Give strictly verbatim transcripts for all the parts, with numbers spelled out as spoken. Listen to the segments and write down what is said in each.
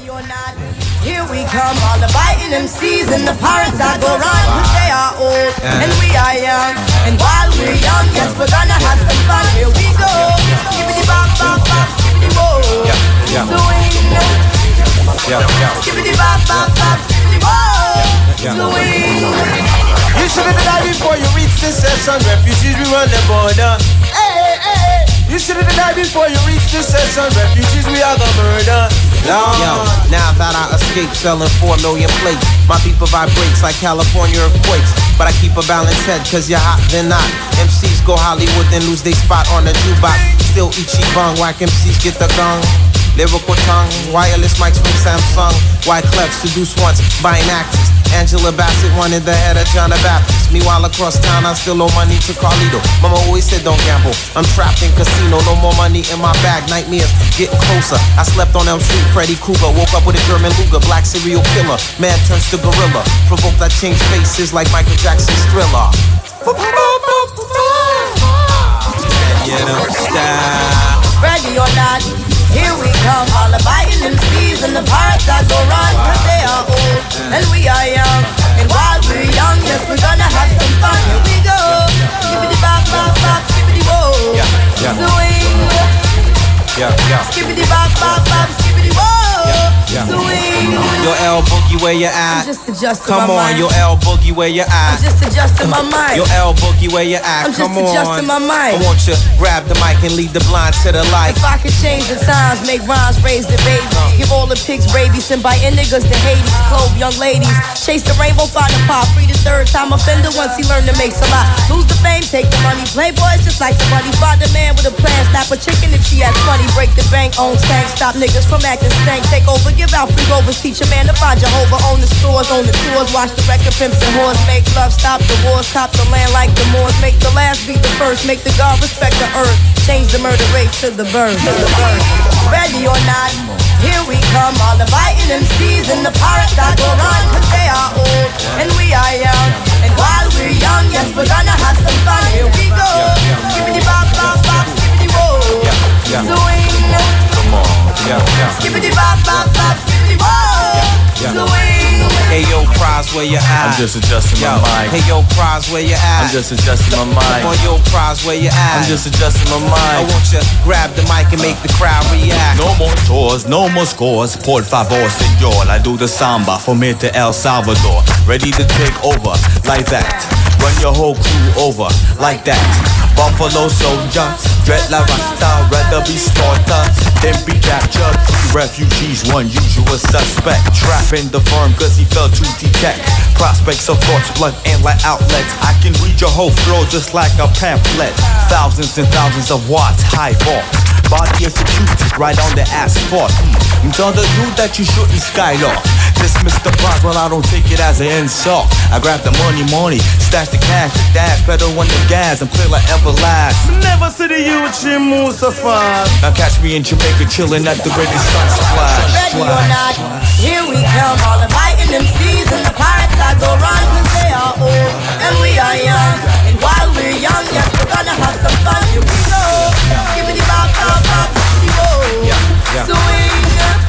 Ready or not, here we come. All the biting M Cs and the pirates that go run. Cause they are old and we are young. And while we're young, yes, we're gonna have some fun. Here we go. Skibbity bop bop bop, skibbity whoa. Swing. Skibbity bop bop bop, skibbity whoa. Swing. You should have died before you reach the session. Refugees, we run the border. Hey, hey, hey. You should have died before you reach the session. Refugees, we are the murder. Yo, now that I escaped selling four million plates, my people vibrates like California earthquakes. But I keep a balanced head cause you're hot, then not. M Cs go Hollywood, then lose their spot on the jukebox. Still Ichibang, whack M Cs get the gun. Lyrical tongue, wireless mics from Samsung. Wyclef seduced once, buying actors. Angela Bassett wanted the head of John the Baptist. Meanwhile across town I still owe money to Carlito. Mama always said don't gamble, I'm trapped in casino. No more money in my bag, nightmares getting closer. I slept on Elm Street, Freddy Krueger. Woke up with a German Luger, black serial killer. Man turns to gorilla. Provoked I change faces like Michael Jackson's Thriller. You don't stop. Ready or not, here we come. All the biting M Cs and the pirates that go run. Cause they are old and we are young. And while we're young, yes, we're gonna have some fun. Here we go. Skibbity bop bop bop, skibbity whoa. Swing. Skibbity bop bop bop, skibbity whoa. Swing. Yo, L Boogie, where you at? I'm just adjusting Come my on, mind. yo, L Boogie, where you at? I'm just adjusting my mind. Yo, L Boogie, where you at? I'm just Come on. adjusting my mind. I want you to grab the mic and lead the blind to the light. If I could change the times, make rhymes, raise the baby. Give all the pigs rabies and buy niggas to Hades. Clove young ladies. Chase the rainbow, find the pop. Free the third time offender once he learned to make a lot. Lose the fame, take the money. Playboys just like the money. Find a man with a plan. Snap a chicken if she acts funny. Break the bank, own tank. Stop niggas from acting stank. Take over, give out free rovers. Teach a man to find Jehovah. Own the stores, own the tours. Watch the record pimps and whores. Make love, stop the wars. Cop the land like the Moors. Make the last beat the first. Make the God respect the earth. Change the murder rate to the birth. Ready or not, here we come. All the biting M Cs and the pirates that go run. Cause they are old and we are young. And while we're young, yes, we're gonna have some fun. Here we go. Skibbity bop bop bop, skibbity whoa. Swing. Skibbity bop bop bop, skibbity whoa. Swing. Hey yo, Prize, where you at? I'm just adjusting yo. my mind. Hey yo, Prize, where you at? I'm just adjusting my mind. Come on, yo, Prize, where you at? I'm just adjusting my I mind. want you to grab the mic and make the crowd react. No more tours, no more scores. Por favor, señor. I do the samba from here to El Salvador. Ready to take over like that. Run your whole crew over like that. Buffalo soldier, dread la rasta, rather be slaughtered than be captured. Refugees, one usual suspect. Trapping the firm cause he failed to detect prospects of thoughts, blood and light outlets. I can read your whole flow just like a pamphlet. Thousands and thousands of watts, high vaults. Body executed right on the asphalt. Mm. Tell the dude that you shouldn't skylark. Dismiss the prize, well I don't take it as an insult. I grab the money, money, stash the cash, the dash, pedal on the gas, and clear like everlast. Never see the youth in Mustafa. Now catch me in Jamaica chilling at the ready sun splash. Ready or not, here we come. All the biting M Cs and the pirates that go run. Cause they are old and we are young. And while we're young, yes, we're gonna have some fun. Here we go. Skibbity bop bop bop, skibbity whoa. Swing.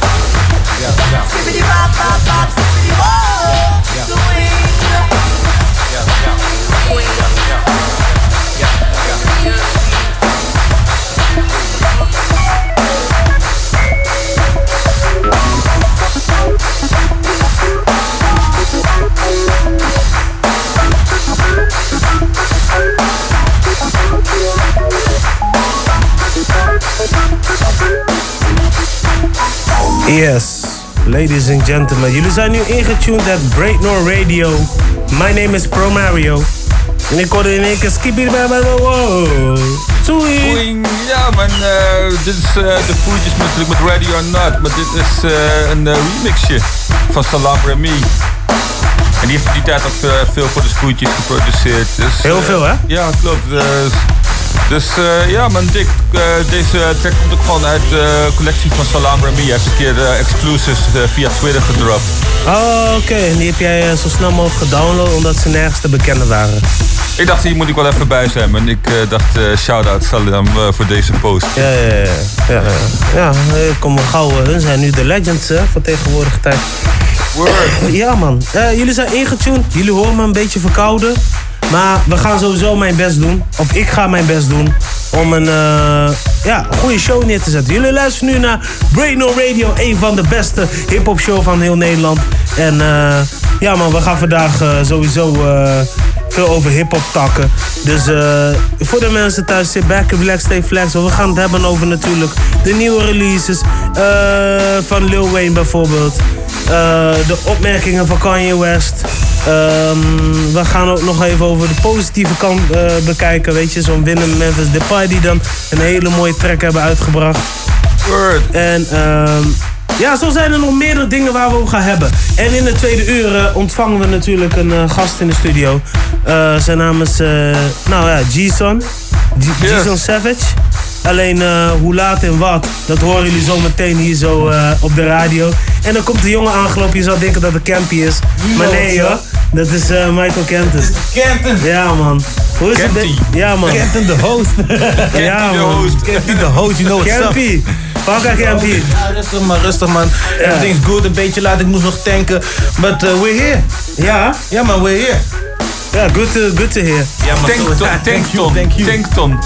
Skibbity bop bop bop, skibbity whoa. Swing. Yes, ladies and gentlemen, jullie zijn nu ingetuned at Breaknor Radio. My name is Pro Mario. En ik hoorde in één keer skippy wow. Swing. Ja man, uh, dit is uh, de voetjes natuurlijk met Ready or Not. Maar dit is uh, een uh, remixje van Salam Remy. En die heeft in die tijd ook uh, veel voor de voetjes geproduceerd. Dus, uh, Heel veel hè? Ja, klopt. Uh, Dus uh, ja man, Dick, uh, deze track komt ook gewoon uit de uh, collectie van Salam Remy. Hij heeft een keer uh, exclusives uh, via Twitter gedropt. Oh, oké. Okay. En die heb jij uh, zo snel mogelijk gedownload omdat ze nergens te bekennen waren. Ik dacht, hier moet ik wel even bij zijn. En ik uh, dacht, uh, shout-out Salam uh, voor deze post. Ja, ja, ja. Ja, ja. ja kom maar gauw. Hun zijn nu de legends hè, van tegenwoordige tijd. Word. Ja, man. Uh, jullie zijn ingetuned. Jullie horen me een beetje verkouden. Maar we gaan sowieso mijn best doen. Of ik ga mijn best doen. Om een uh, ja, goede show neer te zetten. Jullie luisteren nu naar Break No Radio. Een van de beste hip-hop show van heel Nederland. En uh, ja man, we gaan vandaag uh, sowieso uh, veel over hip-hop takken. Dus uh, voor de mensen thuis, sit back, relax, stay flex. We gaan het hebben over natuurlijk de nieuwe releases. Uh, van Lil Wayne bijvoorbeeld. Uh, de opmerkingen van Kanye West. Um, we gaan ook nog even over de positieve kant uh, bekijken. Weet je, zo'n Willem Memphis Depay die dan een hele mooie track hebben uitgebracht. Word. En um, ja, zo zijn er nog meerdere dingen waar we over gaan hebben. En in de tweede uur uh, ontvangen we natuurlijk een uh, gast in de studio. Uh, zijn naam is, uh, nou ja, G-Son. G-Son yes. Savage. Alleen uh, hoe laat en wat, dat horen jullie zo meteen hier zo uh, op de radio. En dan komt de jongen aangelopen, je zou denken dat het Campy is. Maar nee hoor, dat is uh, Michael Kenton. Kenton? Ja man. Hoe is Campy. het? Ja man. Kenton de host. Ja man. Campy de host, you know what's up. Campy. Pakka Campy. Ja, rustig man, rustig man. Everything's good, een beetje laat, ik moest nog tanken. But uh, we're here. Ja? Ja man, we're here. Ja, yeah, good, to, good to hear. Ja, man, Tankton, Tankton, Tankton.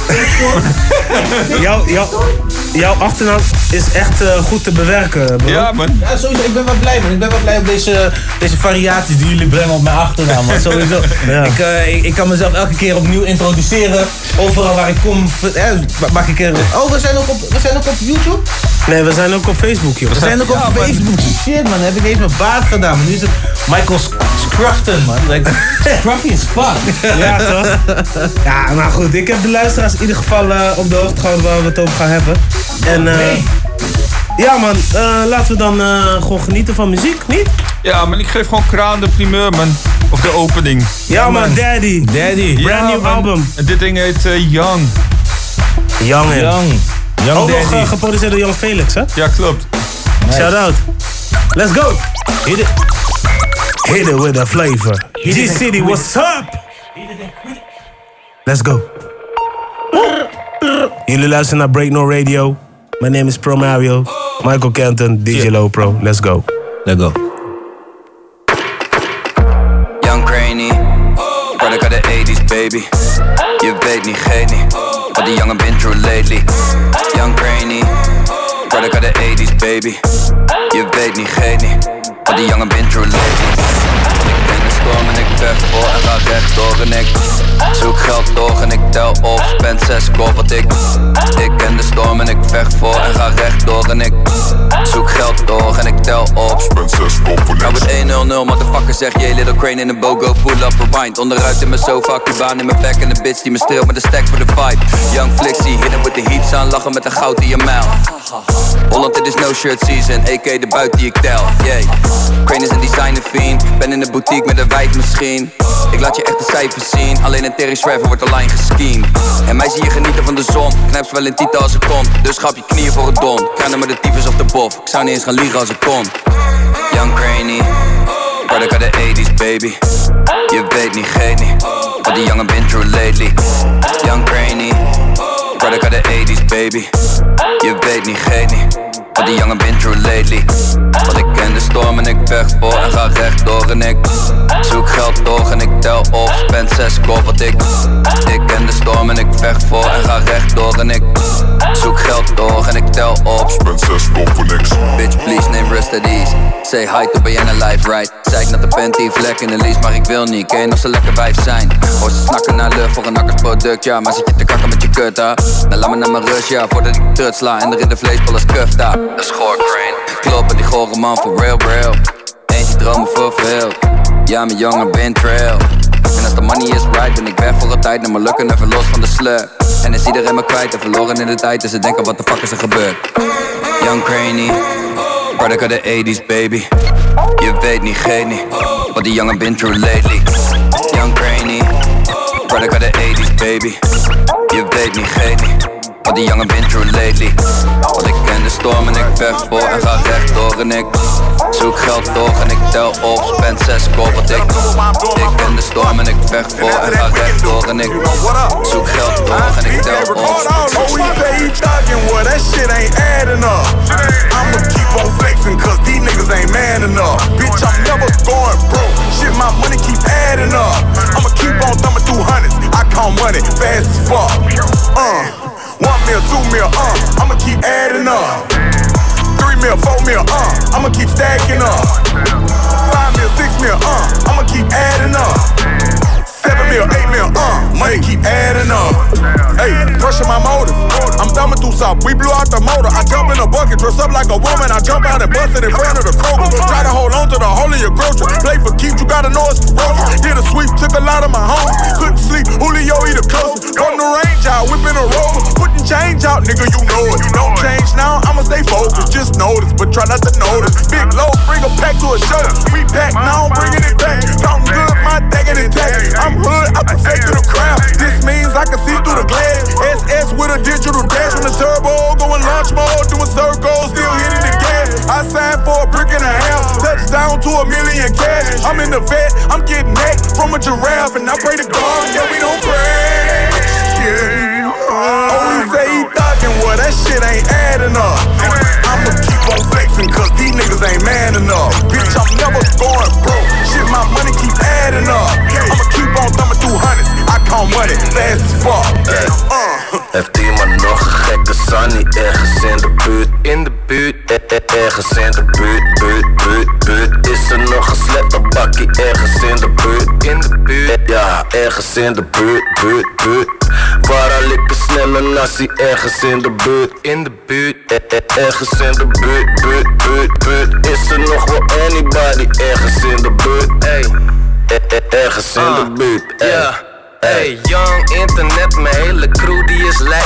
Jouw jou, jou achternaam is echt uh, goed te bewerken, bro. Ja, man. Ja, sowieso, ik ben wel blij, man. Ik ben wel blij op deze, deze variaties die jullie brengen op mijn achternaam, man. Sowieso. Ja. Ik, uh, ik, ik kan mezelf elke keer opnieuw introduceren. Overal waar ik kom, eh, maak ik er... Oh, we zijn ook op, we zijn ook op YouTube? Nee, we zijn ook op Facebook, joh. We zijn ook op ja, Facebook. Man. Shit, man. Heb ik eens mijn baard gedaan, man. Nu is het Michael Scruffton, man. Like, Scruffy as fuck. Ja, toch? Ja, maar goed. Ik heb de luisteraars in ieder geval uh, op de hoogte gehouden waar we het over gaan hebben. En uh, nee. ja, man. Uh, laten we dan uh, gewoon genieten van muziek, niet? Ja, man. Ik geef gewoon Kraan de primeur, man. Of de opening. Ja, man. man. Daddy. Daddy. Brand ja, new man. album. En dit ding heet uh, Young. Young, Young. Young ook Daddy. nog uh, geproduceerd door Young Felix, hè? Ja, klopt. Nice. Shout out. Let's go. Hit it. Hit it with a flavor. G-City, what's up? Let's go. Jullie luisteren naar Break No Radio. My name is Pro Mario. Michael Kenton, D J Low Pro. Let's go. Let's go. Young Granny. Product of the eighties, baby. Je weet niet, geen niet. Wat die jongen been through lately. Young Granny. Product of the eighties, baby. Je weet niet, geen niet. Wat die jongen been through lately. Ik ben de storm en ik vecht voor en ga rechtdoor en ik zoek geld door en ik tel op, spend zes kop wat ik Ik ken de storm en ik vecht voor en ga rechtdoor en ik zoek geld door en ik tel op, spend zes kop voor niks. Nou het één nul nul, motherfucker zeg je little crane in een bogo, pull up, rewind. Onderuit in mijn sofa, Cubaan in mijn back en de bitch die me streelt met de stack voor de fight. Young Flixie, hidden with the heat aan, lachen met een goud in je mijl. Holland, it is no shirt season, A K de buit die ik tel, yeah. Crane is een designer fiend, ben in de boutique met een wijf misschien. Ik laat je echt de cijfers zien, alleen een Terry Shriver wordt online gescheemd. En mij zie je genieten van de zon, knijp ze wel in titel als ik kon. Dus ga op je knieën voor het don, kruinen met de tyfus of de bof. Ik zou niet eens gaan liegen als ik kon. Young Granny, product of the eighties baby. Je weet niet, geet niet, wat die jongen been through lately. Young Granny, product of the eighties baby. Je weet niet, geet niet, wat die jongen been through lately. Want ik ken de storm en ik vecht voor en ga rechtdoor en ik zoek geld door en ik tel op, spend zes kop wat ik Ik ken de storm en ik vecht voor en ga rechtdoor en ik zoek geld door en ik tel op, spend zes kop voor niks. Bitch please name rest at ease. Say hi to Bayana life right. Zei ik naar de panty vlek in de lease, maar ik wil niet. Kan je nog zo lekker wijf zijn? Hoor ze snakken naar lucht voor een nakkersproduct, ja. Maar zit je te kakken met je kut, ha? Dan laat me naar mijn rust, ja. Voordat ik trut sla en er in de vleesbal als kuf, daar. Dat is goor, Crane. Kloppen, die gore man voor real, real. Eentje dromen verveeld. Ja, mijn jongen ben trail. En als de money is right, ben ik weg voor altijd. Naar mijn lukken even los van de slur. En is iedereen me kwijt en verloren in de tijd. Dus ze denken, wat de fuck is er gebeurd? Young Craney, product of the eighties, baby. Je weet niet, geen niet, wat die jongen been through lately. Young Craney, product of the eighties, baby. Je weet niet, geen niet, wat die jongen been through lately. Want ik ken de storm en ik vecht voor en ga rechtdoor en ik Zoek geld toch en ik tel op, spend zes kop. Want ik, ik ken de storm en ik vecht voor en ga rechtdoor. En ik zoek geld toch en ik tel op. Oh, he say he thuggin', well that shit ain't adding up. I'ma keep on flexing cause these niggas ain't man enough. Bitch, I'm never going broke, shit my money keep adding up. I'ma keep on thumbing through hundreds, I count money fast as fuck. Uh, one mil, two mil, uh, I'ma keep adding up. Three mil, four mil, uh, I'ma keep stacking up. Five mil, six mil, uh, I'ma keep adding up. Seven mil, eight mil, uh, money keep adding up. Hey, pressure my motor, I'm thumbing through something. We blew out the motor, I jump in a bucket, dress up like a woman. I jump out and bust it in front of the Kroger. Try to hold on to the hole in your grocery. Play for keeps, you gotta know it's ferocious. Did a sweep, took a lot of my home. Couldn't sleep, Julio eat the closest. From the range out, whipping a rover. Putting change out, nigga, you know it. Don't change now, I'ma stay focused. Just notice, but try not to notice. Big low, bring a pack to a show. We pack now, I'm bringing it back. Counting good, my thinking it tax. I'm hood, I perfected the crowd. This means I can see through the glass. S S with a digital dash on the turbo, going launch mode, doing circles, still hitting the gas. I signed for a brick and a half, touchdown to a million cash. I'm in the vet, I'm getting neck from a giraffe, and I pray to God that we don't crash. Yeah. Oh, he say he thuggin', well that shit ain't adding up. I'ma keep on flexing cause these niggas ain't man enough. Bitch, I'm never going broke, shit my money keep adding up. I'ma keep on thumbing through hundreds, I count money fast as fuck. Uh. Heeft iemand nog een gekke Sunny ergens in de buurt? In de buurt, eh, eh, ergens in de buurt, buurt, buurt, buurt. Is er nog een sletterbakkie ergens in de buurt? In de buurt, eh, ja, ergens in de buurt, buurt, buurt. Waar al ik een snelle nasi ergens in de buurt? In de buurt, eh, eh, ergens in de buurt, buurt, buurt, buurt. Is er nog wel anybody ergens in de buurt? Ey, eh, eh, ergens in de buurt, ey. Yeah. Hey, young internet, mijn hele crew die is lek.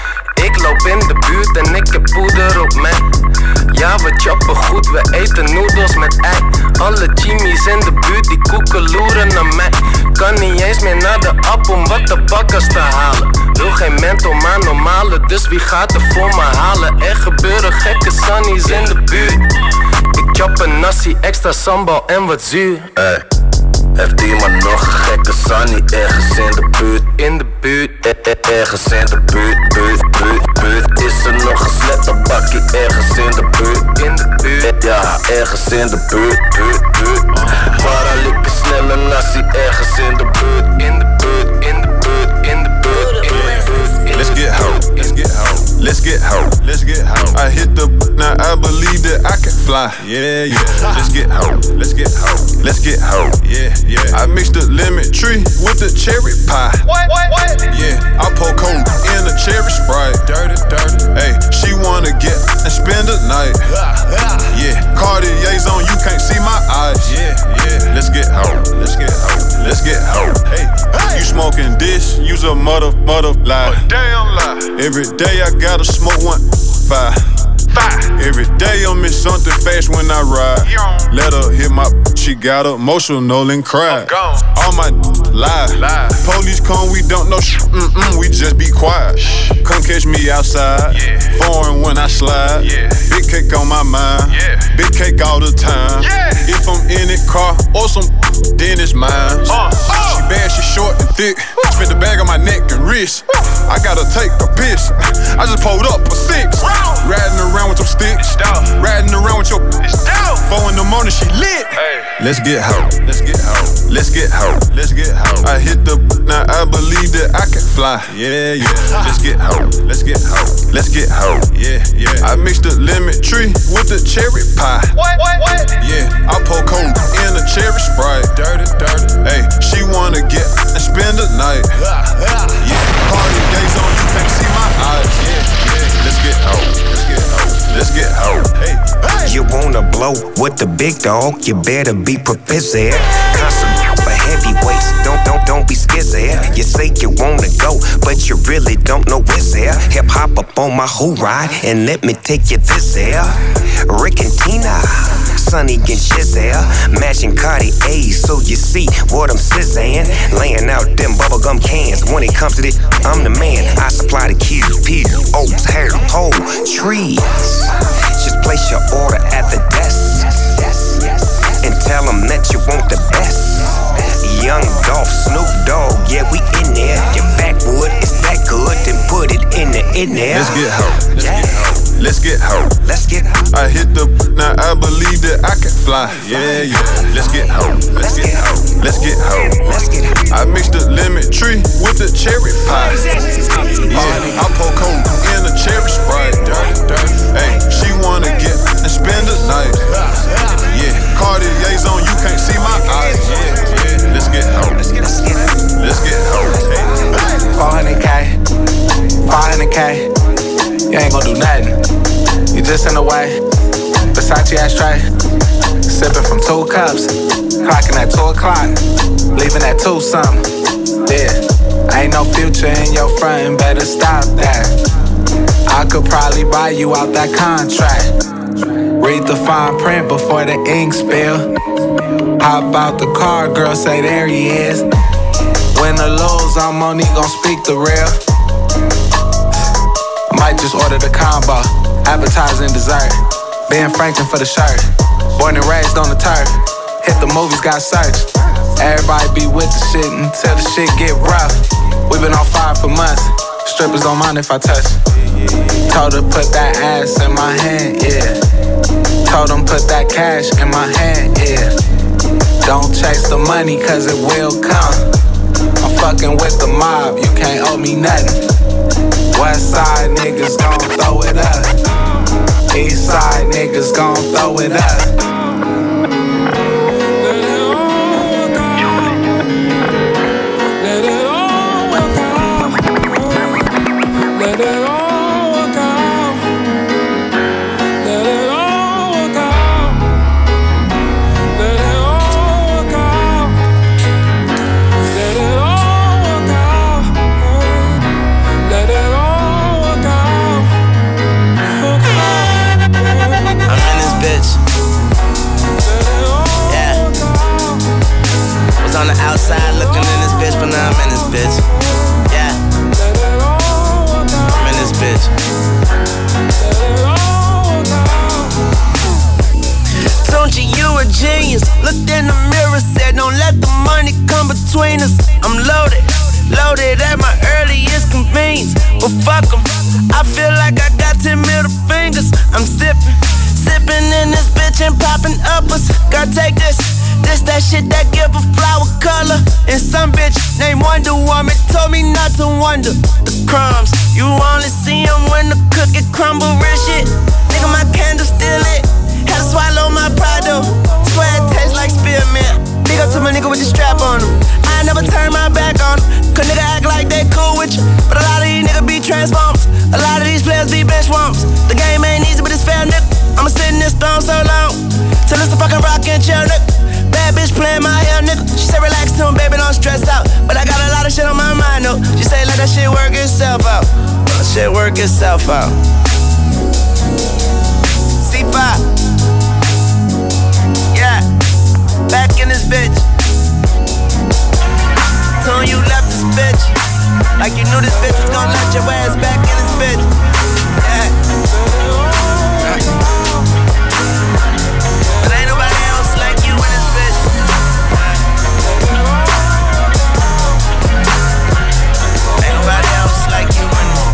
Ik loop in de buurt en ik heb poeder op mij. Ja, we choppen goed, we eten noedels met ei. Alle chimies in de buurt die koeken loeren naar mij. Kan niet eens meer naar de app om wat de bakkers te halen. Wil geen mental, maar normale, dus wie gaat er voor me halen? Er gebeuren gekke sunnies in de buurt. Ik chop een nasi, extra sambal en wat zuur. Hey. Heeft iemand nog een gekke Sunny ergens in de buurt? In de buurt, eh, eh, ergens in de buurt, buurt, buurt, buurt. Is er nog een sletterbakkie ergens in de buurt? In de buurt, eh, ja, ergens in de buurt, buurt, buurt. Waar al ik een snelle nasi ergens in de buurt? In de buurt, in de buurt, in de buurt, in de buurt. Let's get hoe, let's get hoe, let's get hoe, let's get hoe. I hit the now I believe that I can fly. Yeah, yeah. Let's get hoe, let's get hoe, let's get hoe. Yeah, yeah. I mixed the lemon tree with the cherry pie. What, what, what? Yeah, I pour coke in a cherry Sprite. Dirty, dirty. Hey, she wanna get and spend the night. Yeah, Cartier's on, you can't see my eyes. Yeah, yeah. Let's get hoe, let's get hoe, let's get hoe. Hey, hey. You smoking this? You's a mother, mother lie. Damn lie. Every day I gotta smoke one five. Five. Every day I'm in something fast when I ride. Let her hit my, she got emotional and cried. All my lie. lie. Police come, we don't know sh- mm-mm, we just be quiet. Shh. Come catch me outside. Yeah. Foreign when I slide. Yeah. Big cake on my mind. Yeah. Big cake all the time. Yeah. If I'm in it, car or some, then it's mine. Uh, uh. She bad, she short and thick. Uh. Spent the bag on my neck and wrist. Uh. I gotta take a piss. I just pulled up for six. Wow. Riding around with some sticks. Riding around with your four in the morning, she lit. Hey. Let's get hoe. Let's get hoe. Let's get hoe. Let's get hoe. I hit the now I believe that I can fly. Yeah, yeah. Let's get hoe. Let's get hoe. Let's get hoe. Yeah, yeah. I mixed the lemon tree with the cherry pie. What, what, what? Yeah, I pour coke in a cherry Sprite. Dirty, dirty. Hey, she wanna get and spend the night. Yeah, Cartier's on, you can't see my eyes. Yeah, yeah. Let's get hoe. Let's get hoe. Let's get hoe. Hey, hey. You wanna blow with the big dog? You better be prepared. Concentrate for heavyweights. Don't, don't, don't be scared. You say you wanna go, but you really don't know where's there. Hip hop up on my whole ride, and let me take you this there. Rick and Tina, Sonny and Shizelle, matching Cartier, so you see what I'm sizzing. Laying out them bubblegum cans. When it comes to this, I'm the man. I supply the keys, peas, oats, hair, whole trees. Just place your order at the desk. getting there. Let's get hoe. Let's get hoe. Let's get hoe. Let's get hoe. I hit the now I believe that I can fly. Yeah, yeah. Let's get hoe. Let's get hoe. Let's get hoe. Let's get hoe. I mixed the lemon tree with the cherry pie. Yeah, I pour coke in a cherry Sprite. Hey, she wanna get and spend the night. Yeah, Cartier's on, you can't see my eyes. Yeah, yeah. Let's get hoe. Let's get hoe. Let's get hoe. four hundred K, five hundred K. You ain't gon' do nothing. You just in the way. Versace ashtray. Sipping from two cups. Clocking at two o'clock. Leaving at two something. Yeah. Ain't no future in your front. Better stop that. I could probably buy you out that contract. Read the fine print before the ink spill. Hop out the car, girl, say there he is. Win or lose, I'm only gon' speak the real. I might just order the combo, appetizer and dessert. Ben Franklin for the shirt. Born and raised on the turf. Hit the movies, got searched. Everybody be with the shit until the shit get rough. We been on fire for months. Strippers don't mind if I touch. Told her put that ass in my hand, yeah. Told them put that cash in my hand, yeah. Don't chase the money cause it will come. I'm fucking with the mob, you can't owe me nothing. West side niggas gon' throw it up. East side niggas gon' throw it up. Outside looking in this bitch, but now I'm in this bitch. Yeah, I'm in this bitch. Don't you, you a genius. Looked in the mirror, said don't let the money come between us. I'm loaded, loaded at my earliest convenience. But fuck 'em, I feel like I got ten middle fingers. I'm sipping, sipping in this bitch and popping uppers. Gotta take this. This that shit that give a flower color. And some bitch named Wonder Woman told me not to wonder. The crumbs, you only see them when the cookie crumble. Real shit, nigga, my candle still lit. Had to swallow my pride though. Swear it tastes like spearmint. Big up to my nigga with the strap on him. I never turn my back on him. Cause nigga act like they cool with you. But a lot of these niggas be transformers. A lot of these players be bench warmers. The game ain't easy, but it's fair, nigga. I'ma sit in this throne so long till it's a fucking rock and chill, nigga. Bad bitch playing my hair, nigga. She said relax to him, baby, don't stress out. But I got a lot of shit on my mind, though. She say let that shit work itself out. Let that shit work itself out. C five. Yeah. Back in this bitch. Told you left this bitch. Like you knew this bitch was gonna let your ass back in this bitch. Yeah. But ain't nobody else like you in this bitch. Ain't nobody else like you in this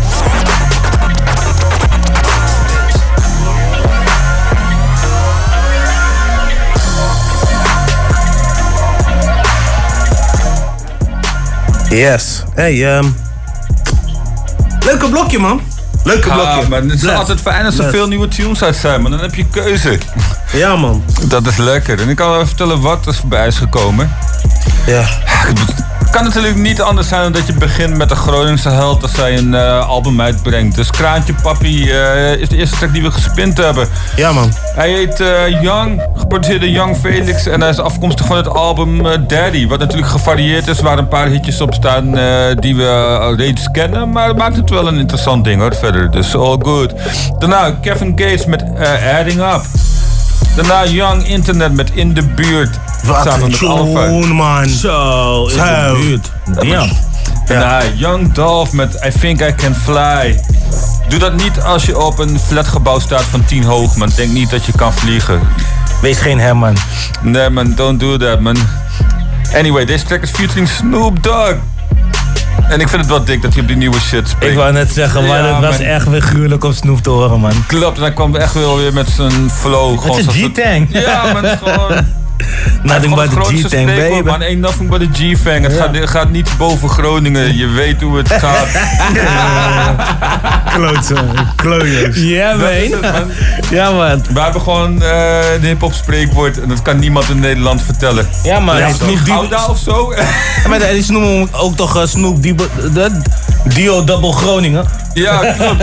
Yes. Hey, um... leuke blokje, man. Leuke ja, blokje. Maar het is Bless. altijd fijn als er Bless. veel nieuwe tunes uit zijn, maar dan heb je keuze. Ja, man. Dat is lekker. En ik kan wel vertellen wat er voorbij is gekomen. Ja. Het kan natuurlijk niet anders zijn dan dat je begint met de Groningse held als zij een uh, album uitbrengt. Dus Kraantje Papi uh, is de eerste track die we gespind hebben. Ja, man. Hij heet uh, Young, geproduceerd door Young Felix en hij is afkomstig van het album uh, Daddy. Wat natuurlijk gevarieerd is, waar een paar hitjes op staan uh, die we uh, reeds kennen. Maar het maakt het wel een interessant ding hoor, verder. Dus all good. Daarna Kevin Gates met uh, Adding Up. Daarna Young Internet met In de Buurt. Wat een tune, man. Zo, in de buurt. Ja. Daarna Young Dolph met I Think I Can Fly. Doe dat niet als je op een flatgebouw staat van tien hoog, man. Denk niet dat je kan vliegen. Wees geen hem, man. Nee, man. Don't do that, man. Anyway, deze track is featuring Snoop Dogg. En ik vind het wel dik dat hij op die nieuwe shit spreekt. Ik wou net zeggen, maar Ja, het was man. echt weer gruwelijk om Snoop te horen, man. Klopt, en hij kwam echt wel weer met zijn flow. Met gewoon zijn zoals het- G-Tang. Ja, maar het is gewoon... Nothing but the G-Tang, baby. Man, ain't nothing but a G-Fang. Het gaat, gaat niet boven Groningen. Je weet hoe het gaat. Klootzooi, klootjes. Ja, Dat is man. het, man. Ja, man. We hebben gewoon uh, de hip-hop spreekwoord. En dat kan niemand in Nederland vertellen. Ja, man. Ja, Snoop Dio- Gouda of zo? Ja, maar die noemen hem ook toch uh, Snoop Dio, de Dio Double Groningen. Ja, klopt.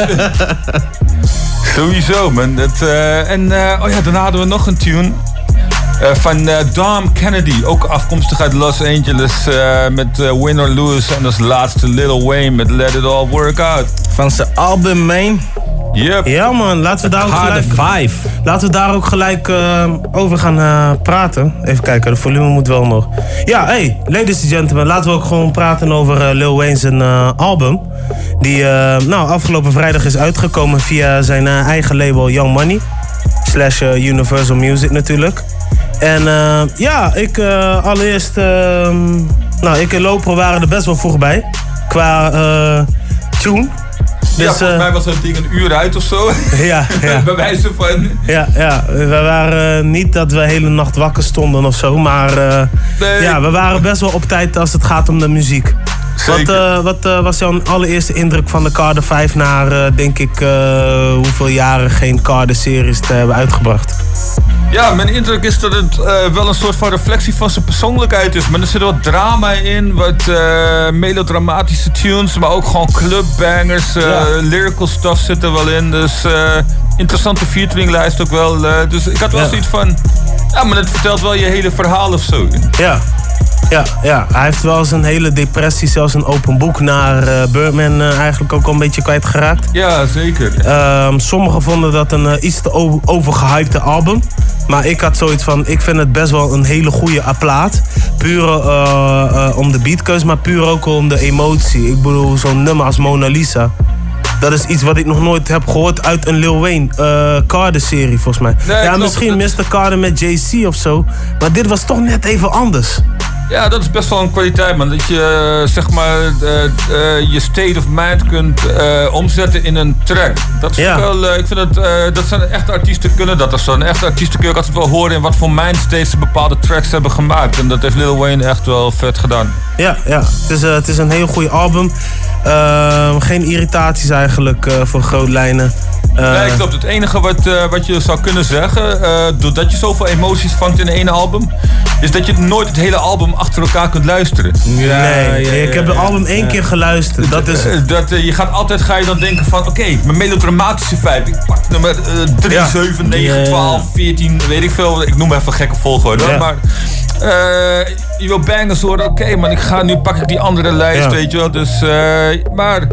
Sowieso, man. Dat, uh, en uh, oh ja, daarna hadden we nog een tune. Uh, van uh, Dom Kennedy, ook afkomstig uit Los Angeles, uh, met uh, Win or Lose. En als laatste Lil Wayne met Let It All Work Out. Van zijn album, man. Yep. Ja man, laten we daar ook Harder gelijk, Five. laten we daar ook gelijk uh, over gaan uh, praten. Even kijken, de volume moet wel nog. Ja, hey, ladies and gentlemen, laten we ook gewoon praten over uh, Lil Wayne's uh, album. Die uh, nou, afgelopen vrijdag is uitgekomen via zijn uh, eigen label Young Money. Slash uh, Universal Music natuurlijk. En uh, ja, ik uh, allereerst... Uh, nou, ik en Loper waren er best wel vroeg bij. Qua uh, tune. Ja, Dus, volgens uh, mij was dat ding een uur uit of zo. Ja, ja. Bij wijze van... Ja, ja, we waren uh, niet dat we de hele nacht wakker stonden of zo, maar uh, Nee. ja, we waren best wel op tijd als het gaat om de muziek. Wat, uh, wat uh, was jouw allereerste indruk van de Carter vijf na, uh, denk ik, uh, hoeveel jaren geen Carter-series te hebben uitgebracht? Ja, mijn indruk is dat het uh, wel een soort van reflectie van zijn persoonlijkheid is. Maar er zit wat drama in, wat uh, melodramatische tunes, maar ook gewoon clubbangers. Uh, Ja. Lyrical stuff zit er wel in. Dus uh, interessante featuringlijst ook wel. Uh, dus ik had wel Ja. zoiets van, ja, maar het vertelt wel je hele verhaal of zo. Ja. Ja, ja, hij heeft wel zijn hele depressie, zelfs een open boek naar uh, Birdman uh, eigenlijk ook al een beetje kwijtgeraakt. Ja, zeker. Um, sommigen vonden dat een uh, iets te over, overgehypte album. Maar ik had zoiets van, ik vind het best wel een hele goede plaat. Puur uh, uh, om de beatkeus, maar puur ook om de emotie. Ik bedoel, zo'n nummer als Mona Lisa. Dat is iets wat ik nog nooit heb gehoord uit een Lil Wayne uh, Carter-serie, volgens mij. Nee, ja, klopt. misschien mister Carter met Jay Z of zo. Maar dit was toch net even anders. Ja, dat is best wel een kwaliteit, man. Dat je, uh, zeg maar, uh, uh, je state of mind kunt uh, omzetten in een track. Dat is Ja. wel, uh, ik vind dat, uh, dat zijn echte artiesten kunnen dat. Dat zijn echte artiesten kun je ook altijd wel horen in wat voor mindstates ze bepaalde tracks hebben gemaakt. En dat heeft Lil Wayne echt wel vet gedaan. Ja, ja. Het is, uh, het is een heel goede album. Uh, geen irritaties eigenlijk uh, voor grootlijnen. Uh, Nee, klopt. Het enige wat, uh, wat je zou kunnen zeggen, uh, doordat je zoveel emoties vangt in één album, is dat je nooit het hele album achter elkaar kunt luisteren. Ja, nee, ik heb het album één keer geluisterd. Dat is... Uh, dat, uh, je gaat altijd ga je dan denken van, oké, okay, mijn melodramatische vibe. Ik pak nummer uh, drie, Ja. zeven, negen, Ja. twaalf, veertien, weet ik veel. Ik noem even gekke volgorde. Ja. Maar uh, je wil bangers horen, oké okay, man, ik ga nu pak ik die andere lijst, Ja. weet je wel. Dus, uh, maar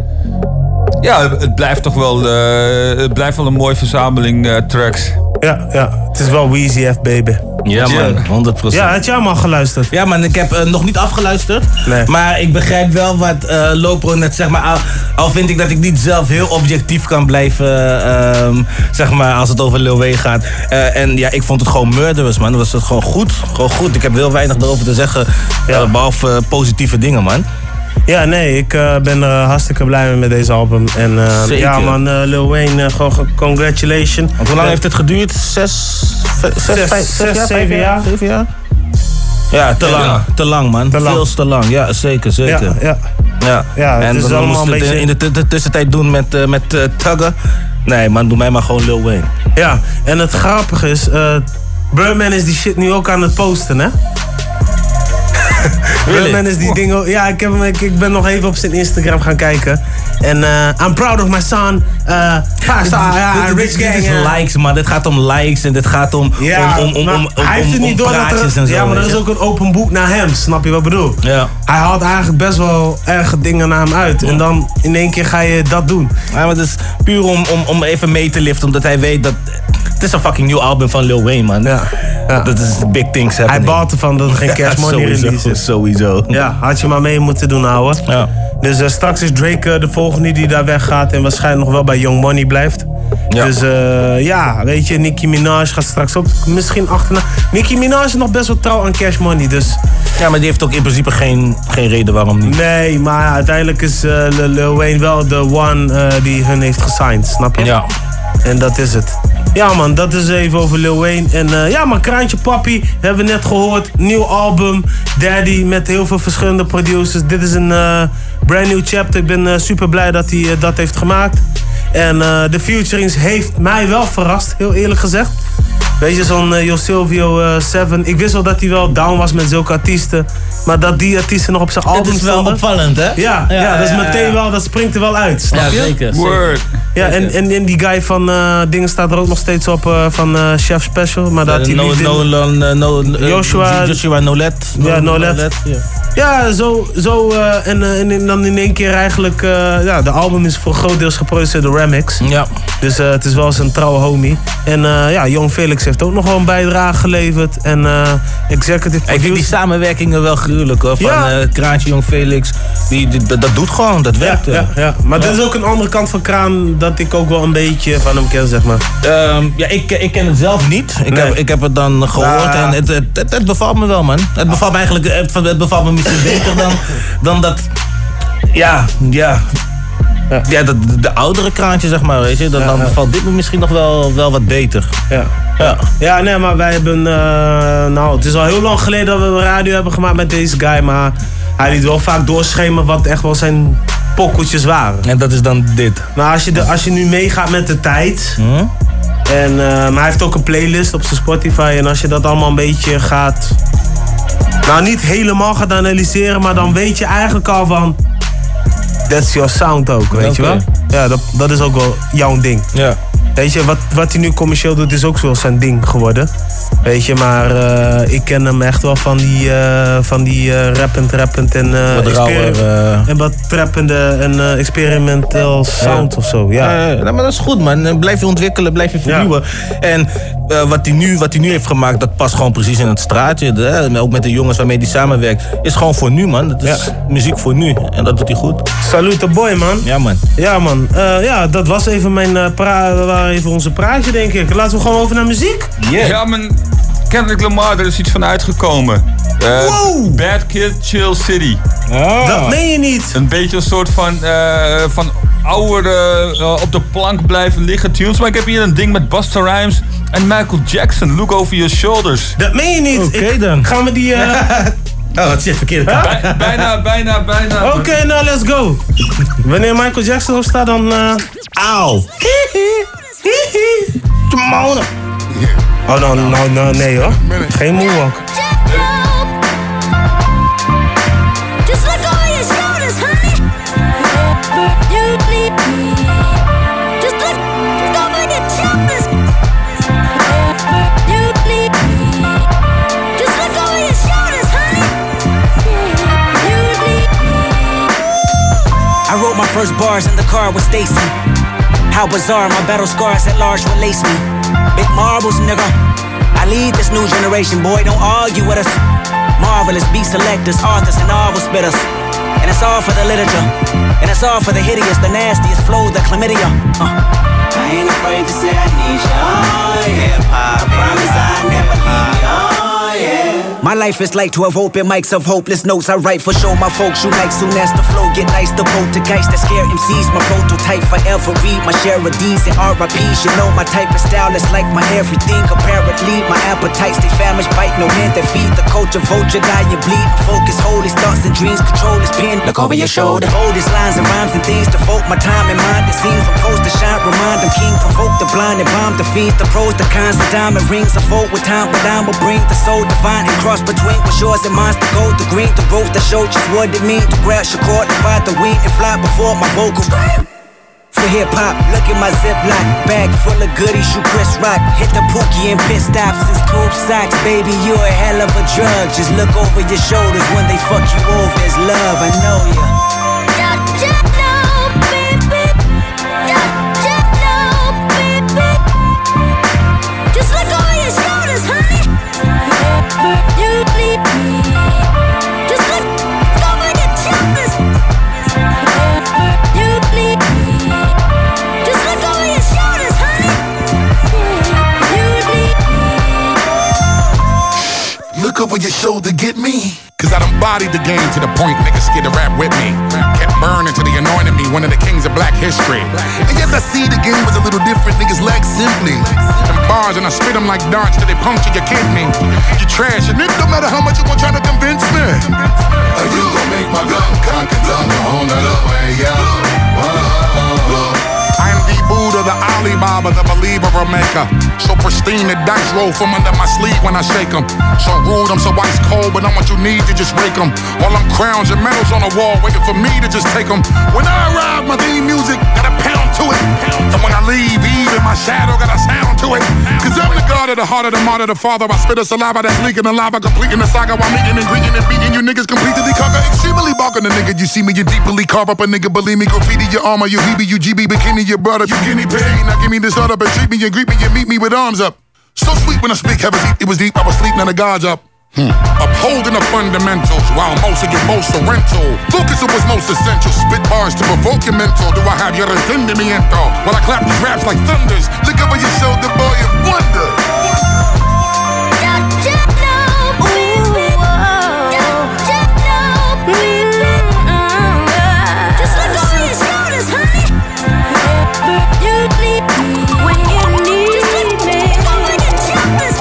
ja, het blijft toch wel, uh, het blijft wel een mooie verzameling uh, tracks. Ja, ja, het is wel Weezy F, baby. Ja, man, honderd procent. Ja, had jij hem al geluisterd? Ja, man, ik heb uh, nog niet afgeluisterd. Nee. Maar ik begrijp wel wat uh, Lopro net zeg maar. Al, al vind ik dat ik niet zelf heel objectief kan blijven, uh, um, zeg maar, als het over Lil Wayne gaat. Uh, en ja, ik vond het gewoon murderous, man. Dat was het gewoon goed. Gewoon goed. Ik heb heel weinig erover te zeggen, Ja. uh, behalve uh, positieve dingen, man. Ja, nee, ik uh, ben er uh, hartstikke blij mee met deze album. En uh, Zeker. ja man, uh, Lil Wayne, uh, gewoon ge- congratulations. Want hoe lang heeft het geduurd? Zes, v- zes, Zes, vijf, zes, jaar, zeven vijf jaar. Zeven jaar? Ja, te lang. Ja. Te lang, man. Te lang. Veel te lang. Ja, zeker, zeker. Ja, ja. Ja, Ja, het en is dan allemaal moest een het beetje- in de, t- de tussentijd doen met, uh, met uh, Tugger. Nee, man, doe mij maar gewoon Lil Wayne. Ja, en het grappige is, uh, Birdman is die shit nu ook aan het posten, hè? Birdman is die dingen. Ja, ik, heb hem, ik, ik ben nog even op zijn Instagram gaan kijken. En uh, I'm proud of my son. Uh, five star, ja, Dit- dit- rich dit gang. is ja. likes, man. Dit gaat om likes en dit gaat om, Ja, om, om, om, maar om, om, hij heeft het om niet door dat praatjes er, en zo. ja, maar er weet is je. ook een open boek naar hem, snap je wat ik bedoel? Ja. Hij haalt eigenlijk best wel erge dingen naar hem uit. En dan in één keer ga je dat doen. Ja, maar het is puur om, om, om even mee te liften, omdat hij weet dat... Het is een fucking nieuw album van Lil Wayne, man. Ja. Ja. Dat is big things Hij happening. baalt ervan dat er geen Cash Money Ja, sowieso, release is. Sowieso. Ja, had je maar mee moeten doen, ouwe. Ja. Dus uh, straks is Drake uh, de volgende die daar weggaat en waarschijnlijk nog wel bij Young Money blijft. Ja. Dus uh, ja, weet je, Nicki Minaj gaat straks ook misschien achterna. Nicki Minaj is nog best wel trouw aan Cash Money, dus... Ja, maar die heeft ook in principe geen, geen reden waarom niet. Nee, maar uiteindelijk is uh, Lil Wayne wel de one uh, die hun heeft gesigned, snap je? Ja. En dat is het. Ja man, dat is even over Lil Wayne. En uh, ja man, Kraantje Papi, hebben we net gehoord. Nieuw album, Daddy, met heel veel verschillende producers. Dit is een uh, brand new chapter. Ik ben uh, super blij dat hij uh, dat heeft gemaakt. En uh, de featurings heeft mij wel verrast, heel eerlijk gezegd. Weet je, zo'n uh, Yo Silvio uh, Seven. Ik wist wel dat hij wel down was met zulke artiesten. Maar dat die artiesten nog op zijn album stonden. Dat is wel opvallend, hè? Ja, ja, ja, dat is meteen wel, dat springt er wel uit, snap ja, je? Zeker, Word. Ja, en, en, en die guy van uh, dingen staat er ook nog steeds op uh, van uh, Chef Special. Maar dat uh, hij no, no, no, no, uh, Joshua, Joshua Nolet. No, ja, Nolet. Nolet ja. Ja, zo, zo uh, en, uh, en dan in één keer eigenlijk... Uh, ja, de album is voor groot deels geproduceerd door Remix. Ja. Dus uh, het is wel zijn trouwe homie. En uh, ja, Jong Felix heeft ook nog wel een bijdrage geleverd. En uh, Executive Producer... Ik vind die samenwerkingen wel gruwelijk hoor. Van ja. uh, Kraantje, Jong Felix. Die, die, dat, dat doet gewoon, dat werkt. Ja, ja, ja. Maar ja. dit is ook een andere kant van Kraan dat ik ook wel een beetje van hem ken, zeg maar. Um, ja, ik, ik ken het zelf niet. Ik, nee. heb, ik heb het dan gehoord ja. en het, het, het, het bevalt me wel, man. Het bevalt me eigenlijk het, het bevalt me misschien beter dan, dan dat... Ja, ja... Ja, ja de, de oudere Kraantje, zeg maar, weet je. Dan, ja, dan ja. valt dit me misschien nog wel, wel wat beter. Ja. Ja. ja, nee, maar wij hebben... Uh, nou, het is al heel lang geleden dat we een radio hebben gemaakt met deze guy. Maar hij liet wel vaak doorschemeren wat echt wel zijn pokkeltjes waren. En dat is dan dit. Maar als je, de, als je nu meegaat met de tijd... Hmm? En, uh, maar hij heeft ook een playlist op zijn Spotify. En als je dat allemaal een beetje gaat... Nou, niet helemaal gaat analyseren, maar dan weet je eigenlijk al van... That's your sound ook, weet okay. je wel? Ja, dat, dat is ook wel jouw ding. Ja. Weet je, wat, wat hij nu commercieel doet is ook zo zijn ding geworden. Weet je, maar uh, ik ken hem echt wel van die, uh, van die uh, rappend, rappend en, uh, wat rauwer, uh... en wat trappende en uh, experimental sound ja. of zo. Ja. Ja, ja, maar dat is goed man. Blijf je ontwikkelen, blijf je vernieuwen. Ja. En uh, wat, hij nu, wat hij nu heeft gemaakt, dat past gewoon precies in het straatje. De, ook met de jongens waarmee hij samenwerkt. Is gewoon voor nu man. Dat is ja. muziek voor nu. En dat doet hij goed. Salute boy man. Ja man. Ja man. Uh, ja, dat was even mijn uh, pra- even onze praatje denk ik. Laten we gewoon over naar muziek. Yeah. Ja man. Kendrick Lamar, er is iets van uitgekomen. Uh, wow. Bad Kid, Chill City. Oh. Dat meen je niet. Een beetje een soort van, uh, van oude, uh, op de plank blijven liggen tunes. Maar ik heb hier een ding met Busta Rhymes en Michael Jackson. Look over your shoulders. Dat meen je niet. Oké okay, dan. Gaan we die... Uh... oh, wat zit verkeerd. Bij, bijna, bijna, bijna. Oké, okay, nou let's go. Wanneer Michael Jackson op staat, dan... Uh... Auw. Timona. Oh, nou, nou, nou, nee hoor. Geen moonwalk. I wrote my first bars in the car with Stacy. How bizarre, my battle scars at large release me. Big marbles, nigga. I lead this new generation, boy, don't argue with us. Marvelous beat selectors, authors, and novel spitters. And it's all for the literature. And it's all for the hideous, the nastiest flow, the chlamydia. Uh. I ain't afraid to say I need you, oh yeah. I promise I never leave you, oh yeah. My life is like twelve open mics of hopeless notes. I write for show my folks you like soon as the flow get nice. The poltergeist that scare M Cs. My prototype forever read my share of D's and R I P's. You know my type of style is like my everything. Apparently my appetites they famished, bite no hand that feed. The culture vulture die you bleed. Focus hold his thoughts and dreams. Control his pen. Look over your shoulder. Boldest lines and rhymes and things. Devote my time and mind. It seems from post to shine. Remind them king. Provoke the blind and bomb the fiends. The pros, the cons, the diamond rings. I fold with time, but I will bring the soul divine and cross between what's yours and mine's the gold, the green, the rose that showed just what it mean to grab your cord and buy the weed and fly before my vocals. For hip hop, look at my ziplock bag full of goodies, you Chris Rock. Hit the Pookie and pit stops, it's cool socks, baby, you a hell of a drug. Just look over your shoulders when they fuck you over, it's love, I know ya. look over your shoulder, get me. Cause I done bodied the game to the point niggas scared to rap with me. Kept burning till they anointed me one of the kings of black history. And yes, I see the game was a little different, niggas lack simply. Them bars and I spit them like darts till they puncture your kidney. You trash, and it don't matter how much you gon' try to convince me. Are you gon' make my gun cock and tongue a whole nother way, yeah? I am the Buddha, the Alibaba, the believer or maker. So pristine, the dice roll from under my sleeve when I shake them. So rude, I'm so ice cold, but I'm what you need to just break them. All them crowns and medals on the wall, waiting for me to just take them. When I arrive, my theme music got a pound to it. And when I leave, even my shadow got a sound to it. Cause I'm the god of the heart of the martyr, the father. I spit a saliva that's leaking the lava, completing the saga while meeting and greeting and beating you niggas completely conquer. Extremely barking the nigga, you see me, you deeply carve up a nigga, believe me, graffiti your armor, you Hebe, you G B, bikini, your brother, you guinea pig. Now give me this other, but treat me and greet me and meet me with arms up. So sweet when I speak, heaven deep, it was deep, I was sleep, now the God's up. Hmm. Upholding the fundamentals while most of get most are rental. Focus on what's most essential. Spit bars to provoke your mental. Do I have your entendimiento? While I clap these raps like thunders. Look over your shoulder, boy, and wonder. Just look over your shoulders, honey. You need me when you need me. Over your shoulders.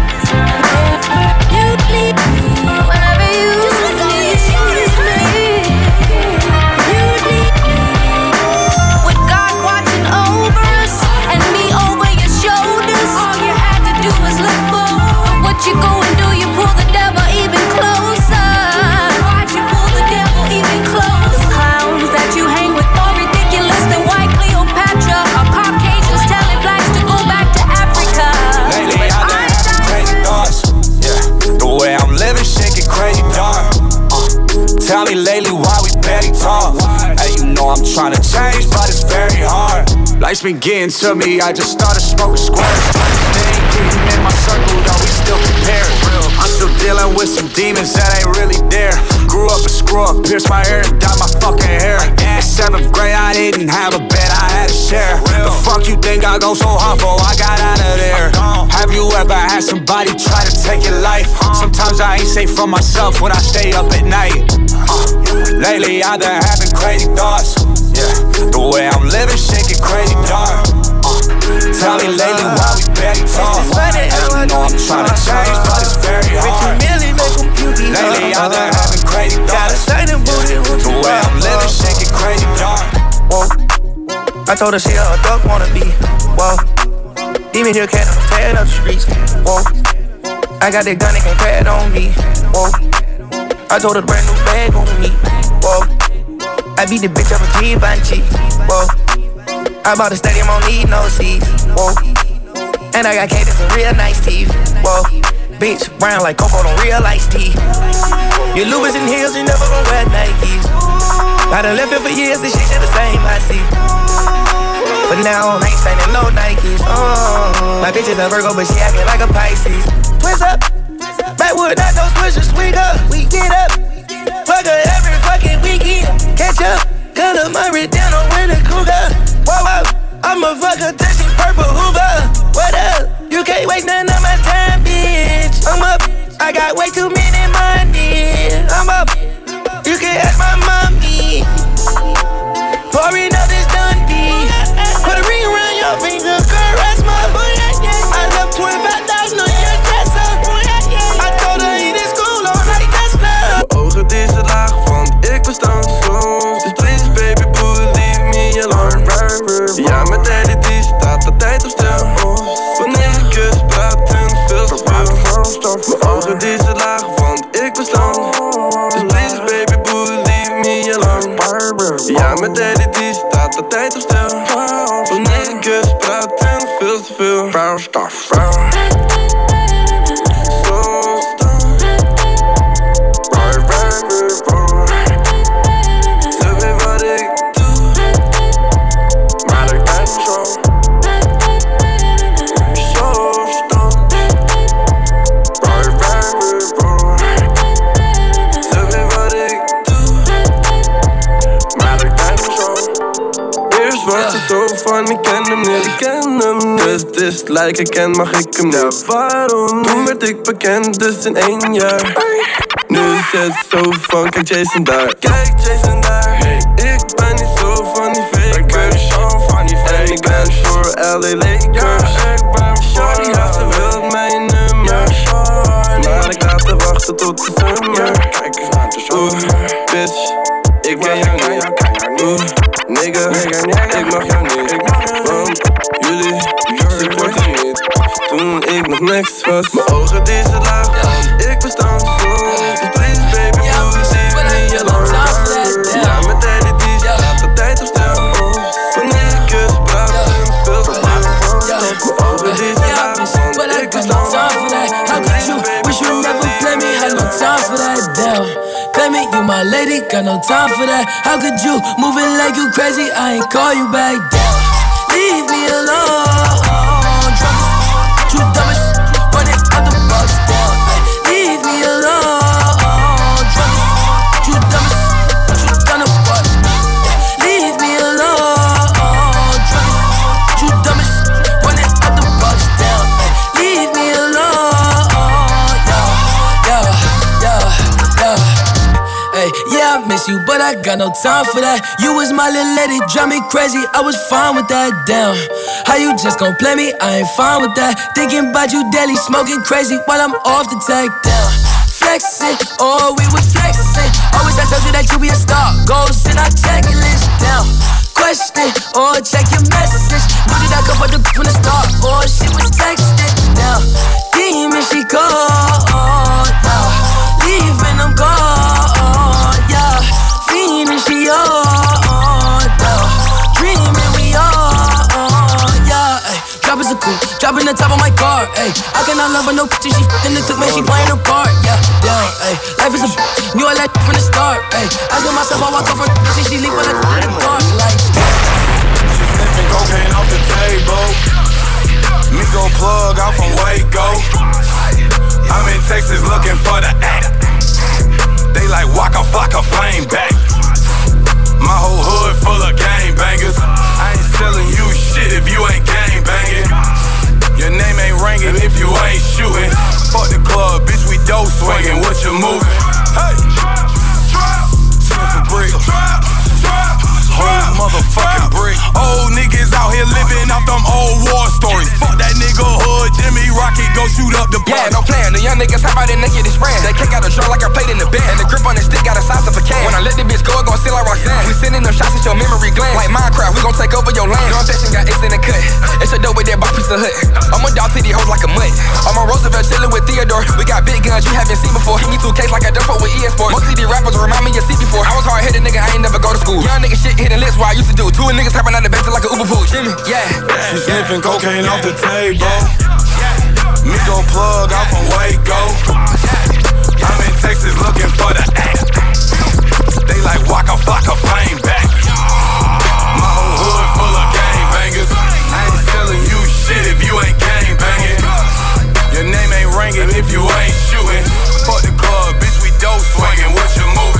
You need me whenever you just look over your shoulders, honey. You need me with God watching over us and me over your shoulders. All you had to do was look forward. What you go and do? You pull the devil even closer. Why'd you pull the devil even closer? The clowns that you hang with more ridiculous than white Cleopatra or Caucasians telling blacks to go back to Africa. Lately I've been having crazy thoughts. Yeah, the way I'm living, shit get crazy dark. Uh, tell me lately why we barely talk. Hey, you know I'm trying to change, but it's very hard. Life's been getting to me, I just started smoking squares. They ain't getting in my circle, though we still compared. I'm still dealing with some demons that ain't really there. Grew up a screw up, pierced my ear and dyed my fucking hair. In seventh grade, I didn't have a bed, I had to share. The fuck you think I go so hard for? I got out of there. Have you ever had somebody try to take your life? Sometimes I ain't safe from myself when I stay up at night. Uh, lately, I've been having crazy thoughts. Yeah, the way I'm living, shit get crazy dark. Uh, tell me lately why we barely talk. Hey, you know I'm trying to change, but it's very hard. Lately I've been having crazy thoughts. The way I'm living, shit get crazy dark. Whoa, I told her she a duck wanna be. Whoa, demon here can't tear up the streets. Whoa, I got that gun that can't crack on me. Whoa, I told her the brand new bag on me. Whoa, I beat the bitch up a Givenchy. Whoa, I bought a stadium, don't need no seats. Whoa, and I got cadence and real nice teeth. Whoa, bitch, brown like Coco, don't real iced tea. Your Louis and heels, you never gon' wear Nikes. I done left it for years, this shit the same, I see. But now I ain't signing no Nikes. Oh, my bitch is a Virgo, but she acting like a Pisces. Twist up, backwood, not no switches, sweet up. We get up, fuck her every fucking weekend. Catch up, cut up my red down on with a cougar. Whoa, whoa, I'm a fucker touching purple Hoover. What up? You can't waste none of my time, bitch. I'm up, I got way too many money. I'm up, you can ask my mommy. Pouring up this Dundee. Put a ring around your finger, caress my boy. I love twenty-five thousand on your dresser. I told her eat in school all night, Tesla. Mijn ogen die zijn laag, want ik bestand soms. Dus please baby boo, leave me alone. Ja, mijn daddy die staat altijd op stil. Wanneer ik kus, praten veel te veel. Mijn ogen die zijn laag, want ik bestand. Dus please baby boo, leave me alone. Ja, mijn daddy die staat altijd op stil. Wanneer ik kus, praten veel te veel. Foul stuff, foul. Ik ken hem niet, ik ken hem niet. best is, lijk ik ken, mag ik hem niet. Ja, waarom? Toen werd ik bekend, dus in één jaar. Nu is het zo van, kijk Jason daar. Kijk Jason daar. Hey. Ik ben niet zo van die fakers. En ik ben voor L A Lakers. Shorty had ze wil mijn nummer. Maar ik laat haar wachten tot de zomer. Oeh, bitch, ik ken jou niet. Oeh, nigga, ik mag jou niet. Want jullie supporten niet. Toen ik nog niks was. Mijn ogen die ze laag, want ik bestand zo. Dus please baby, blue, zie me niet alarm. Ja, met daddy die staat de tijd op stil. Wanneer ik kus, praat en veel te stil. Mijn ogen die ze laag, want ik bestand zo. How could you wish you never play me? Had no time for that, damn. Claim it, you my lady, got no time for that. How could you move it like you crazy? I ain't call you back, damn. Leave me alone. Drugs, you dumbest, running out the box, damn. Leave me alone. Drugs, you dumbest, you done a fuck. Leave me alone. Drugs, you dumbest, running out the box, damn. Leave me alone. Yeah, yeah, yeah, yeah. Hey, yeah, I miss you, but I got no time for that. You was my little lady, drive me crazy. I was fine with that, damn. How you just gon' play me? I ain't fine with that. Thinking about you daily, smoking crazy while I'm off the tag, down. Flexing, oh, we was flexing. Always I told you that you be a star. Goals in our checklist, down. Question, or oh, check your message. Knew that I could put the from the start. Oh, she was texting, down. Demon, she called, yeah. Leaving them gone, yeah. Fiending, she on, yeah. Dreaming, we on, yeah. Ay, drop is a cool, dropping the top of my car, ayy. I cannot love her, no picture, she f***ing the cook, man, she playing her part, yeah. Damn, ayy. Life is a b- knew I like from the start, ayy. Asking myself, I walk off her, she, she leave for the in the dark, like. She sniffing cocaine off the table. Me gon' plug out from Waco. I'm in Texas looking for the act. They like Waka Flocka flame back. My whole hood full of gangbangers. I ain't selling you shit if you ain't gangbanging. Your name ain't ringing if you ain't shooting. Fuck the club, bitch, we dope swinging. What you moving? Hey, trap, sniff a brick, trap, trap, whole motherfucking brick. Old niggas out here living off them old war stories. Fuck that nigga hood, Jimmy Rocket, go shoot up the yeah, no plan. The young niggas hop out and naked is brand. They kick out a draw like I played in the band. And the grip on the stick got a size of a can. When I let the bitch go, it gon' seal like Roxanne. We sending them shots at your memory gland. Like Minecraft, we gon' take over your land. Your ambition got ace in the cut. It's a dope with that bop piece of hood. I'm a dog to these hoes like a mutt. I'm on Roosevelt chillin' with Theodore. We got big guns you haven't seen before. Hit me two Ks like I done for with E S Sports. Most of these rappers remind me of C before. I was hard headed nigga, I ain't never go to school. Young nigga shit hitting lips what I used to do. Two niggas hopping out the bench like a Uber pool. Jimmy, yeah. She sniffing cocaine off the table. Me gon' plug out from Waco. I'm in Texas looking for the act. They like Waka Flocka flame back. My whole hood full of gangbangers. I ain't selling you shit if you ain't gangbanging. Your name ain't ringing if you ain't shooting. Fuck the club, bitch, we dope swinging. What you moving?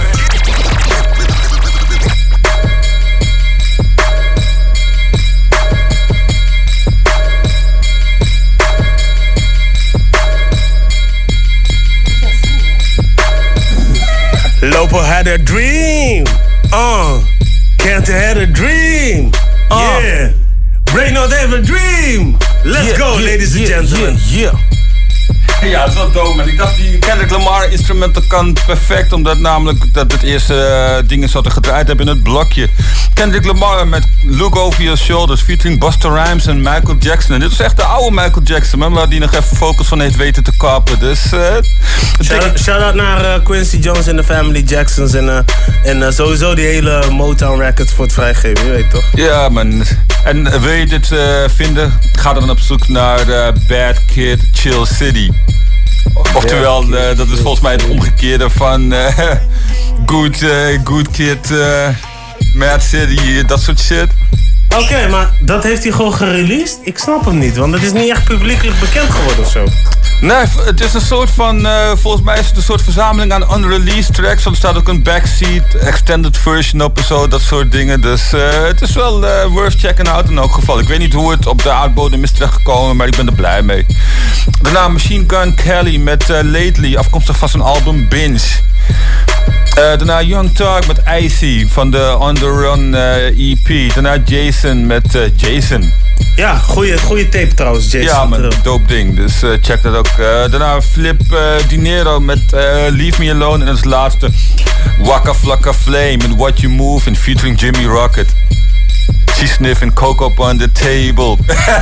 Lopo had a dream. Uh, Kent had a dream. Uh, yeah. Brainerd have a dream. Let's yeah, go, yeah, ladies and yeah, gentlemen. Yeah, yeah. Ja, dat is wel dope, man. Ik dacht, die Kendrick Lamar instrumenten kan perfect, omdat namelijk dat het eerste uh, dingen wat er gedraaid hebben in het blokje. Kendrick Lamar met Look Over Your Shoulders, featuring Busta Rhymes en Michael Jackson. En dit is echt de oude Michael Jackson, man, waar die nog even focus van heeft weten te kappen. Dus, uh, shout-out shout naar uh, Quincy Jones en de Family Jacksons en, uh, en uh, sowieso die hele Motown Records voor het vrijgeven, je weet toch? Ja, man. En uh, wil je dit uh, vinden? Ga dan op zoek naar uh, Bad Kid, Chill City. Oftewel, uh, dat is volgens mij het omgekeerde van uh, Good, uh, good Kid, uh, Mad City, dat soort shit. Oké, okay, maar dat heeft hij gewoon gereleased? Ik snap hem niet, want het is niet echt publiekelijk bekend geworden of zo. Nee, het is een soort van, uh, volgens mij is het een soort verzameling aan unreleased tracks. Want er staat ook een backseat, extended version op en zo, dat soort dingen. Dus uh, het is wel uh, worth checking out in elk geval. Ik weet niet hoe het op de aardbodem is terechtgekomen, maar ik ben er blij mee. Daarna Machine Gun Kelly met uh, Lately, afkomstig van zijn album Binge. Uh, daarna Young Thug met Icy van de On The Run uh, E P. Daarna Jason met uh, Jason. Ja, goede, goede tape trouwens, Jason. Ja, man, dope ding. Dus uh, check dat ook. Uh, daarna Flip uh, Dinero met uh, Leave Me Alone. En als laatste Waka Flocka Flame en What You Move in featuring Jimmy Rocket. She sniffing coke up on the table.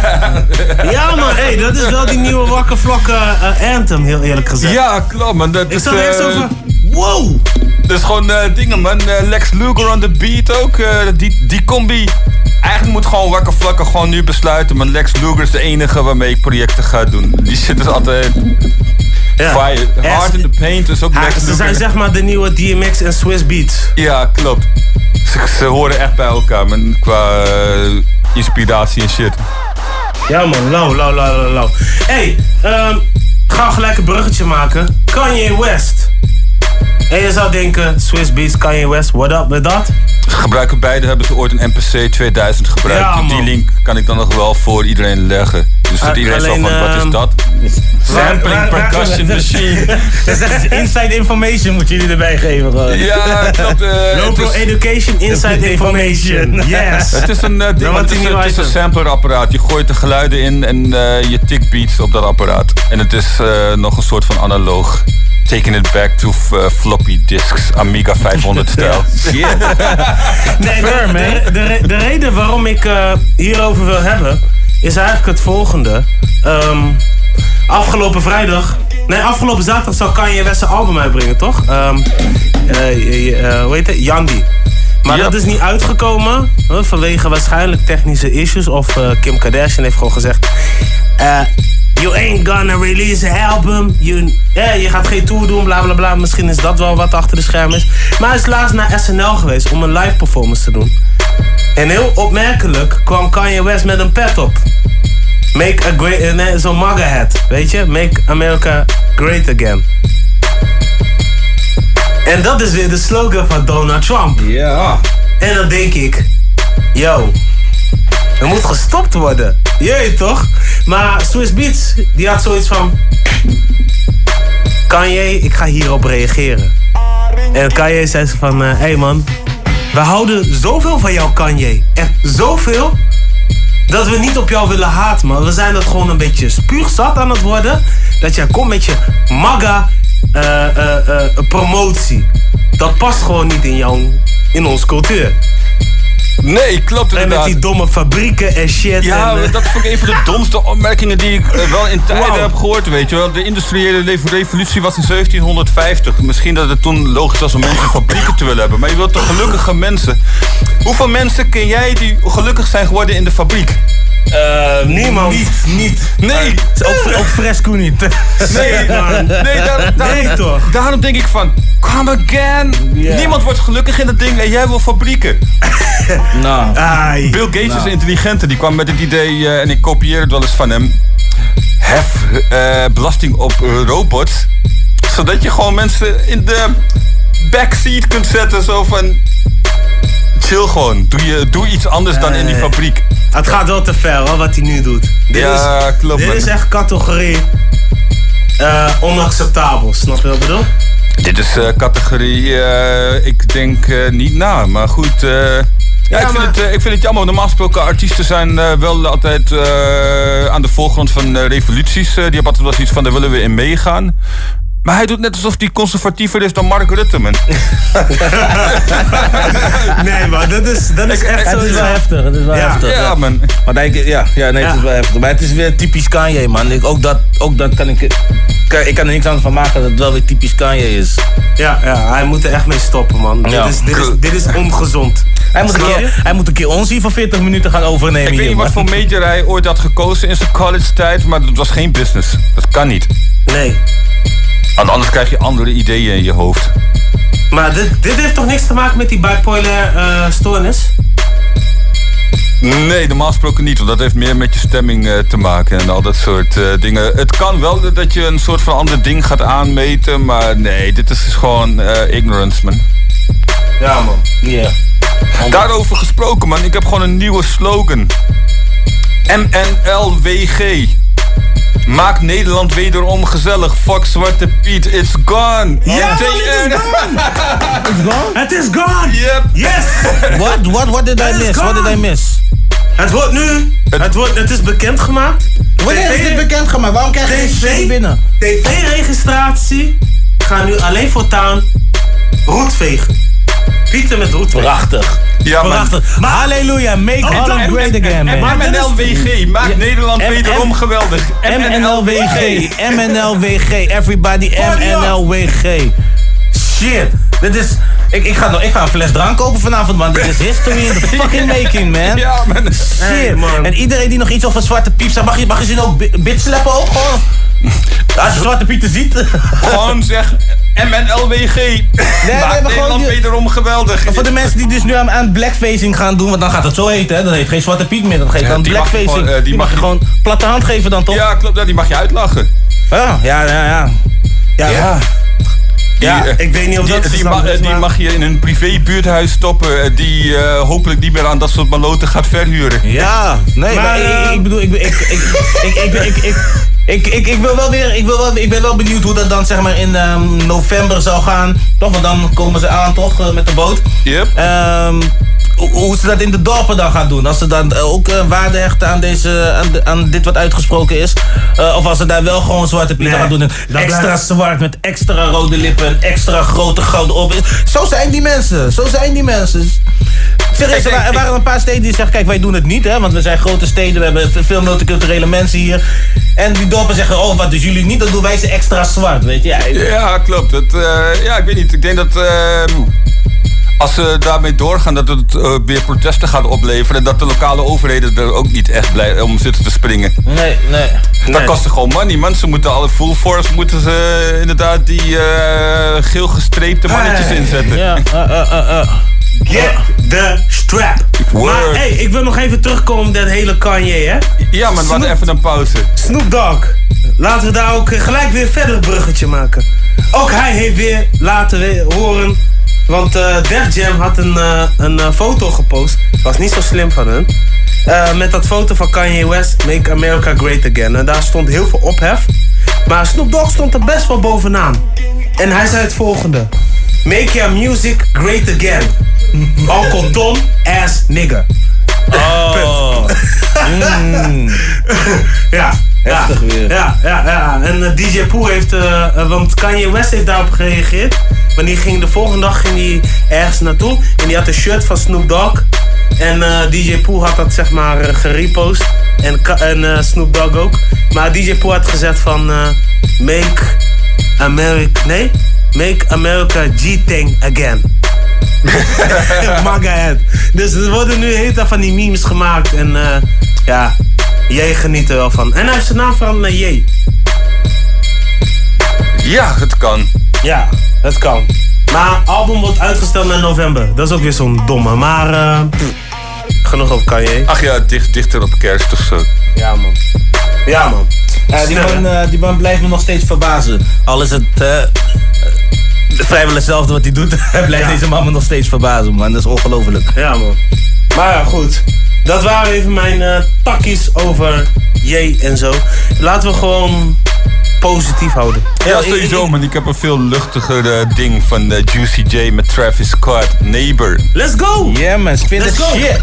Ja man, hey, dat is wel die nieuwe Waka Flocka uh, anthem, heel eerlijk gezegd. Ja, klopt man. Dat Ik is, zat er eerst uh, over, wow! Dat is gewoon uh, dingen man. Uh, Lex Luger on the beat ook. Uh, die, die combi. Eigenlijk moet gewoon Waka Flocka gewoon nu besluiten. Maar Lex Luger is de enige waarmee ik projecten ga doen. Die shit is altijd... Ja. Fire. Hard in the Paint is ook Ha, Lex Ze Luger. zijn zeg maar de nieuwe D M X en Swiss Beats. Ja, klopt. Ze, ze horen echt bij elkaar man, qua uh, inspiratie en shit. Ja man, lauw, lauw, lauw, lauw, lauw. Hey, um, ga gelijk een bruggetje maken. Kanye West. En je zou denken, Swiss Beats, Kanye West, what up met dat? Gebruiken beide, hebben ze ooit een M P C tweeduizend gebruikt. Ja, die link kan ik dan nog wel voor iedereen leggen. Dus dat Uh, iedereen zo alleen, van, wat is ehm, dat? Sampling waar- waar- percussion waar- machine. Dat is echt inside information moeten jullie erbij geven. Gewoon. Ja, klopt. Uh, Local Education, Inside Information. Yes. Het is een uh, ding, Dan want wordt het die is, nieuwe het is een item. sampleapparaat. Je gooit de geluiden in en uh, je tikt beats op dat apparaat. En het is uh, nog een soort van analoog. Taking it back to uh, floppy disks, Amiga vijfhonderd stijl. Nee, de, de, de, de reden waarom ik uh, hierover wil hebben, is eigenlijk het volgende. Um, afgelopen vrijdag, nee afgelopen zaterdag zou Kanye West zijn album uitbrengen, toch? Um, uh, uh, hoe heet het? Yandi. Maar Ja. dat is niet uitgekomen uh, vanwege waarschijnlijk technische issues. Of uh, Kim Kardashian heeft gewoon gezegd... Uh, You ain't gonna release an album. You, yeah, je gaat geen tour doen, bla bla bla. Misschien is dat wel wat achter de schermen is. Maar hij is laatst naar S N L geweest om een live performance te doen. En heel opmerkelijk kwam Kanye West met een pet op. Make a great... Uh, nee, zo'n MAGA hat, weet je? Make America great again. En dat is weer de slogan van Donald Trump. Ja. En dan denk ik... Yo... Er moet gestopt worden. Jee, toch? Maar Swiss Beats, die had zoiets van... Kanye, ik ga hierop reageren. En Kanye zei ze van... Hé uh, hey man, we houden zoveel van jou, Kanye. Echt zoveel... dat we niet op jou willen haten, man. We zijn dat gewoon een beetje spuugzat aan het worden. Dat jij komt met je MAGA uh, uh, uh, promotie. Dat past gewoon niet in jouw... in onze cultuur. Nee, klopt inderdaad. En met die domme fabrieken en shit. Ja, en, uh, dat vond ik een van de domste opmerkingen die ik uh, wel in tijden Wow. heb gehoord, weet je wel. De industriële le- revolutie was in zeventienhonderdvijftig. Misschien dat het toen logisch was om mensen fabrieken te willen hebben. Maar je wilt toch gelukkige mensen? Hoeveel mensen ken jij die gelukkig zijn geworden in de fabriek? Uh, Niemand. Niet, niet. Nee. Uh, ook, ook Fresco niet. Nee, nee, daar, daar, Nee, toch? Daarom denk ik van, come again. Ja. Niemand wordt gelukkig in dat ding en jij wil fabrieken. Nou. Ai. Bill Gates Nou. is een intelligente, die kwam met het idee, uh, en ik kopieer het wel eens van hem. Hef uh, belasting op uh, robots. Zodat je gewoon mensen in de backseat kunt zetten. Zo van, chill gewoon. Doe, je, doe iets anders dan in die fabriek. Het gaat wel te ver hoor, wat hij nu doet. Dit Ja, is, klopt, Dit man. is echt categorie uh, onacceptabel, snap je wat ik bedoel? Dit is uh, categorie, uh, ik denk uh, niet na, maar goed. Uh, ja, ik, vind maar- het, uh, ik vind het jammer. Normaal gesproken, artiesten zijn uh, wel altijd uh, aan de voorgrond van uh, revoluties. Uh, die hebben altijd wel zoiets van, daar willen we in meegaan. Maar hij doet net alsof hij conservatiever is dan Mark Rutte, man. Nee man, dat is, dat is echt zo. Het is wel heftig, het is wel Ja. heftig. Ja, man. Maar denk ik, ja, ja, nee, het Ja. is wel heftig. Maar het is weer typisch Kanye, man. Ik, ook, dat, ook dat kan ik... kan- Ik kan er niks aan van maken dat het wel weer typisch Kanye is. Ja, ja, hij moet er echt mee stoppen man. Ja. Dit, is, dit, is, dit is ongezond. Hij moet, een Snap je? keer, hij moet een keer ons hier van veertig minuten gaan overnemen. Ik weet hier, niet wat man. voor major hij ooit had gekozen in zijn college tijd, maar dat was geen business. Dat kan niet. Nee. Want anders krijg je andere ideeën in je hoofd. Maar dit, dit heeft toch niks te maken met die bipolar uh, stoornis? Nee, normaal gesproken niet, want dat heeft meer met je stemming uh, te maken en al dat soort uh, dingen. Het kan wel dat je een soort van ander ding gaat aanmeten, maar nee, dit is gewoon uh, ignorance, man. Ja, man. Ja. Yeah. Daarover gesproken, man, ik heb gewoon een nieuwe slogan. M N L W G. Maak Nederland wederom gezellig. Fuck Zwarte Piet, it's gone. Ja, man, it is gone. It's gone? Het is gone. Yep. Yes. What, what, what did I miss? What did I miss? Het wordt nu, het, het, wordt, het is bekendgemaakt. Wanneer is dit bekendgemaakt? Waarom krijg je geen binnen? T V-registratie gaat nu alleen voortaan roetvegen. Pieten met roetvegen. Prachtig. Ja, prachtig. Maar, halleluja, make oh, Holland great again, man. M N L W G, maak ja. Nederland M- wederom M- geweldig. M N L W G, M N L W G, everybody M N L W G. Shit, dit is... Ik, ik, ga, ik ga een fles drank kopen vanavond, man. Dit is history in the fucking making, man. Ja, man. Shit. Hey, man. En iedereen die nog iets over Zwarte Piet zegt, mag je, mag je ze ook bit slappen ook gewoon? Als je Zwarte Pieten ziet. Gewoon zeg M N L W G. Nee, maak nee, Nederland die, wederom geweldig. Voor de mensen die dus nu aan, aan blackfacing gaan doen, want dan gaat het zo heten, hè? Dan heet geen Zwarte Piet meer, dan geeft ja, dan blackfacing. Mag gewoon, uh, die, die mag je gewoon platte hand geven dan toch? Ja, klopt, ja, die mag je uitlachen. Ja, ja, ja. Ja, ja. ja. Die, ja, ik weet niet of die, dat die, ma- is, die maar... mag je in een privé buurthuis stoppen die uh, hopelijk niet meer aan dat soort maloten gaat verhuren. Ja, nee, maar, maar ik, ik bedoel, ik, ik, ik, ik, ik, ik, ik, ik, ik, ik wil wel weer, ik, wil wel, ik ben wel benieuwd hoe dat dan zeg maar in um, november zou gaan. Toch, want dan komen ze aan toch, uh, met de boot. Yep. Um, hoe ze dat in de dorpen dan gaan doen. Als ze dan ook uh, waarde hechten aan, deze, aan, de, aan dit wat uitgesproken is. Uh, of als ze daar wel gewoon Zwarte Piet nee, gaan doen. En extra blijft... zwart met extra rode lippen en extra grote gouden op. Zo zijn die mensen. Zo zijn die mensen. Serieus, er waren een paar steden die zeggen, kijk, wij doen het niet, hè, want we zijn grote steden, we hebben veel multiculturele mensen hier. En die dorpen zeggen, oh, wat dus jullie niet, dan doen wij ze extra zwart, weet je. Ja, ja klopt. Het, uh, ja, ik weet niet. Ik denk dat... Uh... Als ze daarmee doorgaan, dat het uh, weer protesten gaat opleveren. En dat de lokale overheden er ook niet echt blij om zitten te springen. Nee, nee. Dat nee. kost gewoon money, man. Ze moeten alle full force, moeten ze uh, inderdaad die uh, geel gestreepte mannetjes hey. inzetten. Ja, uh, uh, uh, uh. Get the strap. Word. Maar hey, ik wil nog even terugkomen op dat hele Kanye, hè? Ja, man, we hadden even een pauze. Snoop Dogg. Laten we daar ook gelijk weer verder een bruggetje maken. Ook hij heeft weer laten we- horen... Want uh, Def Jam had een, uh, een uh, foto gepost. Was niet zo slim van hun. Uh, met dat foto van Kanye West. Make America Great Again. En daar stond heel veel ophef. Maar Snoop Dogg stond er best wel bovenaan. En hij zei het volgende. Make your music great again. Uncle Tom ass nigger. Oh. mm. Ja. Heftig ja, weer. Ja, ja, ja. En uh, D J Pooh heeft... Uh, uh, want Kanye West heeft daarop gereageerd. Want die ging de volgende dag ging die ergens naartoe. En die had een shirt van Snoop Dogg. En uh, D J Pooh had dat zeg maar uh, gerepost. En, en uh, Snoop Dogg ook. Maar D J Pooh had gezegd van... Uh, make America... Nee? Make America G-Thing again. Maga head. Dus er worden nu heel veel van die memes gemaakt. En uh, ja... Jij geniet er wel van. En hij heeft zijn naam van uh, J. Ja, het kan. Ja, het kan. Maar het album wordt uitgesteld naar november. Dat is ook weer zo'n domme. Maar uh, pff, genoeg op Kanye. Ach ja, dicht, dichter op kerst of zo. Ja man. Ja man. Ja, die, man uh, die man blijft me nog steeds verbazen. Al is het uh, vrijwel hetzelfde wat hij doet. Hij blijft ja. deze man me nog steeds verbazen, man. Dat is ongelooflijk. Ja man. Maar ja, goed. Dat waren even mijn uh, takkies over J en zo. Laten we gewoon positief houden. Ja, sowieso, man. Ik heb een veel luchtiger uh, ding van uh, Juicy J met Travis Scott, Neighbor. Let's go! Yeah, man. Spin the shit.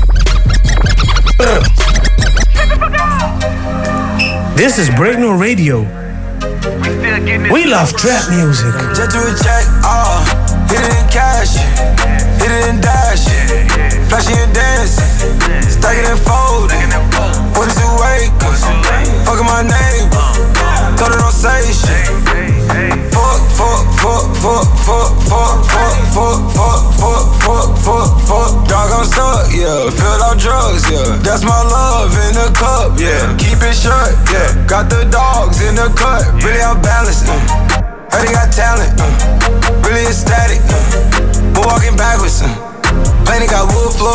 This is Breakno Radio. We love trap music. Just do a check, ah, hit it in cash, hit it in dash, flashy and dance, stack it and fold, what is it wake, fucking my name, thought it don't say shit, fuck, fuck, fuck, fuck, fuck, fuck, fuck, fuck, fuck, fuck, fuck, fuck, dog I'm stuck, yeah, filled out drugs, yeah, that's my love in the cup, yeah, keep it shut, yeah, got the dogs in the cut, really I'm balanced, uh. Heard he got talent, uh. really ecstatic, uh. we're walking backwards, uh. Planet got wood floors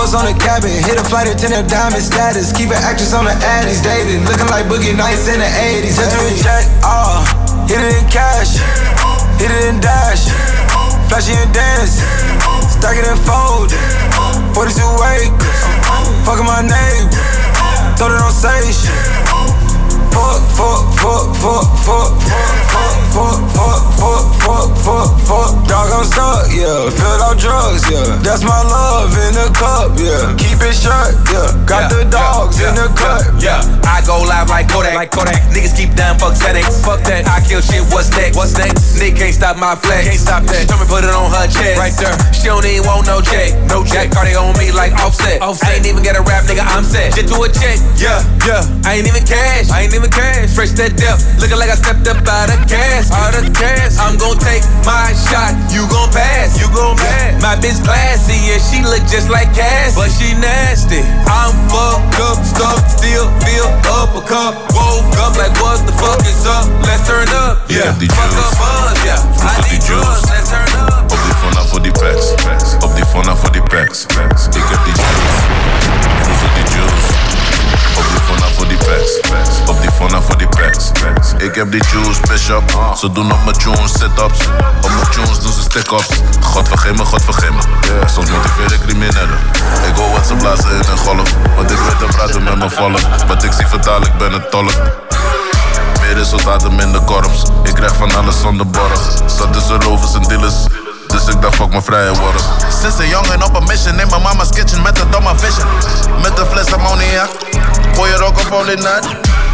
Hoes on the cabin, hit a flight attendant, diamond status. Keep an actress on the addies, dated. Looking like Boogie Nights in the eighties. Hit it in jack, ah, hit it in cash, hit it in dash. Flashy and dance, stack it and fold. forty-two acres, fucking my neighbor. Throw it on stage. Fuck, fuck, fuck, fuck, fuck, fuck, fuck, fuck, fuck, fuck, fuck, fuck. Dog, I'm stuck, yeah. Filled out drugs, yeah. That's my love in the cup, yeah. Keep it shut, yeah. Got the dogs in the cut, yeah. I go live like Kodak, like Kodak. Niggas keep down, fuck headaches, fuck that. I kill shit, what's next? What's next? Nick can't stop my flex, can't stop that. Tell me put it on her chest, right there. She don't even want no check, no check. Cardi on me like Offset. Offset. I ain't even get a rap, nigga, I'm set. Shit to a check, yeah, yeah. I ain't even cash, I ain't even cash. Fresh that depth, looking like I stepped up out of gas, out of gas. I'm gon' take my shot, you gon' pass, you gon' pass. My bitch classy, yeah, she look just like Cass, but she nasty. I'm fucked up, stuck, still feel up a cup. Woke up like what the fuck is up? Let's turn up, yeah. Fuck up buzz, yeah. I need drugs, let's turn up. Op die phone voor die packs, op die phone voor die packs. Ik heb die juice, vroeger die juice. Op die phone voor die packs, op die phone voor die packs. Ik heb die juice, bishop. Ze doen op mijn tunes sit-ups, op mijn tunes doen ze stick-ups. God vergeet me, God vergeet me. Yeah, soms motiveer ik criminelen. Ik hoor wat ze blazen in een golf, want ik weet te praten met mijn volk. Wat ik zie vertaal, ik ben een tolk. Meer resultaten, minder korps. Ik krijg van alles zonder borg. Zat tussen rovers en dealers, dus ik dacht fuck mijn vrije worden. Sinds een jongen op een mission in mijn mama's kitchen met een domme vision. Met een fles ammoniak, gooi je rock of all in night.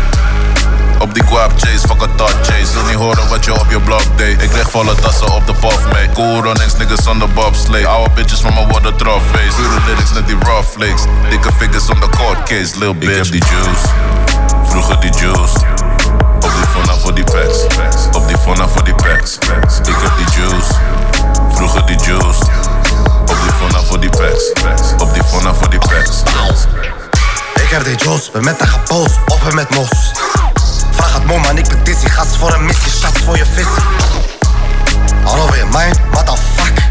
Op die guap chase, fuck a thought chase. Wil niet horen wat je op je blog deed. Ik lig volle tassen op de puff mee. Cool runnings, niggas on the bobsleigh. Oude bitches van me worden trophées. Pure lyrics net die raw flakes. Dikke figures on the court case, lil bitch. Ik heb die juice, vroeger die juice. Op die phone voor die packs, op die phone voor die packs. Ik heb die juice, vroeger die juice. Op die phone voor die packs, op die phone voor die packs. Ik heb die juice, ben met een gepoos, op en met mos. Vraag het mom, man, ik ben dizzy. Gas voor een missie, shots voor je visie. Hallo, ben je mijn? What the fuck?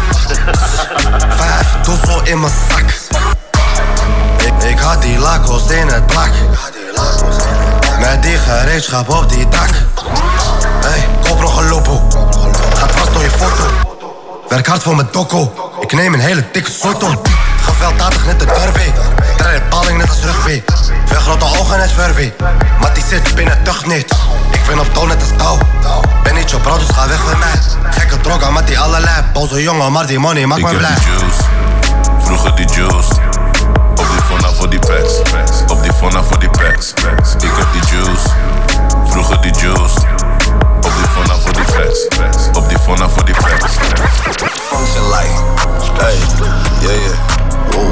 Vijf doezel in mijn zak. Ik, ik had die lakos in het blak. Met die gereedschap op die dak. Hey, koop nog een lopo. Gaat vast door je foto. Werk hard voor mijn dokko. Ik neem een hele dikke soorton. Gewelddadig net de derby. Draai de balling net als rugby. Veel grote ogen net Furby. Maar die zit binnen tucht niet. Ik ben op touw net als touw. Ben niet je bro, dus ga weg van mij. Gekke droga met die allerlei. Boze jongen, maar die money maakt me blij. Ik heb die juice, vroeger die juice. Op die phone voor die packs, op die phone voor die packs. Ik heb die juice, vroeger die juice. Op die phone voor die packs, op die phone voor die packs. Function like, hey, yeah, yeah, whoa.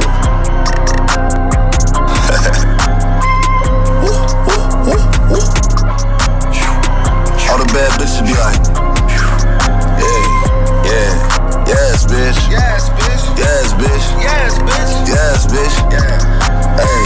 All the bad bitches be like, yeah, yeah, yes, bitch, yes, bitch, yes, bitch, yes, bitch, yes, bitch, yeah, hey,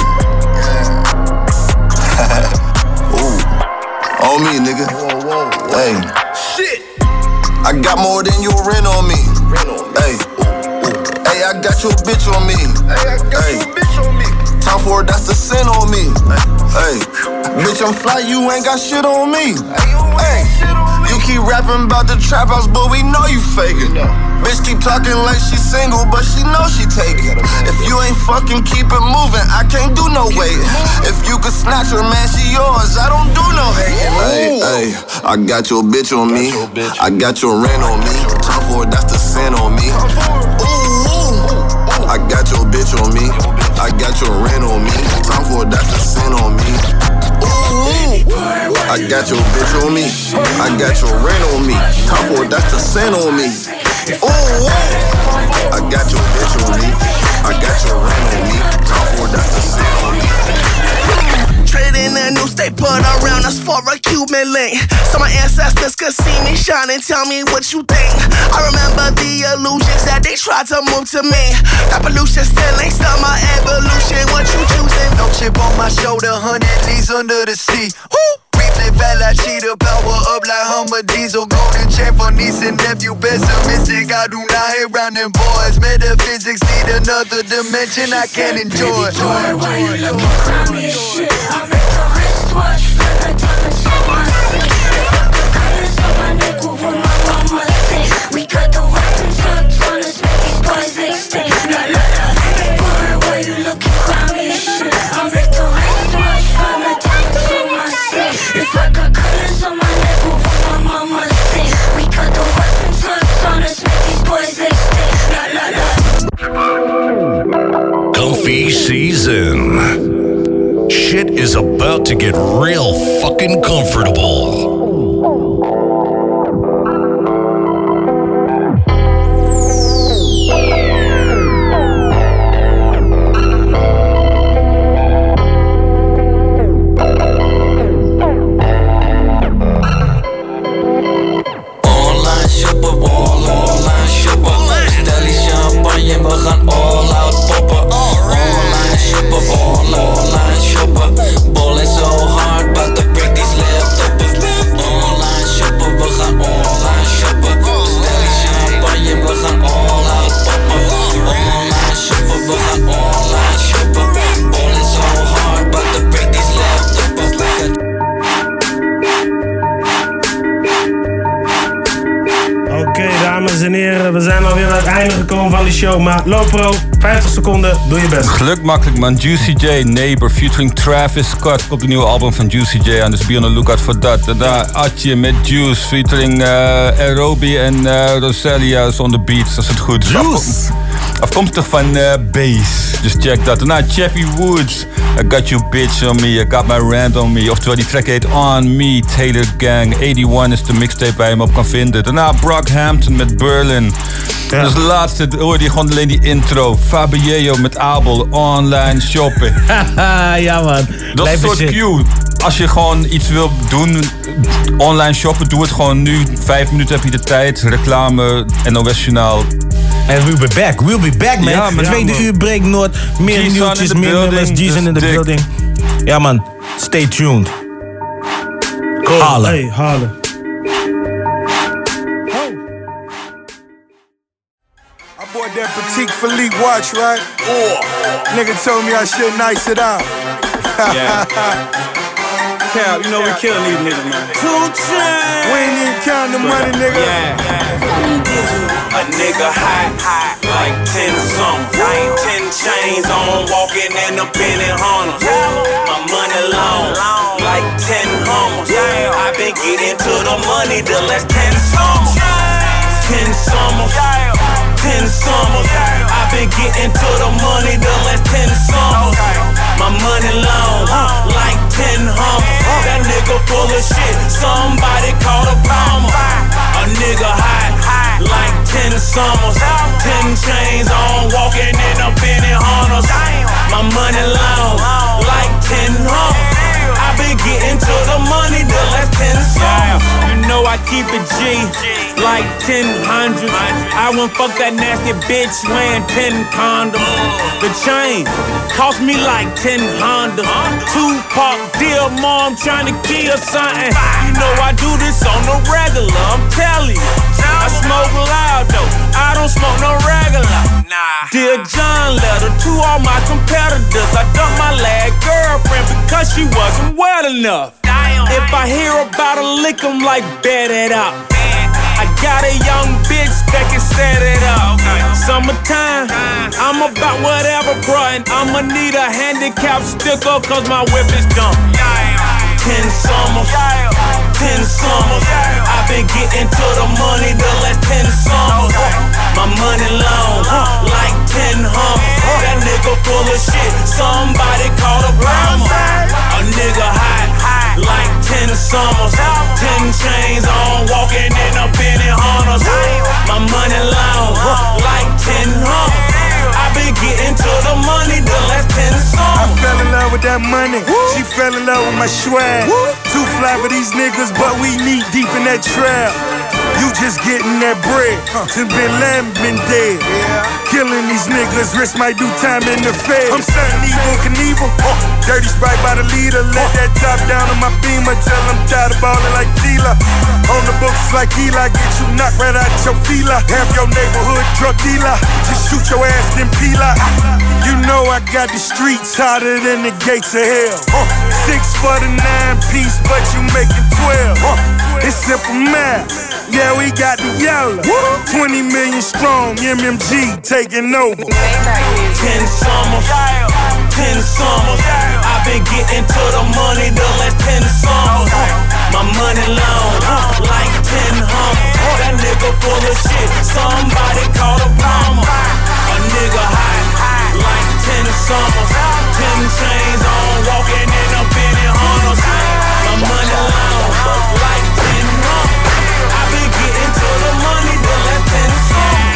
yeah. Ooh, on me, nigga, whoa, whoa, whoa. Hey, shit, I got more than your rent on me, hey, hey, I got your bitch on me, hey, I got hey. your bitch on me. Time for it, that's the sin on me. Hey, bitch, I'm fly, you ain't got shit on me. Hey, you keep rapping about the trap house, but we know you faking. Bitch keep talking like she single, but she know she taking. If you ain't fucking keep it moving, I can't do no waiting. If you could snatch her, man, she yours. I don't do no hating. Hey, hey, I got your bitch on me. I got your rent on me. Time for it, that's the sin on me. Ooh, I got your bitch on me. I got your rent on me. Time for it, that's the sin on me. Ooh, I got your bitch on me. I got your rent on me. Time for it, that's the sin on me. Ooh, I got your bitch on me. I got your rent on me. Time for it, that's the sin on me. Trading a new state, put around us for a Cuban link. So my ancestors could see me shine and tell me what you think. I remember the illusions that they tried to move to me. That pollution still ain't still my evolution. What you choosing? No chip on my shoulder, hundred G's under the sea. Woo! Flip fat like cheetah, power up like Hummer Diesel. Golden chain for niece and nephew, pessimistic. I do not hate round them boys. Metaphysics need another dimension I can't enjoy. Boy, why you looking crummy shit? I make the wristwatch feel like diamonds on my skin. Fuck the colors on my neck, what will my mama think? We got the weapons up on us, make these boys they stink. La la la. Boy, why you looking crummy shit? I make the wristwatch feel like diamonds on my skin. If I got colors on my neck, what will my mama think? We got the weapons up on us, make these boys they stink. La la la. Comfy season. Shit is about to get real fucking comfortable. Online shoppen, wall, online shoppen. Stel die champagne, we gaan all out poppen. Online shoppen, wall, online shoppen. Balling so hard, but to break these laptops. Online shoppen, we gaan online shoppen. Stel die champagne, we gaan all out poppen. Online shoppen, we gaan online shoppen. Balling so hard, but to break these laptops. Oké, dames en heren, we zijn alweer aan het einde gekomen van de show. Maar Lopro, vijftig seconden, doe je best. Geluk makkelijk man. Juicy J, Neighbor, featuring Travis Scott. Komt de nieuwe album van Juicy J aan, dus be on the lookout voor dat. Daarna Atje met Juice, featuring uh, Aerobi en uh, Rosalia on the beats, als het goed is. Juice! Afkomstig van uh, Bass, dus check dat. Daarna Chappie Woods, I got you bitch on me, I got my rant on me. Oftewel die track heet On Me, Taylor Gang. eenennegentig is de mixtape waar je hem op kan vinden. Daarna Brockhampton met Berlin. Ja. Dus de laatste hoor je gewoon alleen die intro. Fabio met Abel, online shoppen. Ja man. Dat is een soort cue. Als je gewoon iets wil doen, online shoppen, doe het gewoon nu. Vijf minuten heb je de tijd. Reclame, N O S-journaal. En we'll be back, we'll be back man. Ja, man. Tweede Ja, man. uur break Noord. Meer G-Sun nieuwtjes, in the meer nummers. building, G's in dus the dik. building. Ja man, stay tuned. Cool. Halen. Hey, halen. I bought that Petite Philippe watch, right? Oh. Nigga told me I shouldn't ice it out. Yeah. Cal, you know we killing these niggas, man. Two chains. We ain't even counting the money, nigga. Yeah. A nigga hot, hot, like ten something. Ten chains on, walking in the penny hunters. My money long, like ten hummers. I been getting to the money the last ten summers. Ten summers, ten summers. I been getting to the money the last ten summers. My money long, like ten hummers. That nigga full of shit, somebody call a bomber. A nigga hot, like ten summers. Ten chains on, walking in a penny hunters. My money long, like ten hummers. I been getting to the money the last ten summers. You know I keep it G, like ten hundred. I won't fuck that nasty bitch wearing ten condoms. The chain cost me like ten Honda. Tupac, dear mom, trying to kill something. You know I do this on the regular, I'm telling you. I smoke loud though, I don't smoke no regular. Nah. Dear John letter to all my competitors. I dumped my last girlfriend because she wasn't well enough. If I hear about a lick, I'm like, bet it up. I got a young bitch that can set it up. Summertime, I'm about whatever, bruh. And I'ma need a handicap sticker, cause my whip is dumb. Ten summers, ten summers. I've been getting to the money the last ten summers. My money long, like ten hummers. That nigga full of shit, somebody call a bomber. A nigga hot, like ten summers. Ten chains on, walking in a penny hunters. My money long, like ten hummers. I been getting to the money the last ten summers. I fell in love with that money. She fell in love with my swag. Too fly for these niggas, but we knee deep in that trail. You just getting that bread. Since Bin Laden been dead. Killing these niggas, wrist might do time in the Fed. I'm son Evel Knievel. Uh, dirty Sprite by the leader. Let that top down on my beamer. Tell I'm tired of ballin' like Tila. On the books like Eli. Get you knocked right out your fila. Have your neighborhood drug dealer. Just shoot your ass then peel out. You know I got the streets hotter than the gates of hell. Uh, six for the nine piece, but you make it twelve. Uh, it's simple math. Yeah, we got the yellow. twenty million strong, M M G taking over. Ten summers, ten summers. I've been getting to the money the last ten summers. My money long, like ten hummers. That nigga full of shit, somebody call a plumber. A nigga high, like ten summers. Ten chains on, walking in a penny hunters. My money long, like ten hummers. I've been getting to the money the last ten summers.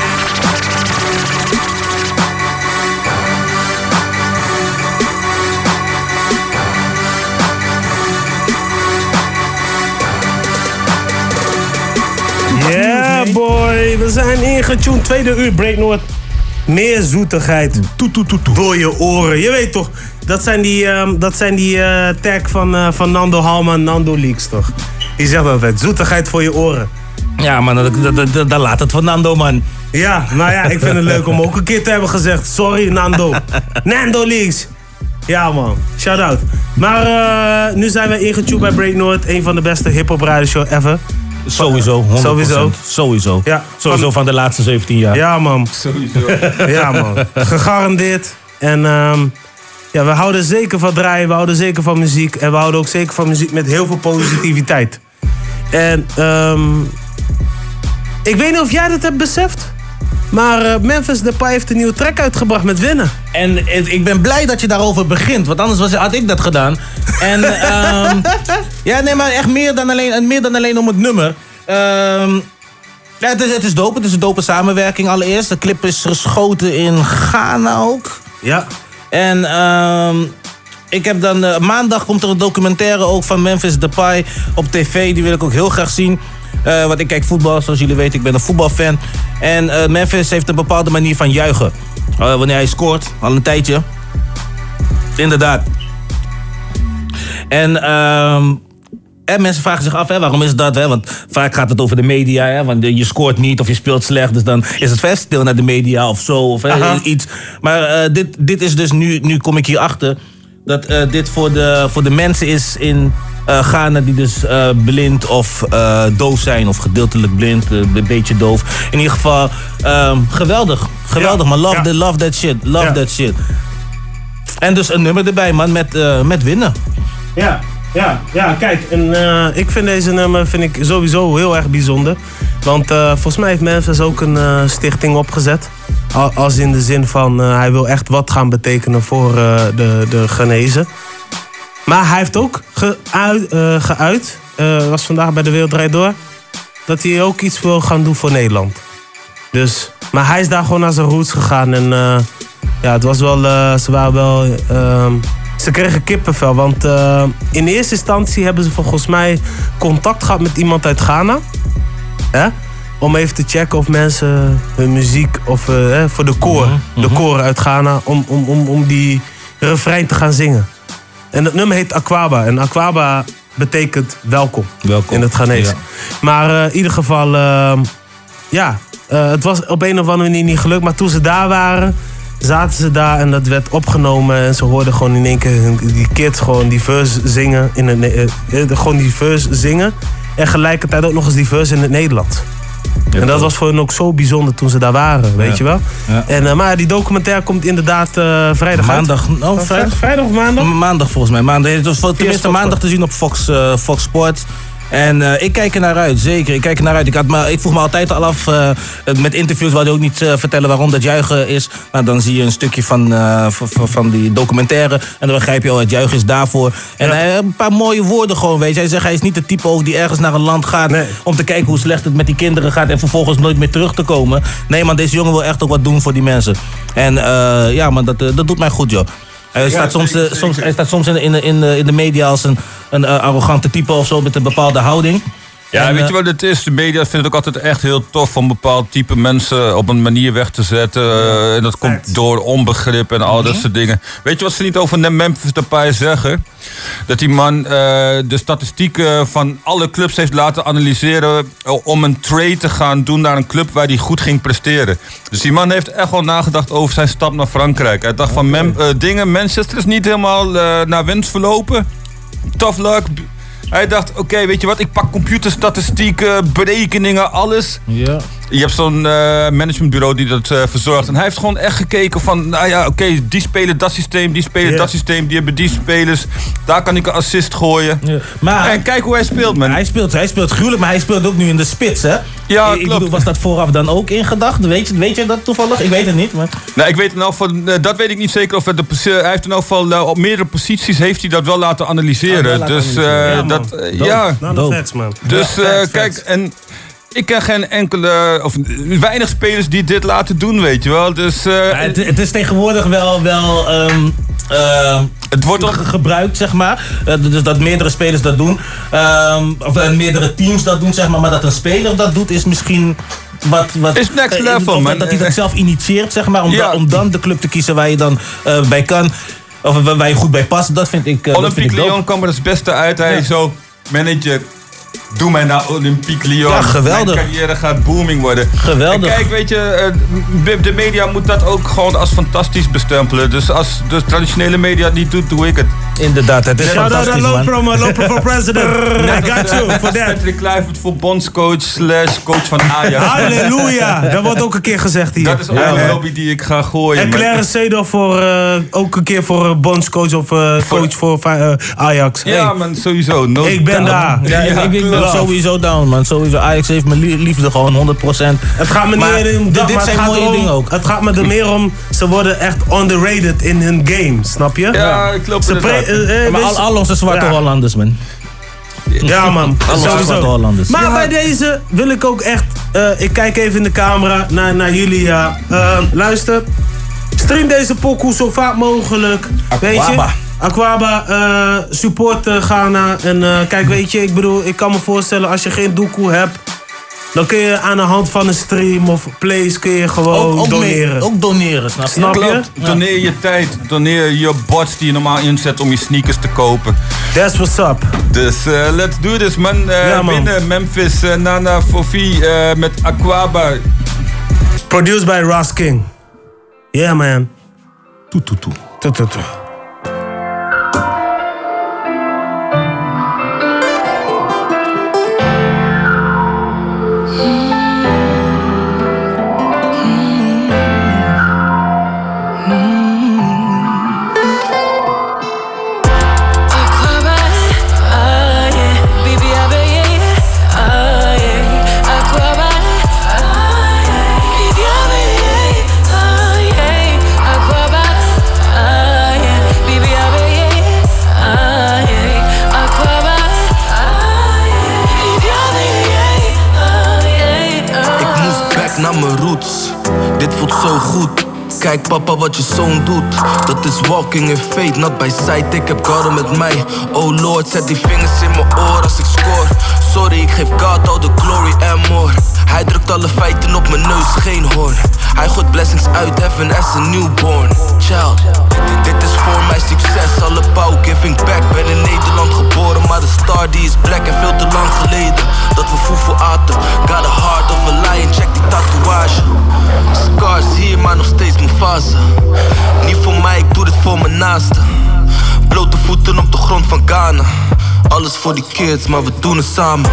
Yeah boy, we zijn ingetuned. Tweede uur Breaknoord. Meer zoetigheid. Toet, toet, toet, toet. Door je oren. Je weet toch, dat zijn die, um, dat zijn die uh, tag van, uh, van Nando Halman, Nando Leaks toch? Die zegt altijd, zoetigheid voor je oren. Ja man, dat, dat, dat, dat laat het van Nando man. Ja, nou ja, ik vind het leuk om ook een keer te hebben gezegd. Sorry Nando. Nando Leaks. Ja man, shout out. Maar uh, nu zijn we ingetuned bij Breaknoord. Een van de beste hip-hop radioshow ever. Sowieso, honderd procent. Sowieso. Sowieso. Ja, Sowieso van, van de laatste zeventien jaar. Ja, man. Sowieso. Ja, man. Gegarandeerd. En um, ja, we houden zeker van draaien, we houden zeker van muziek. En we houden ook zeker van muziek met heel veel positiviteit. En um, ik weet niet of jij dat hebt beseft. Maar uh, Memphis Depay heeft een nieuwe track uitgebracht met Winnen. En ik ben blij dat je daarover begint, want anders was, had ik dat gedaan. En um, ja, nee, maar echt meer dan alleen, meer dan alleen om het nummer. Um, ja, het is, het is dope, het is een dope samenwerking allereerst. De clip is geschoten in Ghana ook. Ja. En um, ik heb dan, uh, maandag komt er een documentaire ook van Memphis Depay op tv. Die wil ik ook heel graag zien. Uh, want ik kijk voetbal, zoals jullie weten, ik ben een voetbalfan. En uh, Memphis heeft een bepaalde manier van juichen. Uh, wanneer hij scoort, al een tijdje. Inderdaad. En, uh, en mensen vragen zich af, hè, waarom is dat? Hè? Want vaak gaat het over de media. Hè? Want je scoort niet of je speelt slecht. Dus dan is het vast stil naar de media of zo. Of hè, iets. Maar uh, dit, dit is dus nu, nu kom ik hier achter. Dat uh, dit voor de, voor de mensen is in uh, Ghana die dus uh, blind of uh, doof zijn. Of gedeeltelijk blind, uh, een beetje doof. In ieder geval, um, geweldig. Geweldig, ja. man. Love, ja. the, love that shit. Love ja. that shit. En dus een nummer erbij, man, met, uh, met Winnen. Ja, ja, ja, kijk. En, uh, ik vind deze nummer vind ik sowieso heel erg bijzonder. Want uh, volgens mij heeft Memphis ook een uh, stichting opgezet. Als in de zin van, uh, hij wil echt wat gaan betekenen voor uh, de, de Ghanese. Maar hij heeft ook geuit, uh, geuit uh, was vandaag bij De Wereld Draait Door, dat hij ook iets wil gaan doen voor Nederland. Dus, maar hij is daar gewoon naar zijn roots gegaan. En uh, ja, het was wel, uh, ze waren wel, uh, ze kregen kippenvel. Want uh, in eerste instantie hebben ze volgens mij contact gehad met iemand uit Ghana. Hè? Om even te checken of mensen hun muziek, of uh, voor de koor, mm-hmm. de koren uit Ghana, om, om, om, om die refrein te gaan zingen. En het nummer heet Akwaba. En Akwaba betekent welkom, welkom. in het Ghanese. Ja. Maar uh, in ieder geval, uh, ja, uh, het was op een of andere manier niet gelukt. Maar toen ze daar waren, zaten ze daar en dat werd opgenomen. En ze hoorden gewoon in één keer die kids gewoon die verse zingen. In het, uh, gewoon die verse zingen. En gelijkertijd ook nog eens die verse in het Nederlands. Ja, en dat was voor hen ook zo bijzonder toen ze daar waren, weet ja. je wel. Ja. En, uh, maar die documentaire komt inderdaad uh, vrijdag maandag, uit. Oh, vrijdag? Vrijdag of maandag? Maandag volgens mij. Maandag. Het was tenminste maandag te zien op Fox, uh, Fox Sports. En uh, ik kijk er naar uit, zeker. Ik kijk er naar uit. Ik, had me, ik vroeg me altijd al af, uh, met interviews wou je ook niet uh, vertellen waarom dat juichen is. Nou, dan zie je een stukje van, uh, van, van die documentaire. En dan begrijp je al, het juichen is daarvoor. En ja. hij heeft een paar mooie woorden gewoon, weet je. Hij zegt, hij is niet de type ook die ergens naar een land gaat nee. om te kijken hoe slecht het met die kinderen gaat en vervolgens nooit meer terug te komen. Nee, man, deze jongen wil echt ook wat doen voor die mensen. En uh, ja, man, dat, uh, dat doet mij goed, joh. Hij staat, ja, soms, zeker, soms, hij staat soms in, in, in, in de media als een, een uh, arrogante type of zo met een bepaalde houding. Ja, En, weet uh, je wat het is? De media vindt het ook altijd echt heel tof om bepaald type mensen op een manier weg te zetten. Uh, en dat komt door onbegrip en al dat soort dingen. Weet je wat ze niet over Memphis Depay zeggen? Dat die man uh, de statistieken van alle clubs heeft laten analyseren om een trade te gaan doen naar een club waar hij goed ging presteren. Dus die man heeft echt wel nagedacht over zijn stap naar Frankrijk. Hij dacht van Mem- uh, dingen, Manchester is niet helemaal uh, naar wens verlopen. Tough luck. Hij dacht, oké, okay, weet je wat, ik pak computerstatistieken, berekeningen, alles. Ja. Je hebt zo'n uh, managementbureau die dat uh, verzorgt. En hij heeft gewoon echt gekeken van, nou ja, oké, okay, die spelen dat systeem, die spelen Yeah. dat systeem, die hebben die spelers. Daar kan ik een assist gooien. Ja. Maar en kijk hoe hij speelt, man. Hij speelt, hij speelt gruwelijk, maar hij speelt ook nu in de spits, hè? Ja, ik, ik klopt. bedoel, was dat vooraf dan ook in gedachten? Weet je, weet je dat toevallig? Ik weet het niet, maar... Nou, ik weet in elk geval, uh, dat weet ik niet zeker of het de, posi- hij heeft in elk geval uh, op meerdere posities heeft hij dat wel laten analyseren. Ah, wel laten dus uh, analyseren. Ja, dat, man. uh, Dope. ja. Nou, de facts, man. Dus Ja, uh, facts, kijk, facts. en ik ken geen enkele, of weinig spelers die dit laten doen, weet je wel. Dus, uh, Ja, het, het is tegenwoordig wel, wel um, uh, het wordt ook gebruikt, zeg maar. Uh, dus dat meerdere spelers dat doen. Um, of uh, meerdere teams dat doen, zeg maar. Maar dat een speler dat doet, is misschien wat... wat is next uh, level, of man. Dat hij dat zelf initieert, zeg maar. Om, Ja. da- om dan de club te kiezen waar je dan uh, bij kan. Of uh, waar je goed bij past. Dat vind ik uh, dat vind Olympique ik dope. Lyon kwam er het beste uit. Hij Ja. zo, manager, doe mij naar Olympique Lyon. Ja, geweldig. Mijn carrière gaat booming worden. Geweldig. En kijk, weet je, uh, de- de media moet dat ook gewoon als fantastisch bestempelen. Dus als de traditionele media het niet doet, doe ik het. Inderdaad, het is Shout out fantastisch, aan man. Lopromo, Lopromo for president. I got you for that. Patrick Kluivert voor bondscoach slash coach van Ajax. Halleluja. Dat wordt ook een keer gezegd hier. Dat is ook Ja, een man. lobby die ik ga gooien. En maar- Claire Seedorf voor, uh, ook een keer voor uh, bondscoach of uh, coach voor uh, Ajax. Ja, Hey, man, sowieso. No ik ben doubt. daar. Ja, ik, ik ben love. sowieso down, man. Sowieso. Ajax heeft mijn lie- liefde gewoon honderd procent. Het gaat me niet Maar meer om dit- dat, dit maar zijn het gaat mooie erom- dingen ook. Het gaat me er meer om, ze worden echt underrated in hun game, snap je? Ja, ik klopt Ze inderdaad. pre- eh, eh, Maar al, wees- al onze zwarte Ja. Hollanders, man. Ja, man. Al onze zwarte Sowieso. Hollanders. Maar Ja. bij deze wil ik ook echt... eh, ik kijk even in de camera naar, naar jullie. Ja. Eh, luister. Stream deze pokoe zo vaak mogelijk. Weet je? Aquaba. Aquaba, eh support eh, Ghana. En eh, kijk, weet je, ik bedoel, ik kan me voorstellen als je geen doekoe hebt, dan kun je aan de hand van een stream of plays kun je gewoon Ook, ook, doneren. mee- ook doneren, snap je? Snap je? Klopt. Doneer je tijd, doneer je bots die je normaal inzet om je sneakers te kopen. That's what's up. Dus uh, let's do this, man. Uh, Ja, man. Binnen Memphis, uh, Nana Fofi uh, met Aquaba. Produced by Ross King. Yeah, man. Toe, toe, toe. Toe, toe, toe. Ik moest back naar mijn roots. Dit voelt zo goed. Kijk papa wat je zoon doet. Dat is walking in fate, not by sight. Ik heb God met mij. Oh Lord, zet die vingers in mijn oor als ik score. Sorry, ik geef God all the glory and more. Hij drukt alle feiten op mijn neus, geen hoorn. Hij gooit blessings uit heaven as a newborn child. Dit, dit is voor mijn succes, alle pauw giving back. Ben in Nederland geboren, maar de star die is black. En veel te lang geleden dat we foefoe aten. Got a heart of a lion, check die tatoeage. Scars hier, maar nog steeds Mufasa. Niet voor mij, ik doe dit voor mijn naasten. Blote voeten op de grond van Ghana. Alles voor die kids, maar we doen het samen.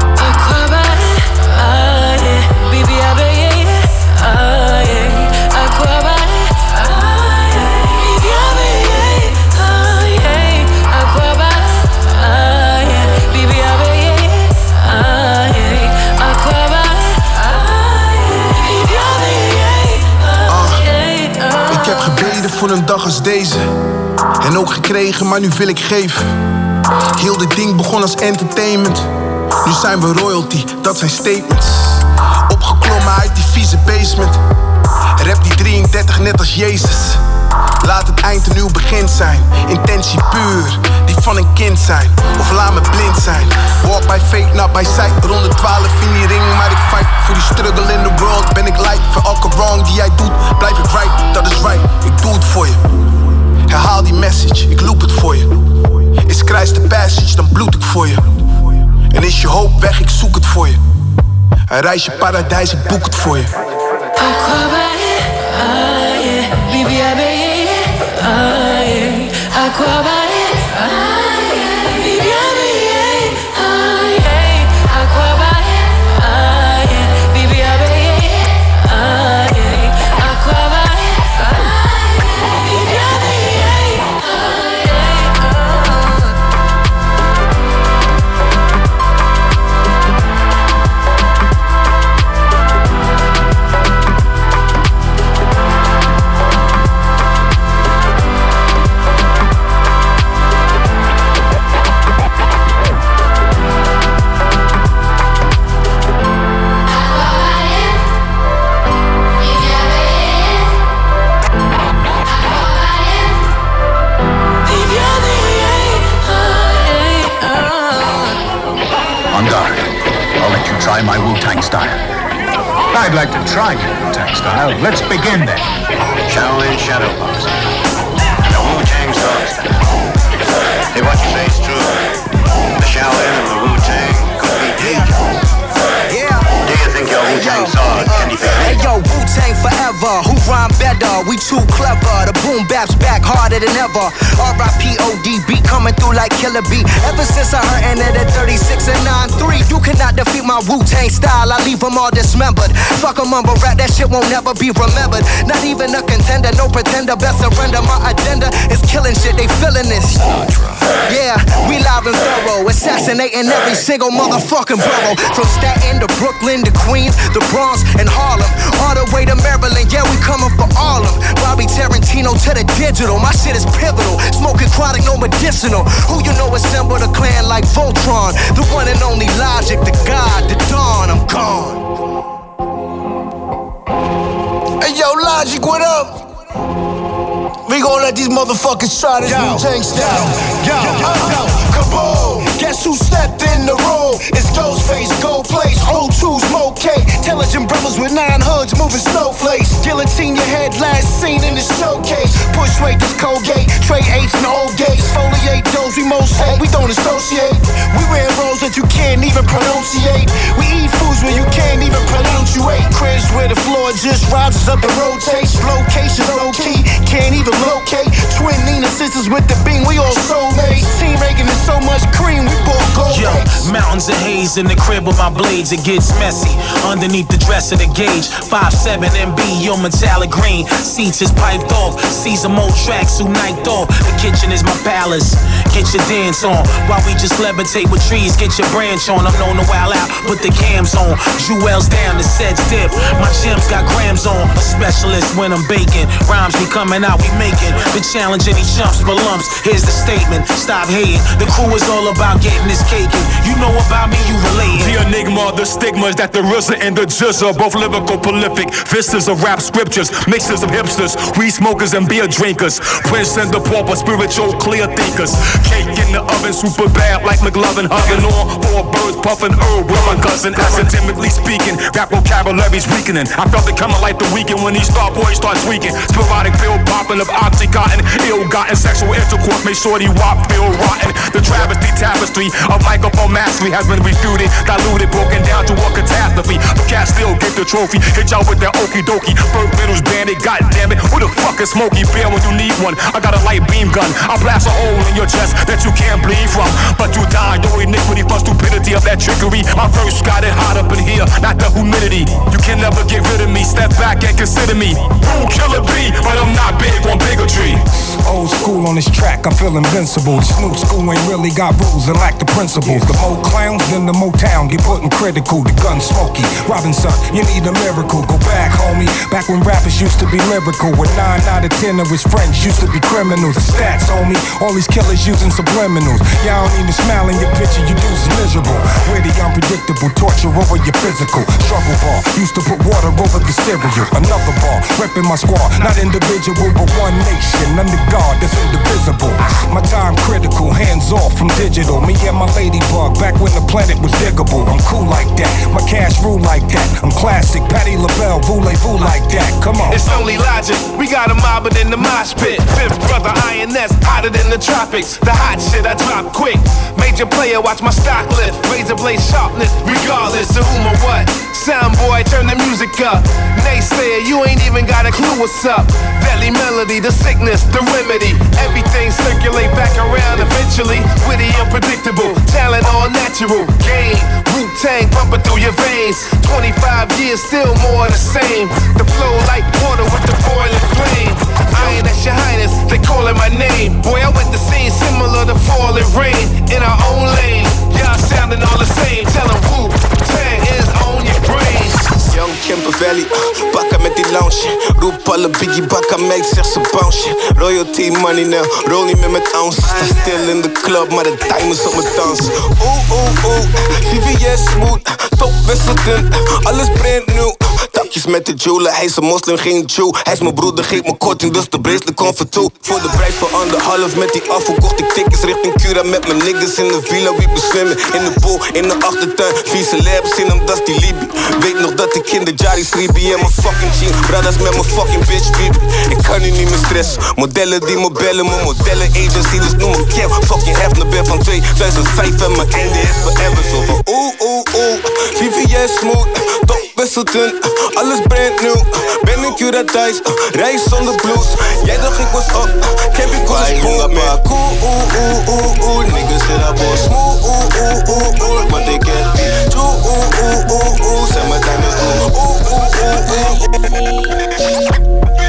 Ik heb gebeden voor een dag als deze. En ook gekregen, maar nu wil ik geven. Heel dit ding begon als entertainment. Nu zijn we royalty, dat zijn statements. Opgeklommen uit die vieze basement. Rap die drieëndertig net als Jezus. Laat het eind een nieuw begin zijn. Intentie puur. Die van een kind zijn, of laat me blind zijn. Walk by faith, not by sight. Ronde twaalf in die ring, maar ik fight voor die struggle in the world. Ben ik light, voor elke wrong die jij doet, blijf ik right. Dat is right, ik doe het voor je. Herhaal die message, ik loop het voor je. Is Christ de passage, dan bloed ik voor je. En is je hoop weg, ik zoek het voor je. Een reisje paradijs, ik boek het voor je. Try my Wu-Tang style. I'd like to try your Wu-Tang style. Let's begin then. Shaolin Shadow Box. The Wu-Tang Dog style. Hey, what you say is true. The Shaolin and the Wu-Tang could be dangerous. Yeah. Do you think your Wu-Tang sword can defend? Hey yo, Wu-Tang forever. Who rhyme better? We too clever. The boom bap's back harder than ever. R I P O D B coming through like Killer B. Ever since I heard it at thirty-six and nine three, you cannot defeat my Wu-Tang style. I leave them all dismembered. Fuck a mumble rap, that shit won't never be remembered. Not even a contender, no pretender. Best surrender. My agenda is killing shit. They feeling this. Yeah, we live and thorough, assassinating every single motherfucking borough. From Staten to Brooklyn to Queens, the Bronx and Harlem, all the way to Maryland. Yeah, we coming for all of them. Bobby Tarantino to the digital. My shit is pivotal. Smoking chronic, no medicinal. Who you know assemble the clan like Voltron? The one and only Logic, the God, the Dawn. I'm gone. Hey yo, Logic, what up? We gon' let these motherfuckers try this Wu-Tang style. Yo, yo, yo, kaboom! Guess who stepped in the room? It's Ghostface, Gold Place, O two Smoke K. Intelligent brothers with nine hoods moving snowflakes. Guillotine your head, last seen in the showcase. Push rate this Colgate, trade eights and old gates. Foliate those we most hate, we don't associate. We wear roles that you can't even pronunciate. We eat foods where you can't even pronunciate. Cribs where the floor just rises up and rotates. Location low key, can't even locate. Twin Nina sisters with the beam, we all soulmates. Team Reagan is so much cream, we both gold. Yo, mountains of haze in the crib with my blades, it gets messy. Underneath the dress of the gauge, five seven M B, your metallic green. Seats is piped off, see some old tracks who night off. The kitchen is my palace, get your dance on. While we just levitate with trees, get your branch on. I'm known to wild out, put the cams on. Jewels down, the sets dip, my gems got grams on. A specialist when I'm baking, rhymes be coming out, we making. The challenge any chumps for lumps, here's the statement, stop hating. The crew is all about getting this cake. You know about me, you relating. The enigma, the stigmas that the R Z A and the J Z A, both lyrical prolific. Vistas of rap scriptures, mixes of hipsters, weed smokers and beer drinkers. Prince and the pauper, spiritual clear thinkers. Cake in the oven, super bad like McLovin, hugging on four birds, puffing herb with my cousin. Academically speaking, rap vocabulary's weakening. I felt it coming like the weekend when these star boys start tweaking. Sporadic pill popping of oxycontin, ill-gotten sexual intercourse, make sure the wop feel rotten. The travesty tapestry of microphone mastery has been refuted, diluted, broken down to a catastrophe. The cat still get the trophy, hit y'all with that okie dokie. Bird Riddles bandit, goddammit, who the fuck is Smokey Bear when you need one? I got a light beam gun, I'll blast a hole in your chest that you can't bleed from. But you die, your iniquity for stupidity of that trickery. My verse got it hot up in here, not the humidity. You can never get rid of me, step back and consider me. Rule killer B, but I'm not big on bigotry. Old school on this track, I feel invincible. This new school ain't really got rules and lack the principles. The more clowns, then the more town get put in critical. The gun smoky, Robinson, you need a miracle. Go back, homie, back when rappers used to be lyrical. With nine out of ten of his friends used to be criminals. The stats, homie, all these killers using subliminals. Y'all don't even smile in your picture, you dudes miserable. Witty, unpredictable, torture over your physical. Struggle bar, used to put water over the cereal. Another bar, repping my squad, not individual but one nation. Under God that's indivisible. My time critical, hands off from digital. Me and my ladybug, back when the planet was diggable. I'm cool like that, my cash rule like that. I'm classic, Patti LaBelle, voulez-vous like that. Come on. It's only logic, we got a mob in the mosh pit. Fifth brother, I N S, hotter than the tropics. The hot shit, I drop quick. Major player, watch my stock lift. Razor blade sharpness, regardless of whom or what. Sound boy, turn the music up. Naysayer, you ain't even got a clue what's up. Deadly melody, the sickness, the remedy. Everything circulate back around eventually. Witty, unpredictable, talent all natural. Game, Wu-Tang pumping through your veins. twenty-five years, still more the same. The flow like water with the boiling flame. Iron, that's your highness, they calling my name. Boy, I went the scene similar to falling rain. In our own lane, y'all sounding all the same. Tell them Wu-Tang is on your brain. Young Kemper Valley, uh, bakken met die lounge. Roep alle Biggie Bakka Mike, zeg ze bounce. Royalty money now, roll niet meer met ounces. Sta stil in de club, maar de diamonds op mijn dansen. Oeh, oeh, oeh, V V S smooth, top wisselden, alles brand nieuw. Takjes met de jeweler, hij is een moslim, geen Jew. Hij is mijn broeder, geeft me korting, dus de bracelet komt voor toe. Voor de prijs van anderhalf met die afval kocht ik tickets richting Cura met mijn niggas in de villa. Wie beswimmen in de pool, in de achtertuin. Vieze labs in hem, dat is die Libi. Weet nog dat ik in de Jari Sribi en mijn fucking jean. Brothers met mijn fucking bitch, baby. Ik kan nu niet meer stressen. Modellen die me bellen, mijn modellen agency. Dus noem me Kev, fucking Hefner ben van tweeduizend vijf en mijn einde is forever. Zo van oeh, oeh, oeh, V V S smooth, top wisselden, alles brand nieuw. Ben ik Cura thuis, reis zonder blues. Jij dacht ik was op, heb ik al een spoor meer. Cool, oeh, oeh, oeh, oeh, niggas in dat bos. Smooth, oeh, oeh, oeh, oeh, want ik heb die. True, oeh, oeh, oeh, oeh, zijn mijn diamonds doen. Oeh, oeh, oeh, oeh, oeh.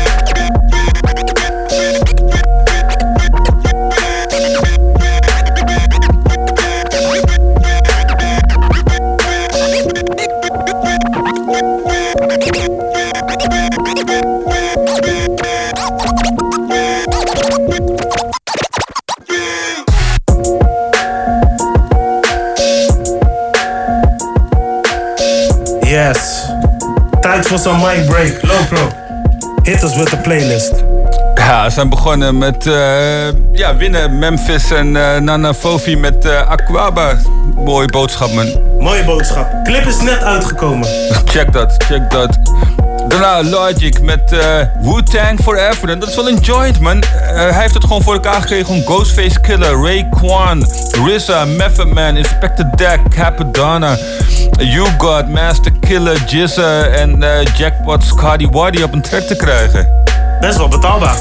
Yes. Tijd voor zo'n mic break. Lopro. Hit us with the playlist. Ja, we zijn begonnen met uh, ja, winnen Memphis en uh, Nana Fofi met uh, Aquaba. Mooie boodschap, man. Mooie boodschap. Clip is net uitgekomen. Check dat, check dat. Daarna Logic met uh, Wu-Tang Forever. En dat is wel een joint, man. Uh, hij heeft het gewoon voor elkaar gekregen om Ghostface Killer, Raekwon, R Z A, Method Man, Inspector Deck, Capadonna, You God, Master Killer, Jizza en uh, Jackpot Scotty Waddy op een track te krijgen. Best wel betaalbaar.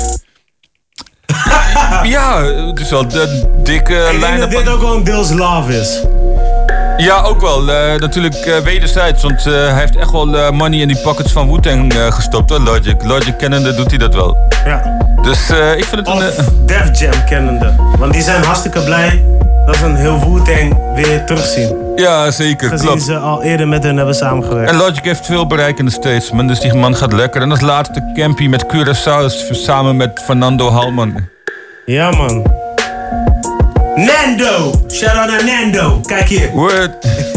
Ja, het is wel de dikke Ik lijn. denk dat dit ook gewoon deels love is. Ja, ook wel. Uh, natuurlijk uh, wederzijds, want uh, hij heeft echt wel uh, money in die pockets van Wu-Tang uh, gestopt, hoor, Logic. Logic kennende doet hij dat wel. Ja. Dus uh, ik vind het of een... Uh, Def Jam kennende. Want die zijn hartstikke blij dat ze een heel Wu-Tang weer terugzien. Ja, zeker, Gezien klopt. ze al eerder met hen hebben samengewerkt. En Logic heeft veel bereik in de States, man. Dus die man gaat lekker. En als laatste Campy met Curaçao samen met Fernando Halman. Ja, man. Nando! Shout out naar Nando. Kijk hier. Word.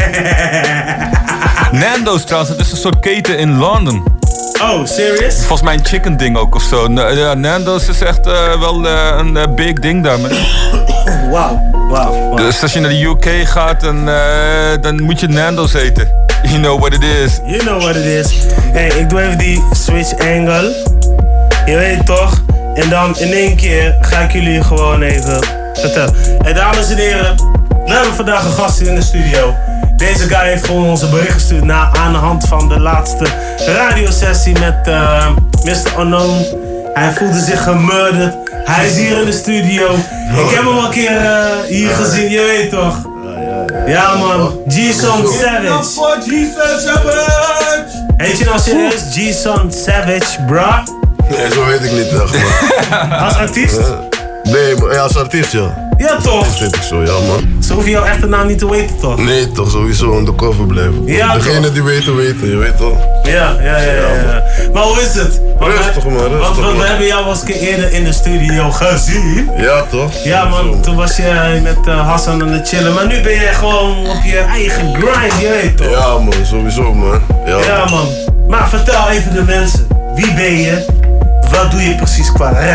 Nando's trouwens, het is een soort keten in Londen. Oh, serious? Volgens mij een chicken ding ook of zo. Ja, Nando's is echt uh, wel uh, een uh, big ding daar, man. Wauw, wauw. Dus als je naar de U K gaat, dan, uh, dan moet je Nando's eten. You know what it is. You know what it is. Hey, ik doe even die switch angle. Je weet toch? En dan in één keer ga ik jullie gewoon even vertellen. Hey, dames en heren, we hebben vandaag een gast in de studio. Deze guy heeft gewoon onze bericht gestuurd na, aan de hand van de laatste radiosessie met uh, mister Unknown. Hij voelde zich gemurderd. Hij is hier in de studio. Ik heb hem al een keer uh, hier gezien, je weet toch? Ja man, G-Son Savage. G-Son Savage! Heet je nou serieus G-Son Savage, bra? Nee, zo weet ik niet echt, man. Als artiest? Nee, maar ja, als artiest, ja. Ja, toch? Dat weet ik zo, ja, man. Ze hoeven jouw echte naam niet te weten, toch? Nee, toch, sowieso undercover blijven. Ja, degene toch? die weten, weten, je weet toch? Ja, ja, ja, ja. ja. Maar hoe is het? Want rustig, we, man, rustig, Want, want we man. hebben jou wel eens een keer eerder in de studio gezien. Ja, toch? Ja, man. Toen was je met uh, Hassan aan het chillen. Maar nu ben je gewoon op je eigen grind, je weet toch? Ja, man, sowieso, man. Ja, Ja, man. Maar vertel even de mensen. Wie ben je? Wat doe je precies qua rap?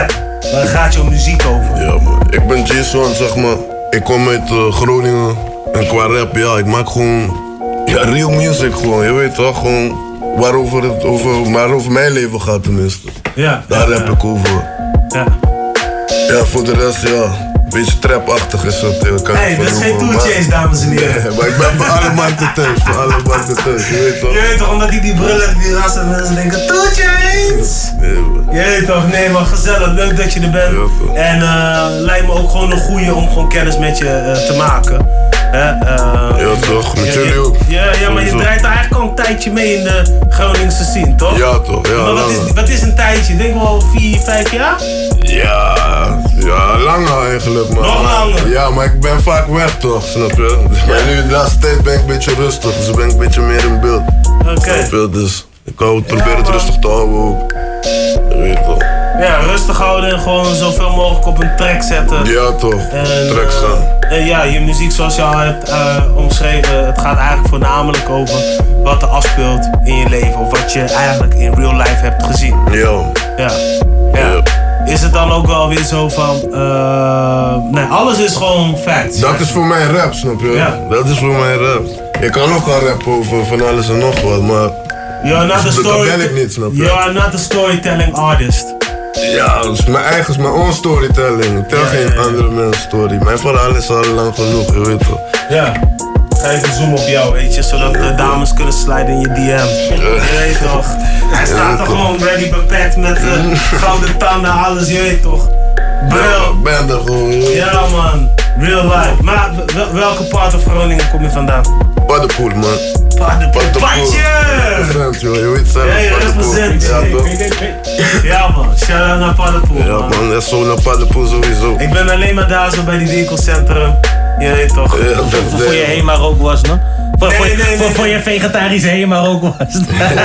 Waar gaat jouw muziek over? Ja man, ik ben Jason, zeg maar. Ik kom uit uh, Groningen. En qua rap, ja, ik maak gewoon... Ja, real music gewoon, je weet toch? Gewoon waarover het over, maar over mijn leven gaat tenminste. Ja. Daar rap ik over. Ja. Ja, voor de rest, ja. Een beetje trapachtig is het. Hé, hey, dat is geen two Chainz, dames en heren. Nee, maar ik ben voor alle markten thuis, voor alle markten thuis, je weet toch? Je weet toch, omdat ik die bril heb, die rassen en mensen denken, two Chainz! Nee, man. Je weet toch, nee maar gezellig, leuk dat je er bent. Ja, en uh, lijkt me ook gewoon een goeie om gewoon kennis met je uh, te maken. Uh, uh, ja toch, met jullie ook. Ja, ja, maar je draait er eigenlijk al een tijdje mee in de Groningse scene, toch? Ja toch, ja. Maar wat is, wat is een tijdje? Denk wel vier, vijf jaar? Ja, ja, langer eigenlijk man. Nog langer? Ja, maar ik ben vaak weg toch, snap je? Maar nu de laatste tijd ben ik een beetje rustig, dus ben ik een beetje meer in beeld. Oké. Okay. Snap je? Dus ik hou het, probeer het rustig te houden ook. Je weet toch. Ja, rustig houden en gewoon zoveel mogelijk op een track zetten. Ja toch, en, track staan. Uh, en ja, je muziek zoals je al hebt uh, omschreven, het gaat eigenlijk voornamelijk over wat er afspeelt in je leven. Of wat je eigenlijk in real life hebt gezien. Ja. Ja. Ja. Is het dan ook wel weer zo van, uh, nee, alles is gewoon facts. Dat is voor mij rap, snap je? Ja. Dat is voor mij rap. Ik kan ook al rappen over van alles en nog wat, maar You're not dat, story- dat ben ik niet, snap je? You are not a storytelling artist. Ja, dat is mijn eigen, mijn own storytelling. Ik tel ja, geen ja, ja. andere mensen story. Mijn verhaal is al lang genoeg, je weet toch? Ja. Ga even zoomen op jou, weet je, zodat de dames kunnen sliden in je D M. Je weet toch? Hij staat er gewoon ready bepacked met uh, gouden tanden, alles, je weet toch? Bril. Ben er gewoon. Ja man, real life. Maar wel, welke part of Groningen kom je vandaan? Paddenpoel man. Paddenpoel. Padje! Represent joh, je weet zelf. Ja, je represent. Ja, toch? Ja man, shout out naar Paddenpoel. Ja man, man dat is zo naar Paddenpoel sowieso. Ik ben alleen maar daar zo bij die winkelcentrum. Je weet toch? Ja, dat voor, voor je Hema ook was, no? Voor, nee, voor, nee, nee, voor, nee. voor je vegetarische Hema ook was.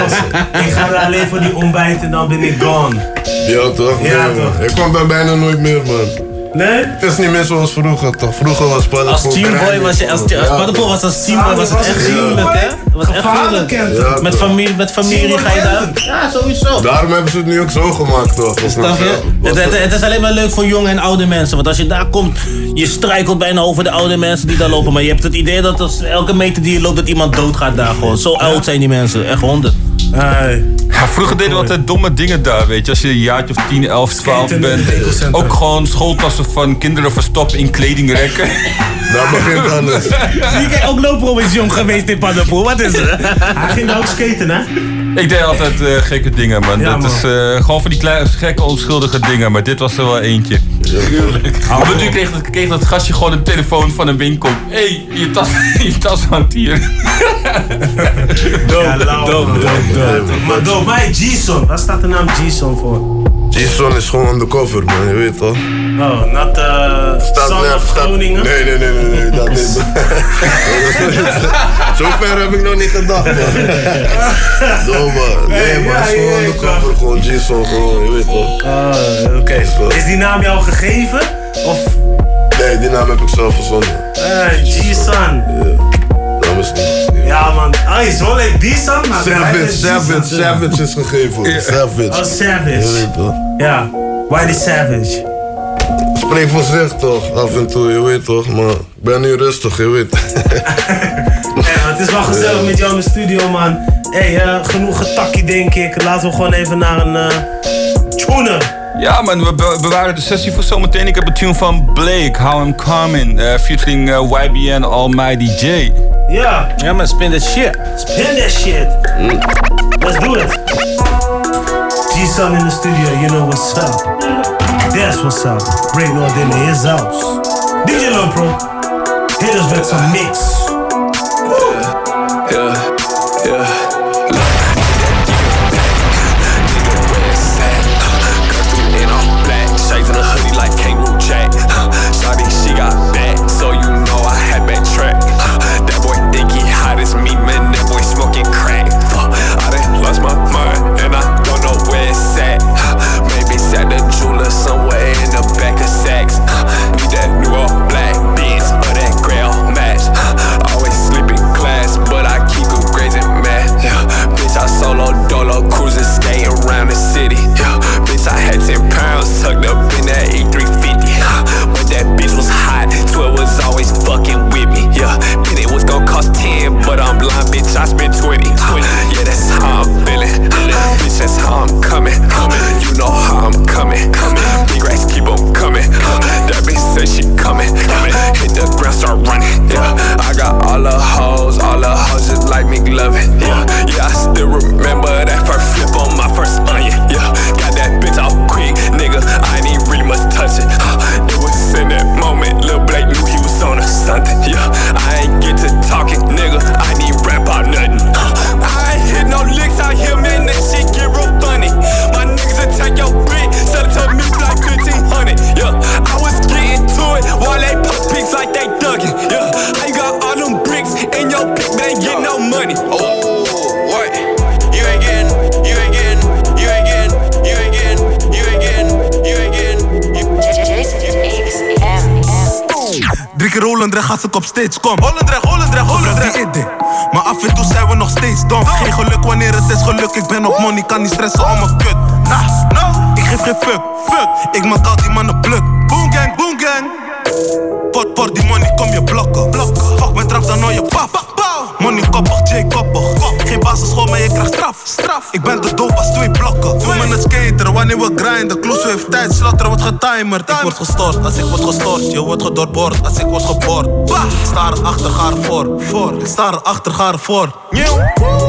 Ik ga er alleen voor die ontbijt en dan ben ik gone. Ja toch? Ja, nee, toch? Man. Ik kwam daar bijna nooit meer man. Nee? Het is niet meer zoals vroeger toch? Vroeger was Paddenpoel. Als teamboy was je, als, als ja, Paddenpoel was als teamboy was het echt gruwelijk hè? Was echt gruwelijk. Ja, met familie, met familie ga je daar. Ja, sowieso. Daarom hebben ze het nu ook zo gemaakt toch? Snap je? Het, het, het is alleen maar leuk voor jonge en oude mensen. Want als je daar komt, je struikelt bijna over de oude mensen die daar lopen. Maar je hebt het idee dat als elke meter die je loopt, dat iemand doodgaat daar gewoon. Zo oud zijn die mensen, echt honden. Hey. Ja, vroeger deden we altijd domme dingen daar, weet je. Als je een jaartje of tien, elf, twaalf bent. Ook gewoon schooltassen van kinderen verstoppen in kledingrekken. Daar begint alles. Zie jij ook lopen is jong geweest in Paddenpoel? Wat is er? Hij ging daar ook skaten, hè? Ik deed altijd uh, gekke dingen, man. Ja, dat man. is uh, gewoon van die kleine, gekke, onschuldige dingen. Maar dit was er wel eentje. Maar natuurlijk kreeg, kreeg dat gastje gewoon een telefoon van een winkel. Hé, hey, je tas, je tas hangt hier. Dope, ja, dope, dope, dope. Maar dope, maar G-Son, waar staat de naam G-Son voor? G-Son is gewoon undercover man, je weet toch? Oh, not uh, Son net, of Groningen? Nee, nee, nee, nee, nee, dat is... Zo ver heb ik nog niet gedacht man. Doe man, nee man, het is gewoon undercover, gewoon G-Son, gewoon, je weet toch? Ah, oké. Okay. Is die naam jou gegeven? Of? Nee, die naam heb ik zelf verzonnen. Hey, G-Son. Ja. Dat is niet. Ja man, ah, is wel een G-Son, maar Savage, Savage, Savage is gegeven. Ja. Savage. Oh, Savage. Ja, why the Savage? Spreek voor zich toch, af en toe, je weet toch, maar ik ben nu rustig, je weet. Ja, het is wel gezellig met jou in de studio man. Hé, hey, uh, genoeg getakkie denk ik. Laten we gewoon even naar een uh, tuner. Ja man, we be bewaren de sessie voor zometeen. Ik heb een tune van Blake, How I'm Coming, uh, featuring uh, Y B N Almighty J. Ja. Ja man, spin that shit. Spin that shit. Mm. Let's do it. G-Son in the studio, you know what's up. That's what's up. Break North in his house. D J Lopro, hit us with some mix. Yeah, yeah, yeah. Shades in a hoodie like Kangaroo Jack. Shawty, she got back, so you know I had back track. That boy think he hot as me, man. That boy smoking crack. I done lost my mind and I don't know where it's at. Maybe it's at the jeweler somewhere in the back of Saks. Need that new all black beans or that gray all match. Always sleep in class, but I keep good grades in math. Yeah. Bitch, I solo dolo cruising, skating around the city. Yeah. Bitch, I had ten pounds tucked up in that I spent twenty. Yeah, that's how I'm feeling. Bitch, that's how I'm coming. You know how I'm coming. Big racks keep on coming. That bitch said she coming. Hit the ground, start running. Yeah, I got all the hoes, all the hoes just like me loving. Yeah, yeah, I still remember that first flip on my first onion. Yeah, got that bitch off quick, nigga. I ain't even really much touch it. It was in that moment, Lil Blake knew he was on or something. Yeah, I ain't get to talking, nigga. I ain't even rap about nothing. I ain't hit no licks out here, man. That shit get real funny. My niggas will take your brick, sell it to me like fifteen hundred. Yeah, I was getting to it while they post pics like they dugging. Yeah, I got all them bricks in your pic, but ain't getting no money. Oh, what? You ain't getting, you ain't getting, you ain't getting, you ain't getting, you ain't getting, you ain't getting. Drie keer Holendrecht gaat ik op stage, kom. Holendrecht, Holendrecht, Holendrecht. Maar af en toe zijn we nog steeds dom. Geen geluk wanneer het is geluk. Ik ben op money, kan niet stressen om mijn kut. Nah, no, ik geef geen fuck, fuck. Ik maak al die mannen pluk. Boom gang, boom gang. Pot, pot, die money kom je blokken. blokken. Fuck met trap, dan hoor je paf. Money koppig, J koppig. Geen basisschool, maar je krijgt straf. straf. Ik ben te doof als twee blokken. Doe me het skateren wanneer we grinden. Kloeso heeft tijd, slatter wordt getimerd. Ik word gestoord als ik word gestoord. Je wordt gedoorboord als ik word geboord. Ik sta erachter, ga ervoor. voor. Ik sta erachter, ga ervoor. Nieuw.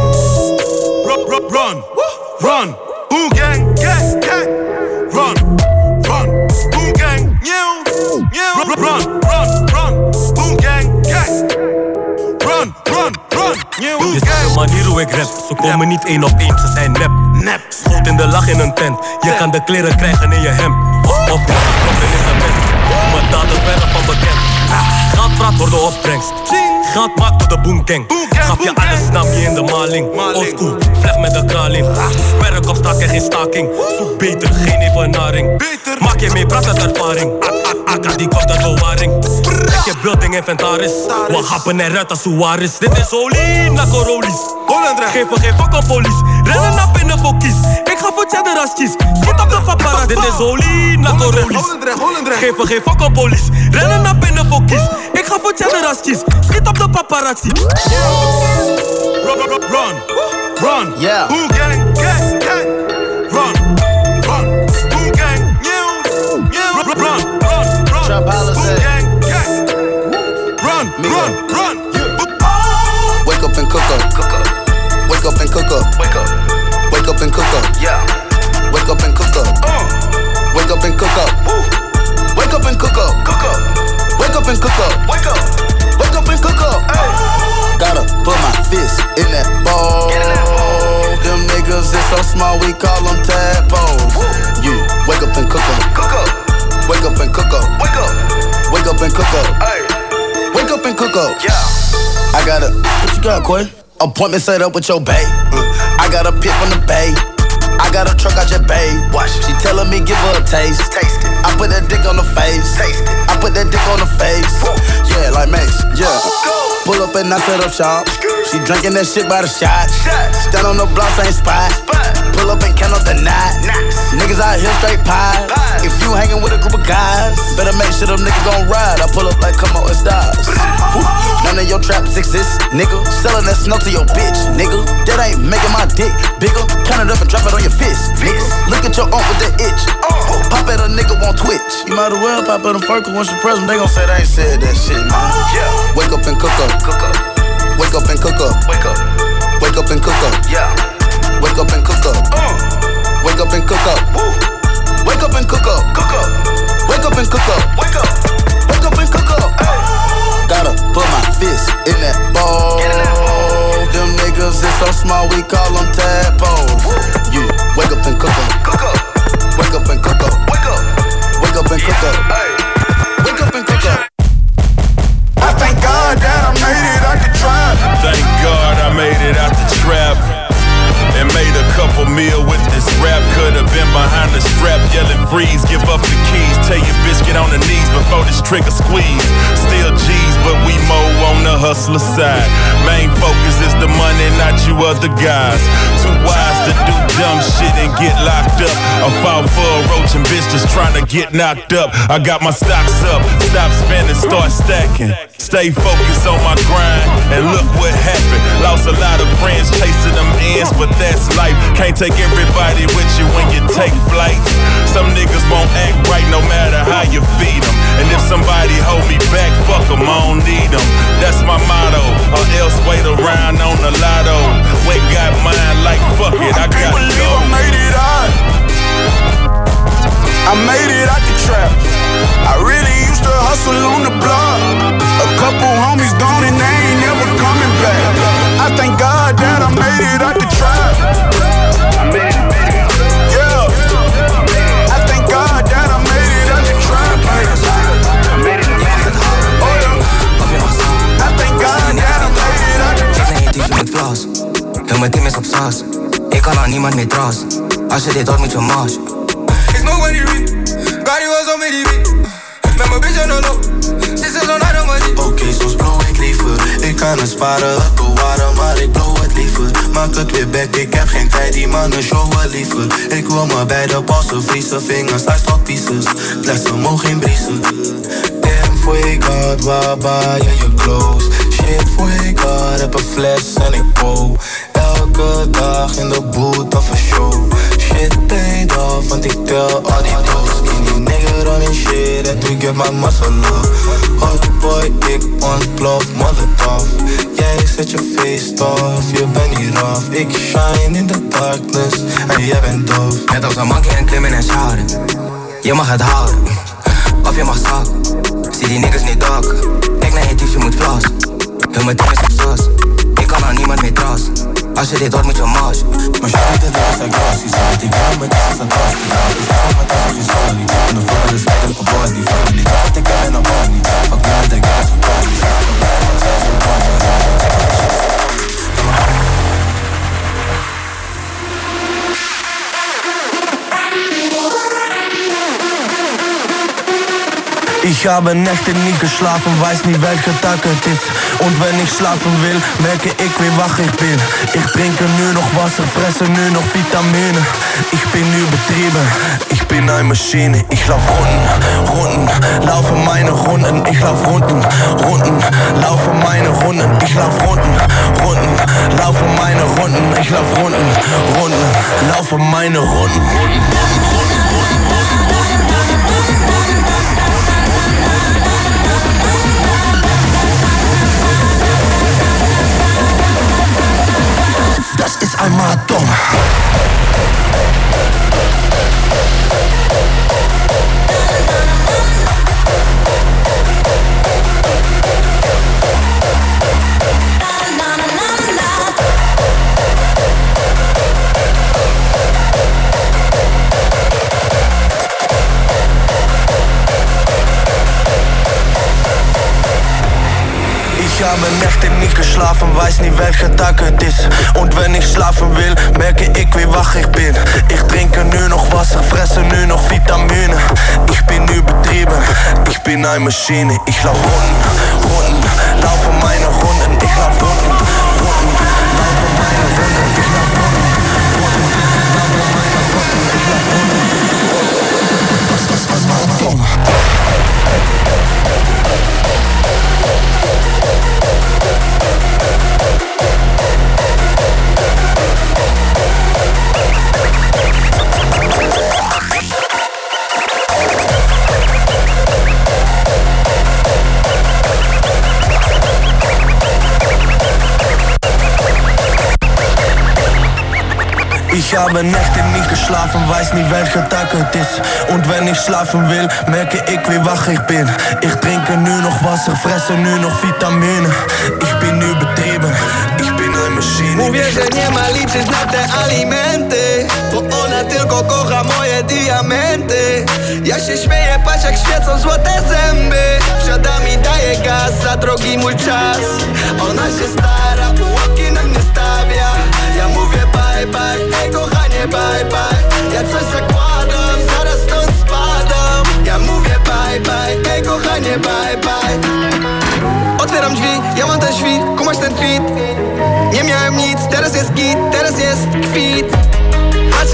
Run, run, run. Run. Boom gang, gang, gang. Run, run. Boom gang. Nieuw. Nieuw. Run, run, run, run. Boom gang, gang. Run, run, run. Nieuw. Dit is de manier hoe ik rap. Ze komen niet één op één, ze zijn nep. Nep. Schoot in de lach in een tent. Je kan de kleren krijgen in je hemd. Of of kloppen in zijn bed. Mijn daden verre van bekend. Geld praat voor de opbrengst. Geld maakt door de boom gang. Gaf je alles, nam je in de maling. Oldschool, vleg met de kraling. Werk op straat en geen staking. Zoek beter, geen evenaring. Maak je mee, praat met ervaring. Akka die komt uit bewaring. Ik heb building inventaris. We happen eruit als Suarez. Dit is olie, na Corolis. Geef me geen fuck aan police. Rennen naar binnen voor kies. Ik ga voor cheddar als kies. Schiet op de paparazzi. Dit is olie, na Corolis. Geef me geen fuck aan police. Rennen naar binnen voor kies. Ik ga voor cheddar als kies. Schiet op de paparazzi. Run, run, run, run. Yeah. Boom gang, gang, gang. Run, run. Boom gang, new, new. Run, run, run, run. Trap boom gang, gang. Run, run, run. Wake up and cook up. Cook up. Wake up and cook up. Wake up. Wake up and cook up. Yeah. Wake up and cook up. Uh. Wake up and cook up. Woo. Wake up and cook up. Cook up. Wake up and cook up. Wake up. Wake up and cook up. Hey. Gotta put my fist in that bowl. In that bowl. Them niggas is so small, we call them tadpoles. Woo. You wake up and cook up. Cook up. Wake up and cook up. Wake up. Wake up and cook up. Hey. Wake up and cook up. Yeah. I got a, what you got, Quay? Appointment set up with your bae. Uh, I got a pit from the bay. I got a truck out your bae. Watch. She telling me give her a taste. Taste it. I put that dick on the face. Taste it. I put that dick on the face. Woo. Yeah, like Mace. Yeah. Go. Pull up and I set up shop. She drinking that shit by the shot. Stand on the block, same spot. Pull up and count up the night. Niggas out here straight pies. If you hanging with a group of guys, better make sure them niggas gon' ride. I pull up like come on, it's stars. None of your traps exist, nigga. Selling that snow to your bitch, nigga. That ain't making my dick bigger. Count it up and drop it on your fist, nigga. Look at your aunt with that itch. Pop at a nigga on Twitch. You might as well pop at them first, cause once you press them, they gon' say they ain't said that shit, man. Yeah. Wake up and cook up. Cook up. Wake up and cook up. Wake up. Wake up and cook up. Yeah. Wake up and cook up. Uh. Wake up and cook up. Woo. Wake up and cook up. Cook up. Wake up and cook up. Wake up. Wake up and cook up. Hey. Gotta put my fist in that bowl. Get in that bowl. Them niggas is so small, we call them tadpoles. Woo. You wake up and cook up. Cook up. Wake up and cook up. Wake up. Wake up and cook up. Hey. Wake up and cook up. I thank God that I made it out the trap. Thank God I made it out the trap. And made a couple meal with this rap. Could've been behind the strap, yelling freeze, give up the keys. Tell your bitch get on the knees before this trigger squeeze. Still G's, but we mow on the hustler side. Main focus is the money, not you other guys. Too wise to do dumb dumb shit and get locked up. I fought for a roach and bitch just trying to get knocked up. I got my stocks up, stop spending, start stacking. Stay focused on my grind, and look what happened. Lost a lot of friends chasing them ends, but that's life. Can't take everybody with you when you take flight. Some niggas won't act right no matter how you feed them. And if somebody hold me back, fuck them, I don't need them. That's my motto, or else wait around on the lotto. Wait, got mine like fuck it, I, I can't gotta believe go. I made it out. I made it out the trap. I really used to hustle on the block. A couple homies gone and they ain't never coming back. I thank God that I made it out the trap. Yeah. I thank God that I made it out the trap. Oh yeah. I thank God that I made it out the trap. Ik neem met vlas. Heel mijn team is op saas. Ik kan aan niemand meer dras. Als je dit hoort moet je mars. Ik smoke when you read. Cardi was on me die beat. Met mijn bitch en een loop. Sinds ze zo'n harde money. Oké, soms blow ik liever. Ik kan het sparen, het bewaren, maar ik blow het liever. Maak het weer back, ik heb geen tijd, die mannen showen liever. Ik wil me bij de passen vriezen, vingers uit stokpieces. Lessen mogen geen briezen. Damn, for God, waar baar je je clothes? Shit, for God, heb een fles en ik bow. Elke dag in de boot of een show. Shit paid off, want ik tel al die doos. Skinny nigga running shit and to get my muscle up. Hot boy, ik ontplof, molotov. Jij zet je face off, je bent niet rough. Ik shine in the darkness en jij bent doof. Net als een monkey en klimmen en shouten. Je mag het houden, of je mag zakken. Zie die niggas niet dakken. Kijk naar je dief, je moet vlassen. Heel mijn team is op sas. Ik kan aan niemand meer trassen. Als je dit hoort moet je mars. Maar je weet dat ik als agressie zat. Ik ga met deze satans. Ik ga met deze story. En de volgende is eigenlijk een body. Fuck niet dat ik heb en een body. Fuck me met de gas en body. Ich habe Nächte nie geschlafen, weiß nie welcher Tag es ist. Und wenn ich schlafen will, merke ich wie wach ich bin. Ich trinke nur noch Wasser, fresse nur noch Vitamine. Ich bin übertrieben, ich bin eine Maschine. Ich lauf Runden, Runden, laufe meine Runden. Ich lauf Runden, Runden, laufe meine Runden. Ich lauf Runden, Runden, laufe meine Runden. Ich lauf Runden, Runden, laufe meine Runden. Das ist einmal dumm. Ich habe Nächte nicht geschlafen, weiß nie welcher Tag es ist. Und wenn ich schlafen will, merke ich wie wach ich bin. Ich trinke nur noch Wasser, fresse nur noch Vitamine. Ich bin übertrieben, ich bin eine Maschine. Ich lauf Runden, Runden, laufe meine Runden. Ich lauf Runden, Runden, laufe meine Runden. Ich lauf Runden, Runden, laufe meine Runden. Ich lauf Runden. Das ist einmal dumm. Ich habe Nächte nicht geschlafen, weiß nie welcher Tag es ist. Und wenn ich schlafen will, merke ich wie wach ich bin. Ich trinke nur noch Wasser, fresse nur noch Vitamine. Ich bin übertrieben, ich bin eine Maschine. Mówię, że nie ma liczyć na te alimenty, bo one tylko kocha moje diamenty. Ja się śmieję, patrz jak świecą złote zęby. Wsiada mi daje gaz, za drogi mój czas. Ona się stara, pułapki na mnie stawia. Ja mówię bye bye, ej kochanie bye bye. Ja coś zakładam, zaraz stąd spadam. Ja mówię bye bye, ej kochanie bye bye. Otwieram drzwi, ja mam ten świt, kumasz ten fit. Nie miałem nic, teraz jest git, teraz jest kwit. Patrz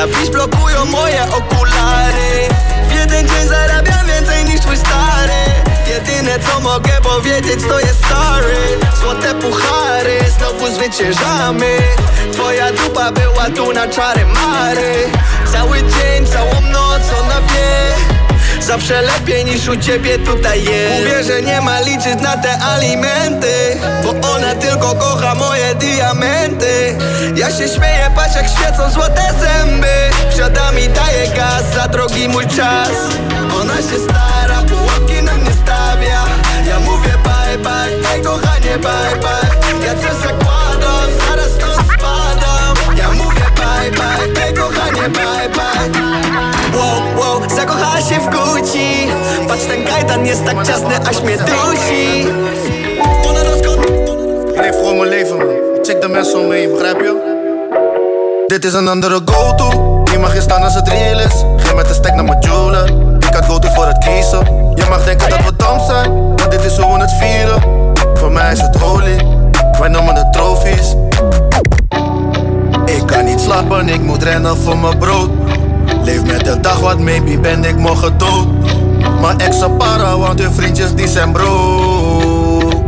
fiz procuro moje okulary. W jeden dzień zarabiam więcej niż twój stary. Jedyne co mogę powiedzieć to jest sorry. Złote puchary, znowu zwyciężamy. Twoja dupa była tu na czary mary. Cały dzień, całą noc ona wie. Zawsze lepiej niż u ciebie tutaj jest. Mówię, że nie ma liczyć na te alimenty, bo ona tylko kocha moje diamenty. Ja się śmieję, patrz jak świecą złote zęby. Wsiada mi, daje gaz, za drogi mój czas. Ona się stara, pułapki na mnie stawia. Ja mówię bye bye, ej kochanie bye bye. Ja coś zakładam, zaraz stąd spadam. Ja mówię bye bye, ej kochanie bye bye. Wow, wow, zakochała się w Gucci. Patrz ten kajdan jest tak ciasny, aż mnie dusi. Ik leef gewoon mijn leven, man. Ik check de mensen om me heen, begrijp je? Dit is een andere go-to. Je mag hier staan als het real is. Geen met een stek naar mijn jeweler. Ik had go-to voor het kiezen. Je mag denken dat we dom zijn, maar dit is hoe we het vieren. Voor mij is het holy, wij noemen het trofies. Ik kan niet slapen, ik moet rennen voor mijn brood. Leef met de dag, wat maybe ben ik morgen dood. Mijn ex para, want hun vriendjes die zijn bro.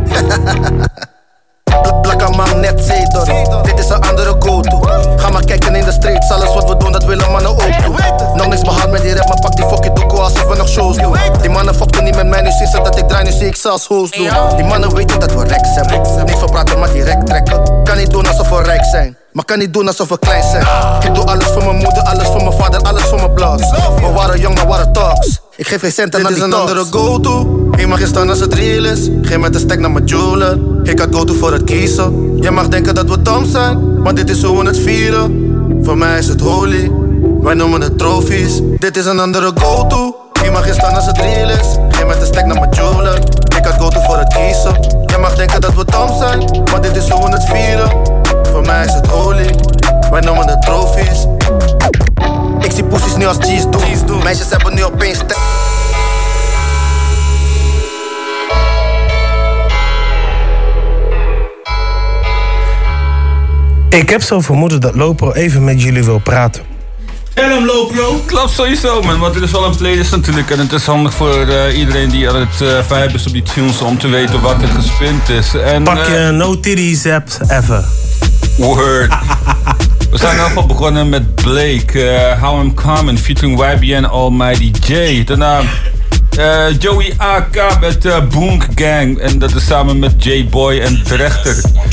Plakka magnet zetor, dit is een andere go-to. Ga maar kijken in de streets, alles wat we doen dat willen mannen ook doen. Nog niks behaald met die rap, maar pak die fucking doekoe alsof we nog shows doen. Die mannen fokten niet met mij, nu zien ze dat ik draai, nu zie ik ze als host doen. Die mannen weten dat we rex hebben, niet van praten maar direct trekken. Kan niet doen alsof we rijk zijn, maar kan niet doen alsof we klein zijn. Ik doe alles voor mijn moeder, alles voor mijn vader, alles voor mijn blogs. We waren jong, maar waren talks. Ik geef geen centen aan die talks. Dit is een andere go-to. Je mag hier staan als het real is. Geen met een stek naar mijn jeweler. Ik had go-to voor het kiezen. Je mag denken dat we dom zijn, maar dit is hoe we het vieren. Voor mij is het holy, wij noemen het trofies. Dit is een andere go-to. Je mag hier staan als het real is. Geen met een stek naar mijn jeweler. Ik had go-to voor het kiezen. Je mag denken dat we dom zijn, maar dit is hoe we het vieren. Voor mij is het holy, wij noemen het trofies. Ik zie poesies nu als cheese doen. Meisjes hebben nu opeens te... Ik heb zo vermoeden dat Lopro even met jullie wil praten. En hem Lopro? Klopt sowieso, man. Want dit is wel een playlist natuurlijk. En het is handig voor uh, iedereen die aan het uh, vibe is op die tunes om te weten wat er gespind is. En, Pak je uh, no titties apps ever. Word. We zijn in ieder geval begonnen met Blake, uh, How I'm Coming, featuring Y B N Almighty J. Daarna uh, Joey A K met uh, Boonk Gang. En dat is samen met J-Boy en Drechter.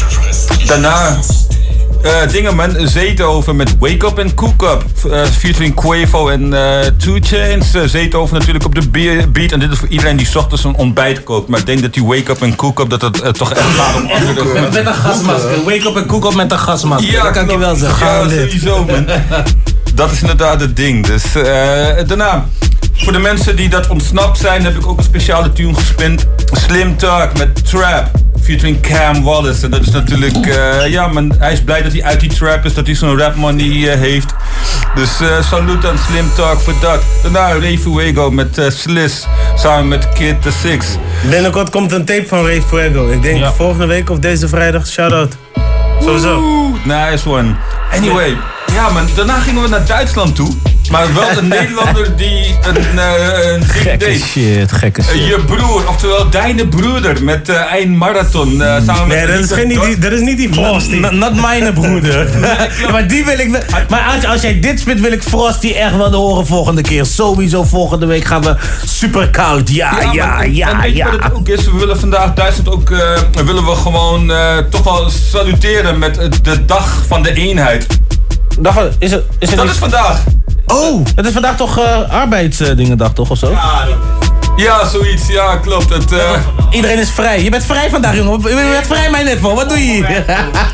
Daarna uh, Dingeman, Zeetoven met Wake Up and Cook Up. Uh, featuring Quavo en uh, two Chainz. Uh, Zeetoven natuurlijk op de beat. En dit is voor iedereen die 's ochtends een ontbijt kookt. Maar ik denk dat die Wake Up and Cook Up, dat het uh, toch echt gaat om andere... Met een gasmasker. Wake Up and Cook Up met een gasmasker. Ja, dat kan ik je wel zeggen. Ja, sowieso, man. Dat is inderdaad het ding. Dus uh, daarna, voor de mensen die dat ontsnapt zijn, heb ik ook een speciale tune gespind. Slim Talk met Trap, featuring Cam Wallace. En dat is natuurlijk, uh, ja man, hij is blij dat hij uit die trap is, dat hij zo'n rap money uh, heeft. Dus uh, salut aan Slim Talk voor dat. Daarna Ray Fuego met uh, Sliss, samen met Kid the Six. Binnenkort komt een tape van Ray Fuego. Ik denk ja. volgende week of deze vrijdag, shout-out. Sowieso. Oeh, nice one. Anyway, ja man, daarna gingen we naar Duitsland toe. Maar wel een Nederlander die een, uh, een ding gekke deed. shit, gekke shit. Uh, je broer, oftewel Deine broeder met uh, een marathon. Uh, samen nee, met dat is, geen, die, dat is niet die Frosty. Not, not mijn broeder. Ja, maar die wil ik. Maar als, als jij dit spit, wil ik Frosty echt wel horen volgende keer. Sowieso volgende week gaan we super koud. Ja, ja, ja, maar, ja. En weet je ja. wat het ook is? We willen vandaag Duitsland ook. Uh, willen we gewoon uh, toch wel saluteren met uh, de dag van de eenheid. Dag, is het, is het dat niet... is vandaag. Oh, het is vandaag toch uh, arbeidsdingendag toch of zo? Ja, ja, zoiets. Ja, klopt. Het, uh... Iedereen is vrij. Je bent vrij vandaag, jongen. Je bent vrij, mijn netvo. Wat doe je hier?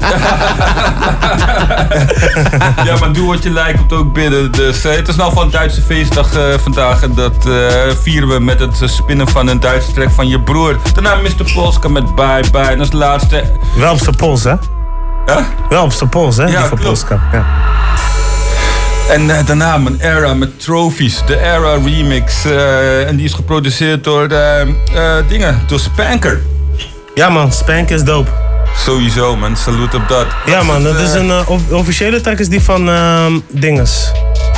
Ja, maar doe wat je lijkt, komt ook binnen. Dus uh, het is nou van een Duitse feestdag uh, vandaag. En dat uh, vieren we met het spinnen van een Duitse track van je broer. Daarna mister Polska met Bye Bye. En als laatste... Wel op zijn pols, hè? Huh? Wel op zijn pols, hè? Ja, die van Polska. Ja. En uh, daarna mijn Era met Trophies, de Era remix. Uh, en die is geproduceerd door uh, uh, dingen, door Spanker. Ja man, Spanker is dope. Sowieso man, salut op dat. Ja man, dat is een uh, officiële track is die van uh, dinges.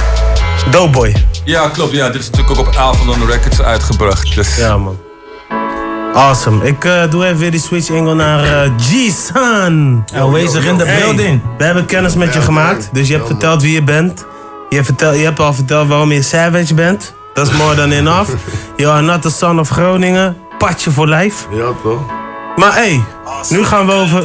Doughboy. Ja, klopt. Ja, dit is natuurlijk ook op Avalon Records uitgebracht. Dus. Ja, man. Awesome. Ik uh, doe even weer die switch angle naar uh, G-Sun. Aanwezig in de building. We hebben kennis met je gemaakt. Dus je hebt verteld wie je bent. Je, vertel, je hebt al verteld waarom je Savage bent. Dat is more than enough. You are not the son of Groningen. Patje voor lijf. Ja, toch? Maar hé, hey, nu gaan we over...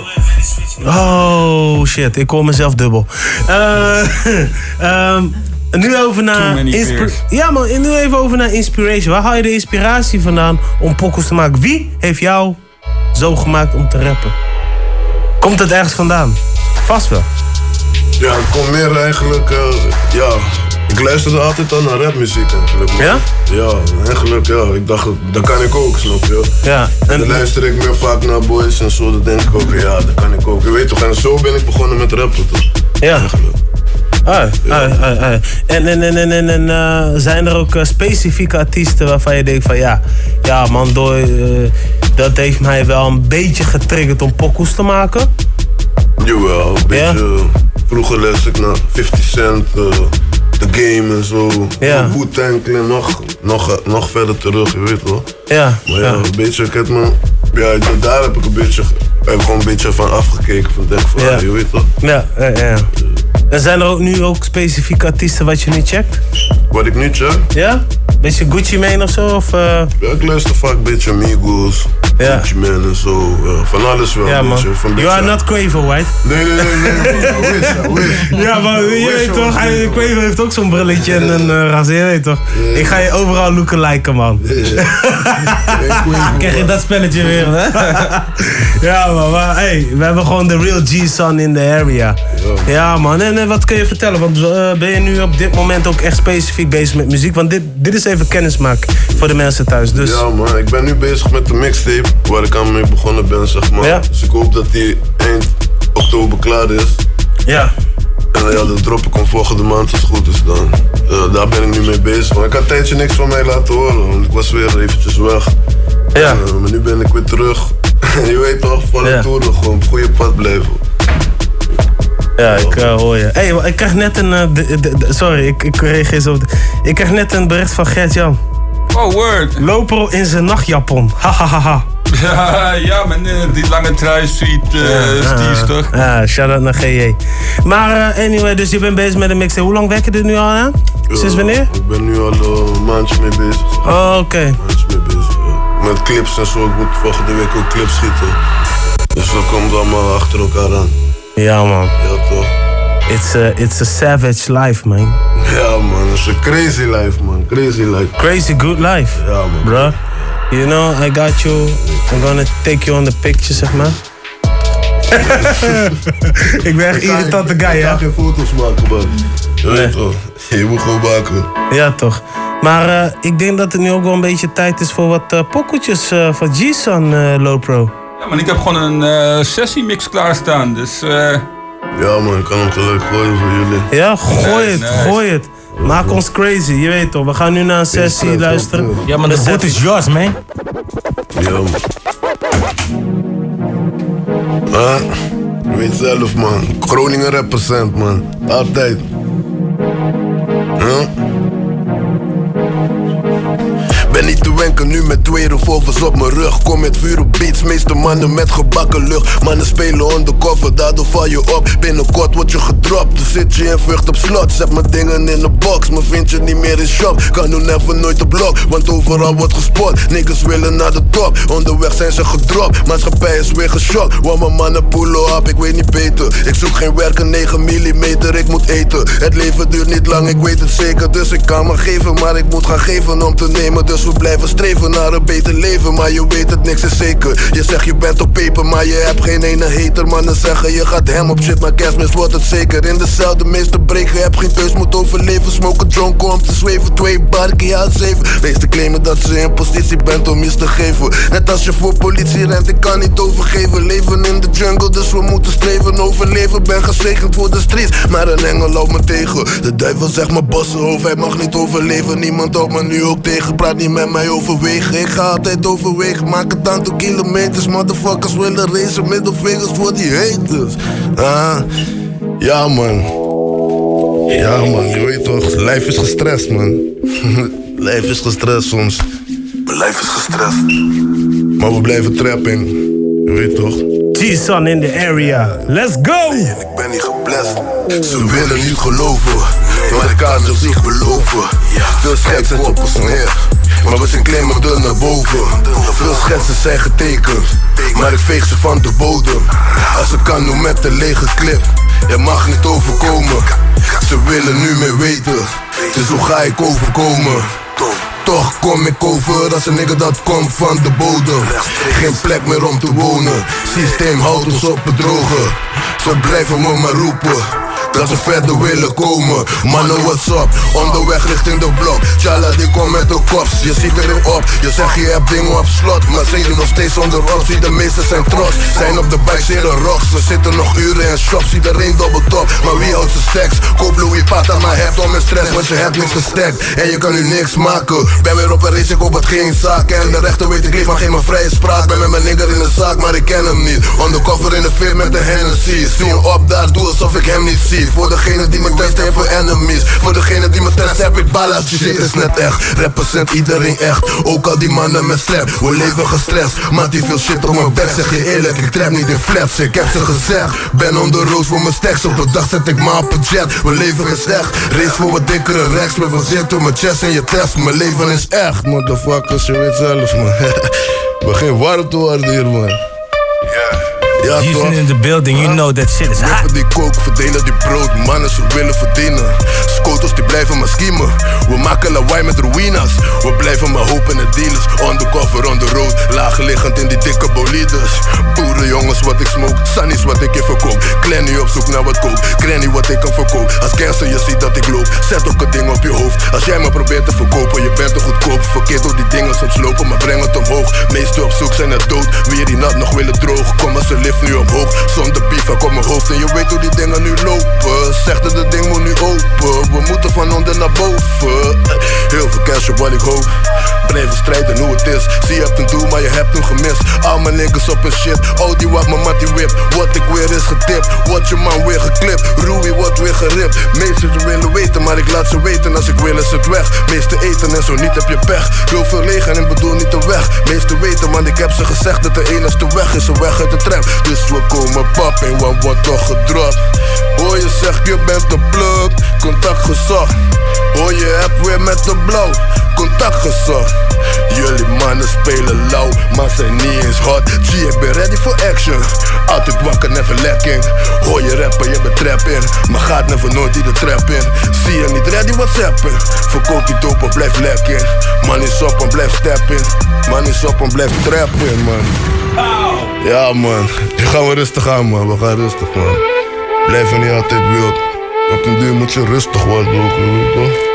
Oh shit, ik hoor mezelf dubbel. Uh, um, nu over naar... Inspi- ja man, nu even over naar inspiration. Waar haal je de inspiratie vandaan om pokkels te maken? Wie heeft jou zo gemaakt om te rappen? Komt het ergens vandaan? Vast wel. Ja, het komt meer eigenlijk... Uh, ja, ik luisterde altijd al naar rapmuziek eigenlijk. Man. Ja? Ja, eigenlijk ja. Ik dacht, dat kan ik ook, snap je? Ja. En dan luister ik meer vaak naar boys en zo. Dan denk ik ook, ja, dat kan ik ook. Je weet toch, en zo ben ik begonnen met rappen, toch? Ja. Ah, ah, ah, ah. En, en, en, en, en, en uh, zijn er ook uh, specifieke artiesten waarvan je denkt van ja, ja man, door, uh, dat heeft mij wel een beetje getriggerd om pokoes te maken? Jawel, een beetje. Ja? Vroeger luisterde ik naar fifty cent, uh, The Game en zo. Ja. Wu-Tang Clan, nog, nog, nog verder terug, je weet wel. Ja. Maar ja, ja. een beetje, ik heb me, ja, daar heb ik een beetje, heb ik gewoon een beetje van afgekeken. Van denk van, ja. ah, je weet wel. Ja, ja, ja. En zijn er ook nu ook specifieke artiesten wat je niet checkt? Wat ik niet check? Ja? Beetje Gucci Mane of zo? Of, uh... Ja, ik luister vaak een beetje Migos, ja. Gucci Mane en zo. Ja, van alles wel ja, een beetje. Man. Van you are not Quavo, right? Nee, nee, nee. nee, nee. wish, wish. Ja, maar je weet toch, hij, Quavo heeft ook zo'n brilletje en een uh, razor, je weet toch? Yeah. Ik ga je overal lookalijken, man. Yeah. Krijg je dat spelletje weer, hè? Ja, man, maar hey, we hebben gewoon de real G-Sun in the area. Ja, ja man. En, en wat kun je vertellen? Want uh, ben je nu op dit moment ook echt specifiek bezig met muziek? Want dit, dit is even kennismaken voor de mensen thuis. Dus... Ja, man. Ik ben nu bezig met de mixtape waar ik aan mee begonnen ben, zeg maar. Ja. Dus ik hoop dat die eind oktober klaar is. Ja. En ja, dat drop ik hem volgende maand als het goed is dan. Uh, daar ben ik nu mee bezig. Maar ik had een tijdje niks van mij laten horen, want ik was weer eventjes weg. Ja. Uh, maar nu ben ik weer terug. Je weet toch, van de ja. tour gewoon op het goede pad blijven. Ja, ik uh, hoor je. Hey, ik krijg net een... Uh, de, de, de, sorry, ik, ik reageer zo. Ik krijg net een bericht van Gert-Jan. Oh, word. Lopro in zijn nachtjapon. Hahaha. Ja, ja, met uh, die lange trui, sweet uh, ja, Steve's, toch? Ja, shout-out naar G J. Maar uh, anyway, dus je bent bezig met een mixtape. Hoe lang werk je er nu al aan? Sinds wanneer? Ik ben nu al uh, een maandje mee bezig. Oh, oké. Okay. Een maandje mee bezig, ja. Met clips en zo. Ik moet volgende week ook clips schieten. Dus dat komt allemaal achter elkaar aan. Ja, man. Ja, toch? It's a, it's a savage life, man. Ja, man. Het is een crazy life, man. Crazy life. Crazy good life. Ja, man. Bro. You know, I got you. I'm gonna take you on the picture, zeg maar. Ik ben echt een irritante guy, ja. Ik ga geen foto's maken, man. Je weet toch. Je moet gewoon maken. Ja, toch. Maar uh, ik denk dat het nu ook wel een beetje tijd is voor wat uh, pokkeltjes uh, van G-Sun, uh, Lopro. Ja, maar ik heb gewoon een uh, sessiemix klaarstaan, dus... Uh... Ja, man, ik kan hem gelijk gooien voor jullie. Ja, gooi het, nice. gooi het. Maak ons crazy, je weet toch. We gaan nu naar een sessie ja, luisteren. Ja, maar de boot is yours, man. Ja, man. Ah, je weet zelf, man. Groningen represent, man. Altijd. Huh? Ben niet te wenken nu met twee revolvers op mijn rug. Kom met vuur op beats, meeste mannen met gebakken lucht. Mannen spelen undercover, daardoor val je op. Binnenkort word je gedropt, dus zit je in vucht op slot. Zet mijn dingen in de box, maar vind je niet meer in shop. Kan nu never nooit op blok, want overal wordt gespot. Niggas willen naar de top, onderweg zijn ze gedropt. Maatschappij is weer geschokt, want mijn mannen pullen op. Ik weet niet beter, ik zoek geen werken, negen millimeter, ik moet eten. Het leven duurt niet lang, ik weet het zeker. Dus ik kan me geven, maar ik moet gaan geven om te nemen. Dus we blijven streven naar een beter leven, maar je weet het, niks is zeker. Je zegt je bent op peper, maar je hebt geen ene hater. Mannen zeggen je gaat hem op shit, maar kerstmis wordt het zeker. In dezelfde meeste breken, heb geen keus, moet overleven. Smoken dronken om te zweven, twee barken, ja zeven. Meesten claimen dat ze in positie bent om iets te geven. Net als je voor politie rent, ik kan niet overgeven. Leven in de jungle, dus we moeten streven. Overleven, ben gezegend voor de streets, maar een engel loopt me tegen. De duivel zegt me bossenhoofd, hij mag niet overleven. Niemand houdt me nu ook tegen, praat niet met mij overwegen. Ik ga altijd overwegen, maak het aantal kilometers. Motherfuckers willen racen, middelvingers voor die haters. Ah, ja man. Ja man, je weet toch, lijf is gestrest man. Lijf is gestrest soms. Mijn lijf is gestrest. Maar we blijven trappen, je weet toch. G-Son in the area, let's go! Nee, en ik ben niet geblest. Ze willen niet geloven, maar ik kan ze zich beloven. Veel schetsen op ons neer, maar we zijn klein maar dun naar boven. Veel schetsen zijn getekend, maar ik veeg ze van de bodem. Als ik kan, doe met een lege clip. Je mag niet overkomen. Ze willen nu meer weten, dus hoe ga ik overkomen? Toch kom ik over als een nigga dat komt van de bodem. Geen plek meer om te wonen, systeem houdt ons op het droge. Ze blijven me maar roepen dat ze verder willen komen. Mannen, what's up? Onderweg richting de blok. Tjalla, die komt met de kops. Je ziet erin op. Je zegt je hebt dingen op slot, maar zijn je nog steeds onder optie. De meesten zijn trots. Zijn op de bike, zeren rocks. We zitten nog uren in shops. Iedereen dobbeltop. Maar wie houdt zijn stacks? Koop Louis Pata, maar hebt om mijn stress. Want je hebt niks gestekt. En je kan nu niks maken. Ben weer op een race, ik hoop het geen zaak. En de rechter weet ik leef, maar geen mijn vrije spraak. Ben met mijn nigger in de zaak, maar ik ken hem niet. Undercover in de veer met de Hennessy. Zie hem op daar, doe alsof ik hem niet zie. Voor degene die me test heeft voor enemies. Voor degene die me test heb ik ballas. Die shit is net echt, represent iedereen echt. Ook al die mannen met slap, we leven gestrest. Maar die veel shit op mijn bek, zeg je eerlijk. Ik trap niet in flaps, ik heb ze gezegd. Ben on the road voor mijn stacks, op de dag zet ik maar op een jet. We leven is echt, race voor wat dikkere rechts. Met van zit door mijn chest en je test. Mijn leven is echt, motherfuckers, je weet zelf man. Begin warm te worden hier man. Ja, Houston in the building, you know that shit is hot. Rappen die koken, verdelen die brood, mannen ze willen verdienen. Scoters die blijven maar schiemen. We maken lawaai met ruïnas. We blijven maar hopen en dealers. Undercover on the road, laagliggend in die dikke bolides. Boerenjongens wat ik smoke, Sunny's wat ik je verkoop. Clanny op zoek naar wat koop, Granny wat ik kan verkoop. Als gangster je ziet dat ik loop, zet ook een ding op je hoofd. Als jij me probeert te verkopen, je bent te goedkoop. Verkeerd door die dingen soms lopen, maar breng het omhoog. Meesten op zoek zijn er dood, wie die nat nog willen droog. Kom maar ze lift nu omhoog, zonder beef op mijn hoofd. En je weet hoe die dingen nu lopen. Zeg dat het ding moet nu open. We moeten van onder naar boven. Heel veel cash op wat ik hoop. Blijven strijden hoe het is. Zie je hebt een doel, maar je hebt hem gemist. Al mijn niggas op een shit. Oh die wat mijn mattie whip. Wat ik weer is getipt. Wat je man weer geklipt. Ruby wordt weer geript. Meesters willen weten, maar ik laat ze weten. Als ik wil is het weg. Meeste eten en zo niet heb je pech. Wil veel leeg en ik bedoel niet de weg. Meeste weten, want ik heb ze gezegd dat de enigste weg is een weg uit de trap. Dus we komen pap en wat wordt toch gedropt. Hoor je zegt je bent de plug. Contact gezocht. Hoor je hebt weer met de blauw. Contact gezocht. Jullie mannen spelen lauw, maar zijn niet eens hot. G, ik ben ready for action. Altijd wakker, never lacking. Hoor je rappen, je bent trap in. Maar gaat never nooit in de trap in. Zie je niet ready, whatsappen. Verkoop die dope, blijf lekker. Man is op en blijf stappen. Man is op en blijf trappen, man. Ja man, nu gaan we rustig aan man, we gaan rustig man. Blijf niet altijd wild. Op den duur moet je rustig worden ook, weet je toch?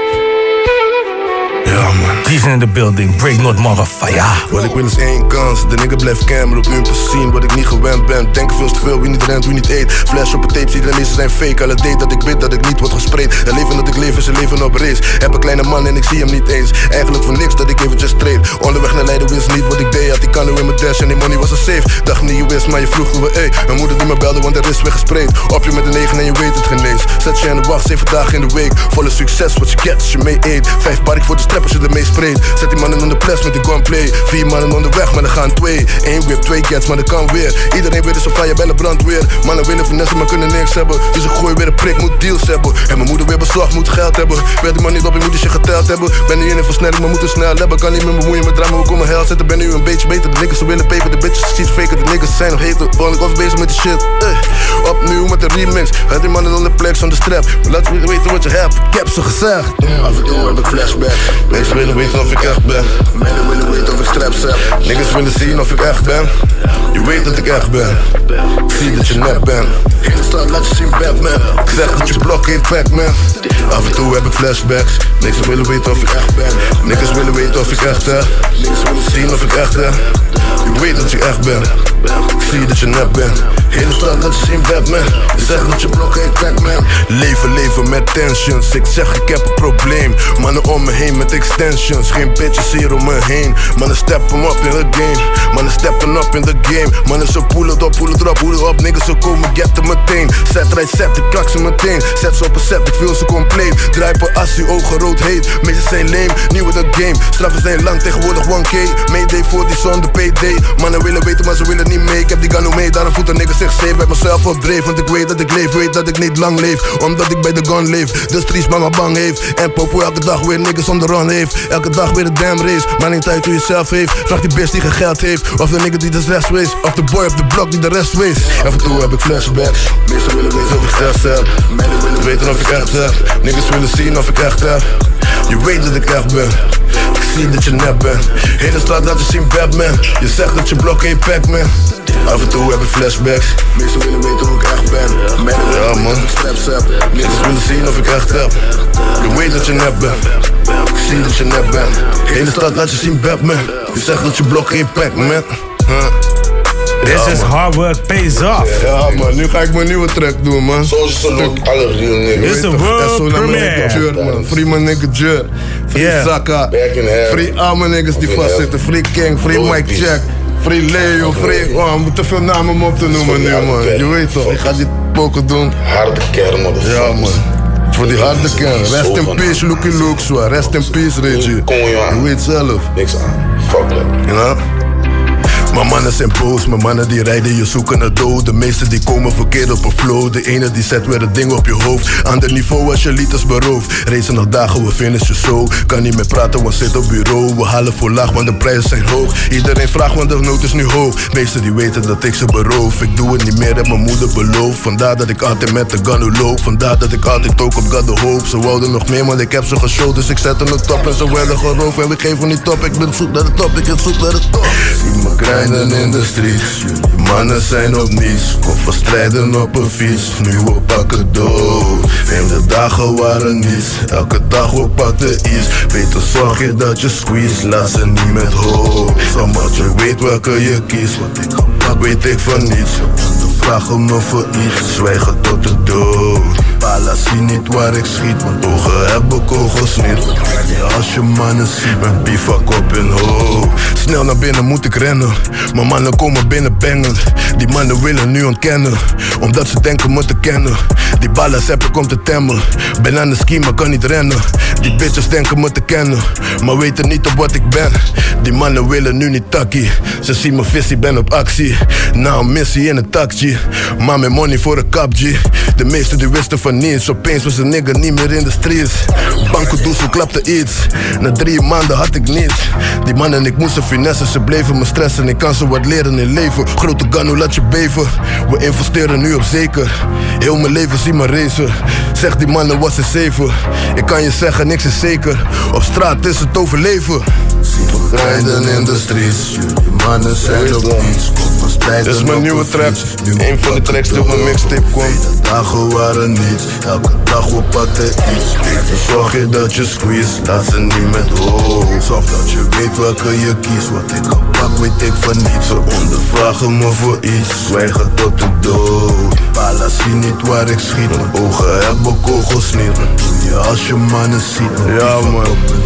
Ja man. He's in the building, break not motherfucker. Wat ik wil is één kans, de nigga blijft camera op hun zien wat ik niet gewend ben. Denk veel te veel, wie niet rent, wie niet eet. Flash op een tape, zie de meesten zijn fake. Alle date dat ik bid, dat ik niet word gespreid. Het leven dat ik leef is een leven op race. Heb een kleine man en ik zie hem niet eens. Eigenlijk voor niks dat ik eventjes trade. Onderweg naar Leiden wist niet wat ik deed. Had die kan nu in mijn dash en die money was een safe. Dacht niet je wist, maar je vroeg hoe we ey. Mijn moeder die me belde, want er is weer gespreid. Op je met een negen en je weet het genees. Zet je in de wacht, zeven dagen in de week. Volle succes, wat je get als je mee eet. Vijf barik voor de strap als je ermee spreekt. Zet die mannen onder ples met die gunplay. Vier mannen onderweg, maar er gaan twee. Eén whip, twee cats, maar dat kan weer. Iedereen weet is een fire bij de brandweer. Mannen willen finesse, maar kunnen niks hebben. Dus ik gooi weer een prik, moet deals hebben. En mijn moeder weer beslag, moet geld hebben. Wil die man niet op, je moet die shit geteld hebben. Ben nu in een versnelling, maar moet er snel hebben. Kan niet meer bemoeien met drama, hoe kom mijn hel zetten. Ben nu een beetje beter, de niggas ze willen peper. De bitches zien faker, de niggas zijn nog heter. Ben ik of bezig met die shit. Uh. Opnieuw met de remix. Had die mannen onder plek zonder strap. Maar laat me weten wat je hebt, ik heb ze gezegd. Af en toe heb ik flashback. Mensen willen weten of ik echt ben. Mensen willen weten of ik straps heb. Niggas willen zien of ik echt ben. Je weet dat ik echt ben. Ik zie dat je nep bent. In de stad laat je zien Batman. Ik zeg dat je blok heet Pac-Man. Af en toe heb ik flashbacks. Niggas willen weten of ik echt ben. Niggas willen weten of ik echt heb. Niggas willen zien of ik echt heb. Je weet dat je echt bent. Ik zie dat je nep bent. In de stad laat je zien Batman. Je zegt dat je blok heet Pac-Man. Leven, leven met tensions. Ik zeg ik heb een probleem. Mannen om me heen met extensions. Geen bitches hier om me heen. Mannen steppen up in the game. Mannen steppen up in the game. Mannen ze poelen het op, poelen het op, poelen op. Niggas ze komen getten meteen. Zet right, zet, ik krak ze meteen. Zet ze op een set, ik feel ze compleet. Draai per assie, ogen rood heet. Meesters zijn lame, nieuwe de game. Straffen zijn lang, tegenwoordig one K. Mayday voor die zonder P D. Mannen willen weten, maar ze willen niet mee. Ik heb die gano mee, daarom voelt een nigga zich safe. Bij mezelf op dreef, want ik weet dat ik leef. Weet dat ik niet lang leef, omdat ik bij de gun leef. De streets mama bang heeft. En Popo elke dag weer niggas on the run heeft. Elke dag weer een damn race. Maar niet uit hoe je zelf heeft. Vraag die bitch die geen geld heeft. Of de nigga die de rest wees. Of de boy op de blok die de rest wees. Af en toe heb ik flashbacks. Meestal willen weten of ik stress heb. Meiden willen weten of ik echt heb. Niggas willen zien of ik echt heb. Je weet dat ik echt ben. Ik zie dat je nep bent. Hele straat laat je zien Batman. Je zegt dat je blok geen pack man. Af en toe heb ik flashbacks. Meestal willen weten hoe ik echt ben. Meiden willen ja, weten of ik straps heb. Niggas willen zien of ik echt heb. Je weet dat je nep bent. Ik zie dat je nep bent. Hele stad laat je zien Batman. Je zegt dat je blok geen pack man. Huh. This ja, is man. Hard work pays off. Ja man, nu ga ik mijn nieuwe track doen man. Zoals je ook alle real niggas. This is the world premiere. Man. Free my nigga Jur. Free yeah. Saka. Free allemaal niggas die vastzitten. Free King, free Mike Check. Free Leo, free... Oh, we moeten veel namen om op te noemen nu man. Je weet toch, ik ga die poken doen. Harde kern man. Ja man. Voor die harde kern. Rest in peace, Lucky Luke, zwaar. Rest in peace, Reggie. Je weet zelf. Niks aan. Fuck that. You know? Mijn mannen zijn boos, mijn mannen die rijden je zoeken naar dood. De meesten die komen verkeerd op een flow. De ene die zet weer het ding op je hoofd. Ander niveau als je liters beroofd. Racen nog dagen, we finishen zo. Kan niet meer praten, want zit op bureau. We halen voor laag, want de prijzen zijn hoog. Iedereen vraagt, want de nood is nu hoog. Meesten die weten dat ik ze beroof. Ik doe het niet meer, heb mijn moeder beloofd. Vandaar dat ik altijd met de gun loop. Vandaar dat ik altijd ook op God de hoop. Ze wouden nog meer, maar ik heb ze geshowd. Dus ik zet er een top en ze werden geroofd. En ik geef hem niet top, ik ben op zoek naar de top. Ik ben op zoek naar de top. Zie me grinden in de streets. Jullie mannen zijn op niets. Kom van strijden op een fiets. Nu we pakken dood. Vreemde dagen waren niets. Elke dag we pakken iets. Beter zorg je dat je squeeze. Laat ze niet met hoofd. Omdat je weet welke je kiest. Wat ik gepak weet ik van niets. Vragen me voor iets. Zwijgen tot de dood. Pala zie niet waar ik schiet. Want ogen hebben kogels niet. Ja, als je mannen ziet. Mijn bivak op hun hoofd. Snel naar binnen moet ik rennen. Mijn mannen komen binnen bangen. Die mannen willen nu ontkennen. Omdat ze denken me te kennen. Die ballen heb ik om te temmen. Ben aan de ski maar kan niet rennen. Die bitches denken me te kennen. Maar weten niet op wat ik ben. Die mannen willen nu niet takkie. Ze zien mijn visie, ben op actie. Na een missie in een taxi. Maar met money voor een kap G. De meesten die wisten van niets. Opeens was een nigger niet meer in de streets. Banco Doezel klapte iets. Na drie maanden had ik niets. Die mannen ik moest ze finessen. Ze bleven me stressen. Ik kan ze wat leren in leven. Grote gun, laat je beven. We investeren nu op zeker. Heel mijn leven zie me racen. Zeg die mannen wat ze zeven. Ik kan je zeggen niks is zeker. Op straat is het overleven. Zie me rijden in de streets. Jullie mannen zijn op niets. Dit is mijn nieuwe track. Een van de tracks die op mijn mixtape komt. De dagen waren niets. Elke dag we pakken iets. Beter zorg je dat je squeeze. Laat ze niet met hoofd. Zorg dat je weet welke je kiest. Wat ik gepak weet ik van niets. Ze ondervragen me voor iets. Zwijgen tot de dood. Pala zie niet waar ik schiet. Mijn ogen hebben kogels niet. Wat doe je als je mannen ziet? Ja man.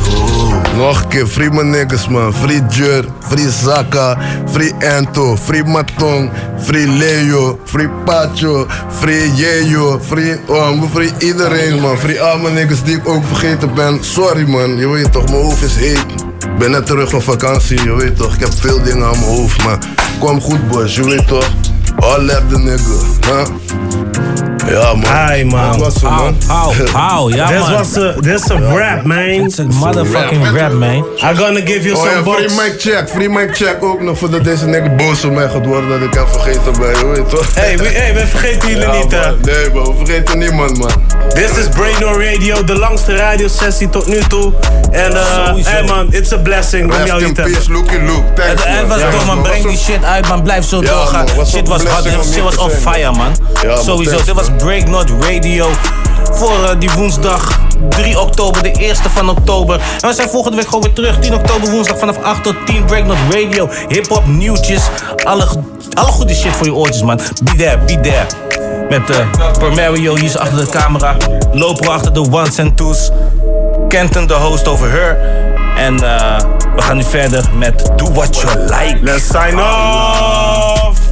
Nog een keer, free mijn niggas man. Free Jur, free Zaka, free Anto, free Matong, free Leo, free Pacho, free Yeyo, free Om, free iedereen man. Free al mijn niggas die ik ook vergeten ben. Sorry man, je weet toch, mijn hoofd is heet. Ik ben net terug van vakantie, je weet toch. Ik heb veel dingen aan mijn hoofd, maar kwam goed boys, je weet toch. All up the nigga, huh? Ja man. Hi man. Dat was het man. How, how, ja This man. was a, this a rap man. It's a motherfucking rap, rap man. I'm gonna give you oh, some ja, bucks. Free mic check, free mic check ook nog voordat deze nigga boos op mij gaat worden dat ik heb vergeten bij je, weet toch? Hey, we, hey, we vergeten jullie ja, niet hè. Nee man, we vergeten niemand man. This is Brainor Radio, de langste radiosessie tot nu toe. En uh, hey man, it's a blessing om jou hier te hebben. Luke Luke. Het eind was toch man, breng die shit uit man, blijf zo doorgaan. Shit was hot, shit was on fire man. Sowieso, dit was Breaknot Radio. Voor uh, die woensdag drie oktober, de eerste van oktober. En we zijn volgende week gewoon weer terug. tien oktober woensdag vanaf acht tot tien. Breaknot Radio, hip-hop, nieuwtjes. Alle, alle goede shit voor je oortjes man. Be there, be there. Met uh, Per Mario hier is achter de camera. Loper achter de ones en twos. Kenton, de host over her. En uh, we gaan nu verder met Do What You Like. Let's sign off.